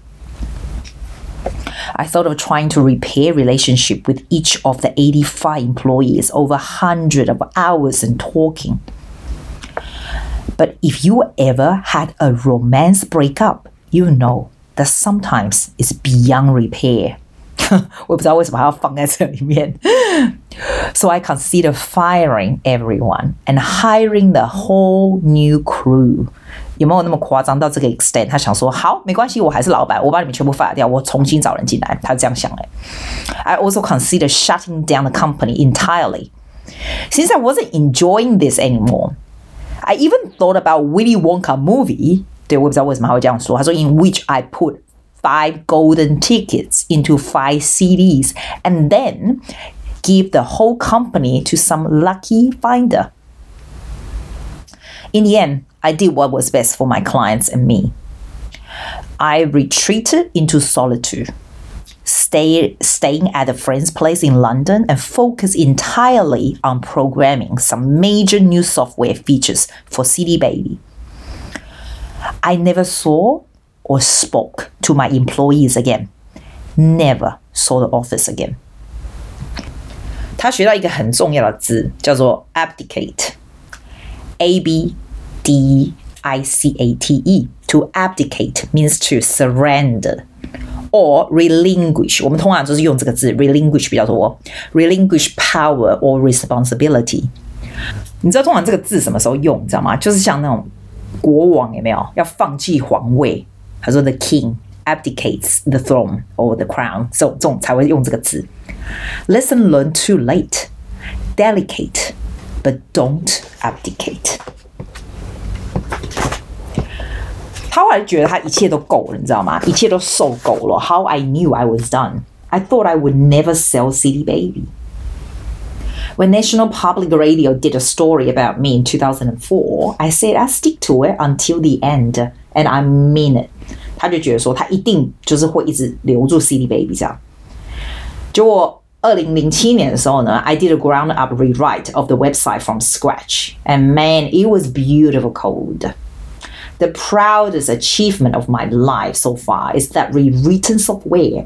I thought of trying to repair relationship with each of the eighty-five employees over hundreds of hours and talking. But if you ever had a romance breakup, you know that sometimes it's beyond repair. 我也不知道為什麼還要放在這裡面。So I considered firing everyone and hiring the whole new crew. 有沒有那麼誇張到這個 extent？ 他想說，好，沒關係，我還是老闆，我把你們全部 fire 掉，我重新找人進來。他這樣想的。I also considered shutting down the company entirely. Since I wasn't enjoying this anymore, I even thought about Willy Wonka movie. 對，我也不知道為什麼他會這樣說。他說 in which I put five golden tickets into five C Ds and then give the whole company to some lucky finder. In the end, I did what was best for my clients and me. I retreated into solitude, stay, staying at a friend's place in London and focused entirely on programming some major new software features for C D Baby. I never saw or spoke to my employees again. Never saw the office again. 他學到一個很重要的字，叫做 abdicate. A B D I C A T E. To abdicate means to surrender or relinquish. 我們通常就是用這個字 relinquish 比較多 relinquish power or responsibility. 你知道通常這個字什麼時候用，你知道嗎？就是像那種國王有沒有要放棄皇位，他說 the king abdicates the throne or the crown， 這種這種才會用這個字。Lesson learned too late. Delicate, but don't abdicate. 他後來覺得他一切都夠了，你知道嗎？一切都受夠了。How I knew I was done. I thought I would never sell C D Baby. When National Public Radio did a story about me in two thousand four, I said I stick to it until the end, and I mean it. 他就覺得說他一定就是會一直留住 C D Baby 這樣。結果二零零七年的時候呢 I did a ground up rewrite of the website from scratch, and man, it was beautiful code. The proudest achievement of my life so far is that rewritten software.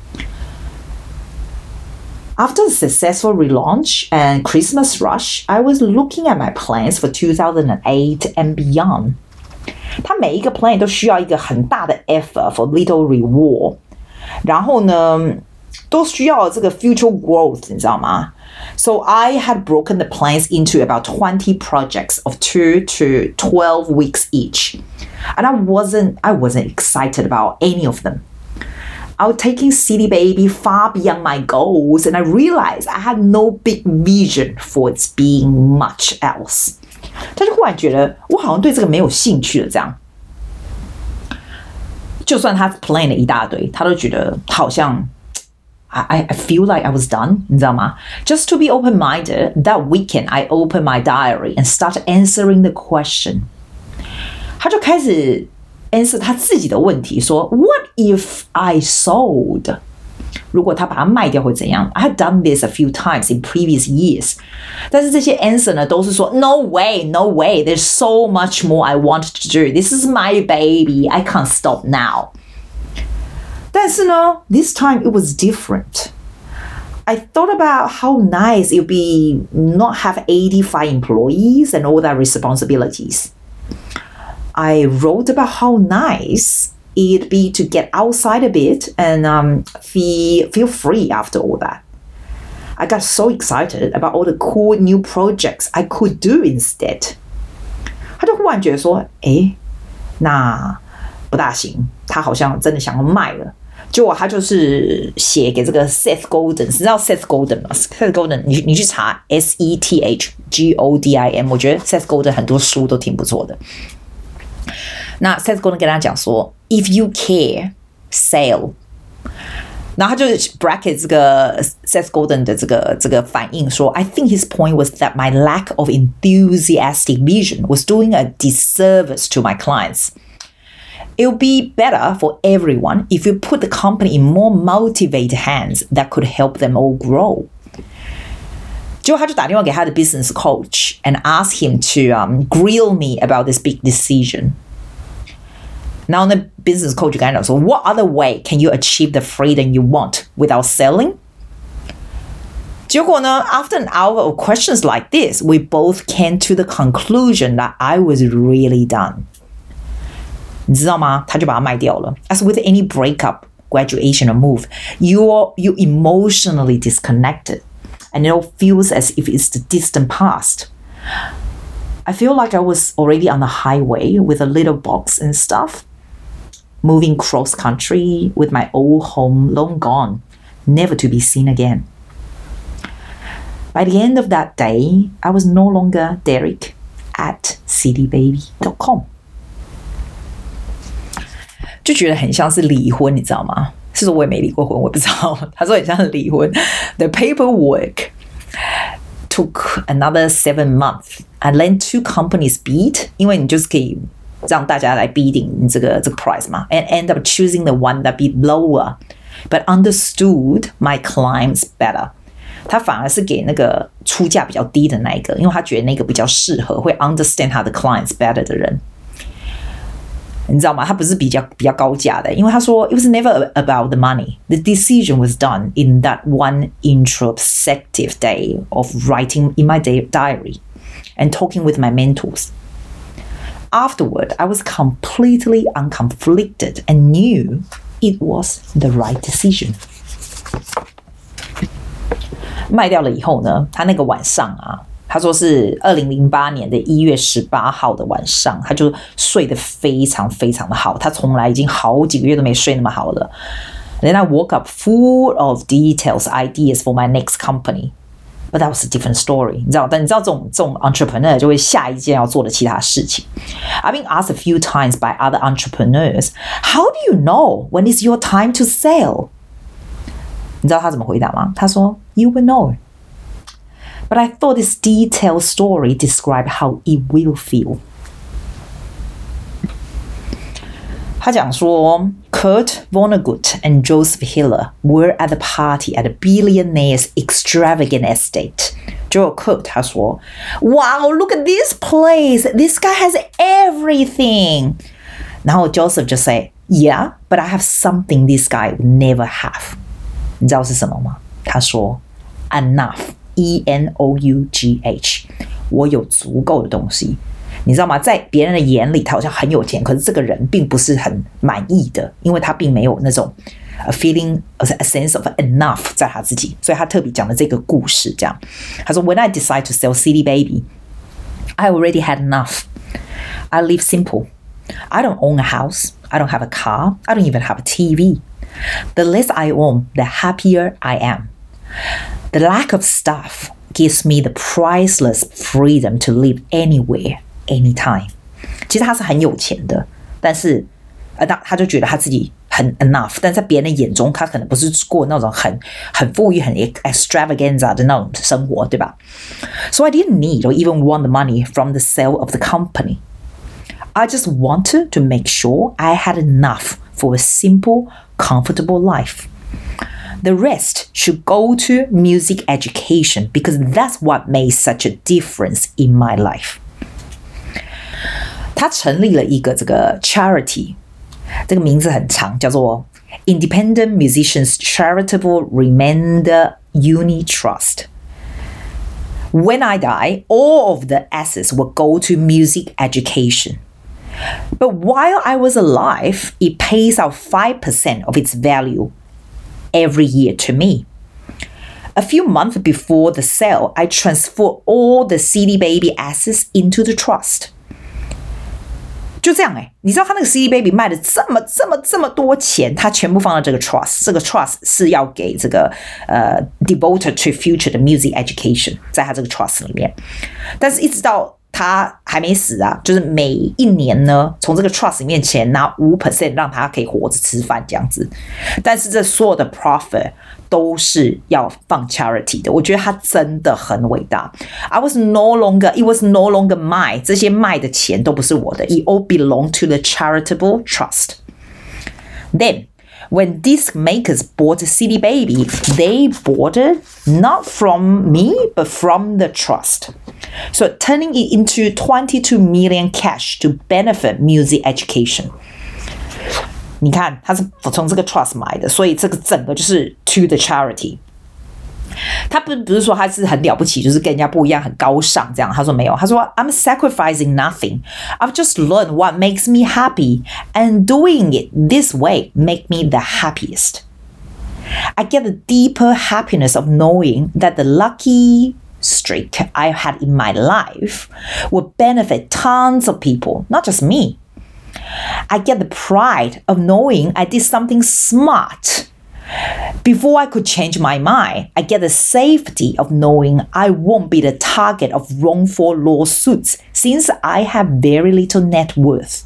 After the successful relaunch and Christmas rush, I was looking at my plans for two thousand eight and beyond. 它每一個 plan 都需要一個很大的 effort for little reward. 然後呢，都需要這個 future growth, 你知道嗎？ So I had broken the plans into about twenty projects of two to twelve weeks each. And I wasn't, I wasn't excited about any of them. I was taking C D Baby far beyond my goals, and I realized I had no big vision for its being much else. 他就忽然覺得我好像對這個沒有興趣了，這樣。就算他 plan 了一大堆，他都覺得好像 I, I feel like I was done, 你知道嗎？ Just to be open-minded, that weekend I opened my diary and started answering the question. 他就開始 answer 他自己的問題，說 What if I sold? 如果他把它賣掉會怎樣？ I had done this a few times in previous years. 但是這些 answer 呢，都是說 No way, no way. There's so much more I want to do. This is my baby. I can't stop now. 但是呢 this time it was different. I thought about how nice it would be not have eighty-five employees and all that responsibilities. I wrote about how nice it'd be to get outside a bit and um, feel, feel free after all that. I got so excited about all the cool new projects I could do instead. 他就忽然覺得說，誒，那不大行，他好像真的想要賣了。結果他就是寫給這個 Seth Godin， 你知道 Seth Godin 嗎 ？Seth Godin， 你你去查 S E T H G O D I M， 我覺得 Seth Godin 很多書都挺不錯的。那 Seth Godin 跟他講說 ，If you care, sell。然後他就 bracket 這個 Seth Godin 的這個這個反應說 ，I think his point was that my lack of enthusiastic vision was doing a disservice to my clients. It would be better for everyone if you put the company in more motivated hands that could help them all grow. 结果他就打電話給他的 business coach and asked him to um, grill me about this big decision. 然後那 business coach 就跟他講說 What other way can you achieve the freedom you want without selling? 結果呢 after an hour of questions like this, we both came to the conclusion that I was really done. 你知道嗎？他就把它賣掉了。As with any breakup, graduation or move, you're, you emotionally disconnected. And it all feels as if it's the distant past. I feel like I was already on the highway with a little box and stuff, moving cross country with my old home long gone, never to be seen again. By the end of that day, I was no longer Derek at city baby dot com. 就覺得很像是離婚，你知道嗎？是說我也沒離過婚，我不知道。他說很像是離婚。The paperwork took another seven months. I let two companies bid, 因為你就是可以讓大家來 bidding 你這個這個 price 嘛 and end up choosing the one that bid lower, but understood my clients better. 他反而是給那個出價比較低的那一個，因為他覺得那個比較適合，會 understand 他的 clients better 的人。你知道嗎？他不是比較比較高價的，因為他說 it was never about the money. The decision was done in that one introspective day of writing in my diary and talking with my mentors. Afterward, I was completely unconflicted and knew it was the right decision. 賣掉了以後呢，他那個晚上啊。他說是二零零八年的一月十八號的晚上，他就睡得非常非常的好，他從來已經好幾個月都沒睡那麼好了。Then I woke up full of details, ideas for my next company. But that was a different story. 你知道，但你知道這種這種 entrepreneur 就會下一件要做的其他事情。I've been asked a few times by other entrepreneurs, how do you know when it's your time to sell? 你知道他怎麼回答嗎？他說 You will know.But I thought this detailed story described how it will feel. 他講說 Kurt Vonnegut and Joseph Hiller were at the party at a billionaire's extravagant estate. 就有 Kurt 他說 Wow, look at this place. This guy has everything. 然後 Joseph 就 say Yeah, but I have something this guy would never have. 你知道是什麼嗎？他說 Enough.E N O U G H 我有足夠的東西，你知道嗎？在別人的眼裡他好像很有錢，可是這個人並不是很滿意的，因為他並沒有那種 a feeling a sense of enough 在他自己，所以他特別講了這個故事這樣。他說 When I decide to sell City Baby, I already had enough. I live simple. I don't own a house. I don't have a car. I don't even have a T V. The less I own, the happier I am.The lack of stuff gives me the priceless freedom to live anywhere, anytime. 其實他是很有錢的，但是呃，他他就覺得他自己很 enough， 但在別人的眼中，他可能不是過那種很很富裕、很 extravaganza 的那種生活，對吧？ So I didn't need or even want the money from the sale of the company. I just wanted to make sure I had enough for a simple, comfortable life.The rest should go to music education because that's what made such a difference in my life. 他成立了一個這個 charity， 這個名字很長，叫做 Independent Musicians Charitable Remainder Uni Trust. When I die, all of the assets will go to music education. But while I was alive, it pays out five percent of its value.Every year to me. A few months before the sale, I transferred all the C D Baby assets into the trust. 就這樣哎、欸，你知道他那個 C D Baby 賣了這麼這麼這麼多錢，他全部放到這個 trust， 這個 trust 是要給這個呃 devoted to future 的 music education， 在他這個 trust 裡面。但是一直到他還沒死啊，就是每一年呢，從這個 trust 裡面錢拿五 percent 讓他可以活着吃飯這樣子。但是這所有的 profit 都是要放 charity 的，我覺得他真的很偉大。I was no longer, it was no longer mine， 這些賣的錢都不是我的， it all belonged to the charitable trust. Then, when disc makers bought C D Baby, they bought it not from me, but from the trust. So turning it into twenty-two million cash to benefit music education. 你看，他是從這個 trust 買的，所以這個整個就是 to the charity。他不不是說他是很了不起，就是跟人家不一樣，很高尚這樣。他說沒有，他說 I'm sacrificing nothing. I've just learned what makes me happy, and doing it this way make me the happiest. I get the deeper happiness of knowing that the lucky streak I had in my life will benefit tons of people, not just me. I get the pride of knowing I did something smart.Before I could change my mind, I get the safety of knowing I won't be the target of wrongful lawsuits since I have very little net worth.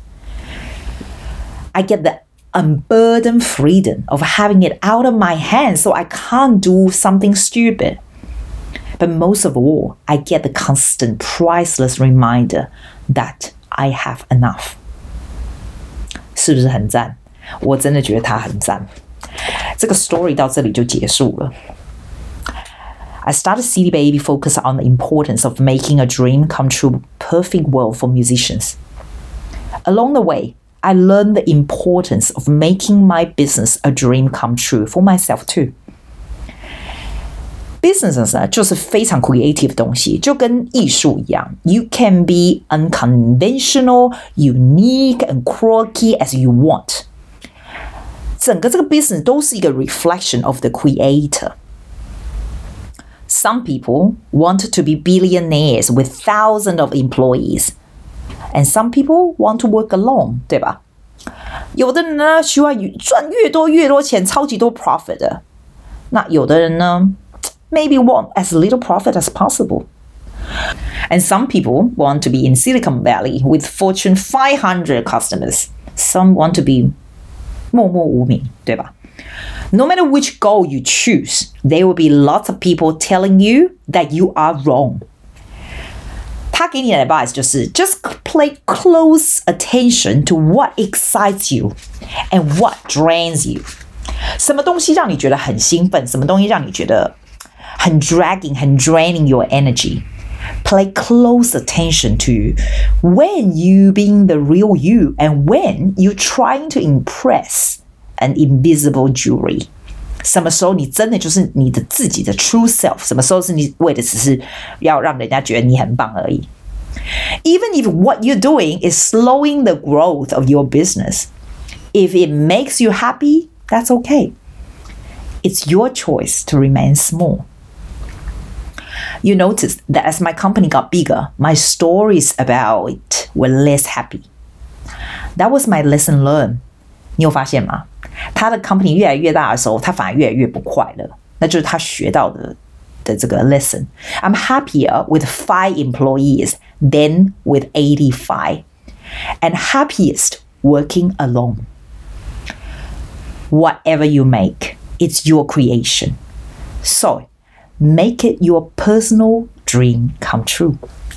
I get the unburdened freedom of having it out of my hands so I can't do something stupid. But most of all, I get the constant priceless reminder that I have enough. 是不是很讚？我真的覺得他很讚。這個 story 到這裡就結束了。I started C D Baby focus on the importance of making a dream come true perfect world for musicians. Along the way, I learned the importance of making my business a dream come true for myself too. Business 呢，就是非常 creative 的東西，就跟藝術一樣。You can be unconventional, unique, and quirky as you want.整個這個 business 都是一個 reflection of the creator. Some people want to be billionaires with thousands of employees, and some people want to work alone, 對吧？有的人呢需要賺越多越多錢，超級多 profit 的。那有的人呢 maybe want as little profit as possible. And some people want to be in Silicon Valley with Fortune five hundred customers. Some want to be默默无名，对吧？ No matter which goal you choose, there will be lots of people telling you that you are wrong. 他給你的 advice 就是 just pay close attention to what excites you and what drains you. 什麼東西讓你覺得很興奮？什麼東西讓你覺得很 dragging, 很 draining your energy? Pay close attention to when you being the real you and when you trying to impress an invisible jury. 什麼時候你真的就是你的自己的 true self? 什麼時候是你為的只是要讓人家覺得你很棒而已？ Even if what you're doing is slowing the growth of your business, if it makes you happy, that's okay. It's your choice to remain small.You noticed that as my company got bigger, my stories about it were less happy. That was my lesson learned. 你有發現嗎？他的 company 越來越大的時候，他反而越來越不快樂。那就是他學到的的這個 lesson. I'm happier with five employees than with eighty-five, and happiest working alone. Whatever you make, it's your creation. So.Make it your personal dream come true.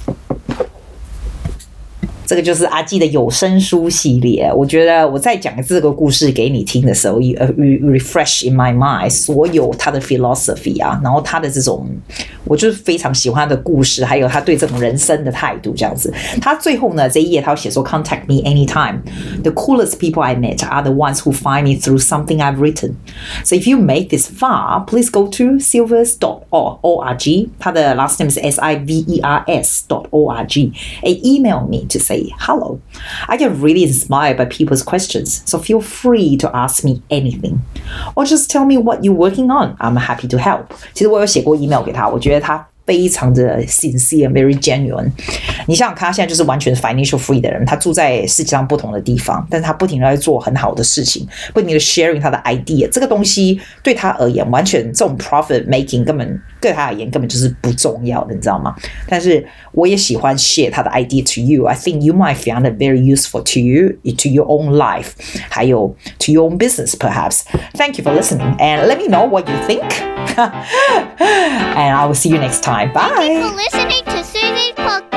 这個就是阿紀的有聲書系列。我覺得我在講這個故事給你聽的時候 refresh in my mind 所有他的 philosophy 啊，然後他的這種我就是非常喜歡他的故事，還有他對這種人生的態度這樣子。他最後呢這一頁他寫說 Contact me anytime. The coolest people I met are the ones who find me through something I've written. So if you made this far, please go to silvers dot org. 他的 last name is S I V E R S dot org. And email me to say hello. I get really inspired by people's questions, so feel free to ask me anything. Or just tell me what you're working on. I'm happy to help. 其實我有寫過 email 給他，我覺得他非常的 sincere, very genuine. 你想想看，他現在就是完全 financial free 的人，他住在世界上不同的地方，但是他不停的在做很好的事情，不停的 sharing 他的 idea。这個東西對他而言，完全這種 profit making 根本對他而言根本就是不重要的，你知道嗎？但是我也喜歡 share 他的 idea to you. I think you might find it very useful to you, to your own life, 還有 to your own business perhaps. Thank you for listening, and let me know what you think. And I will see you next time. Bye. Thank you for listening to Susie's podcast.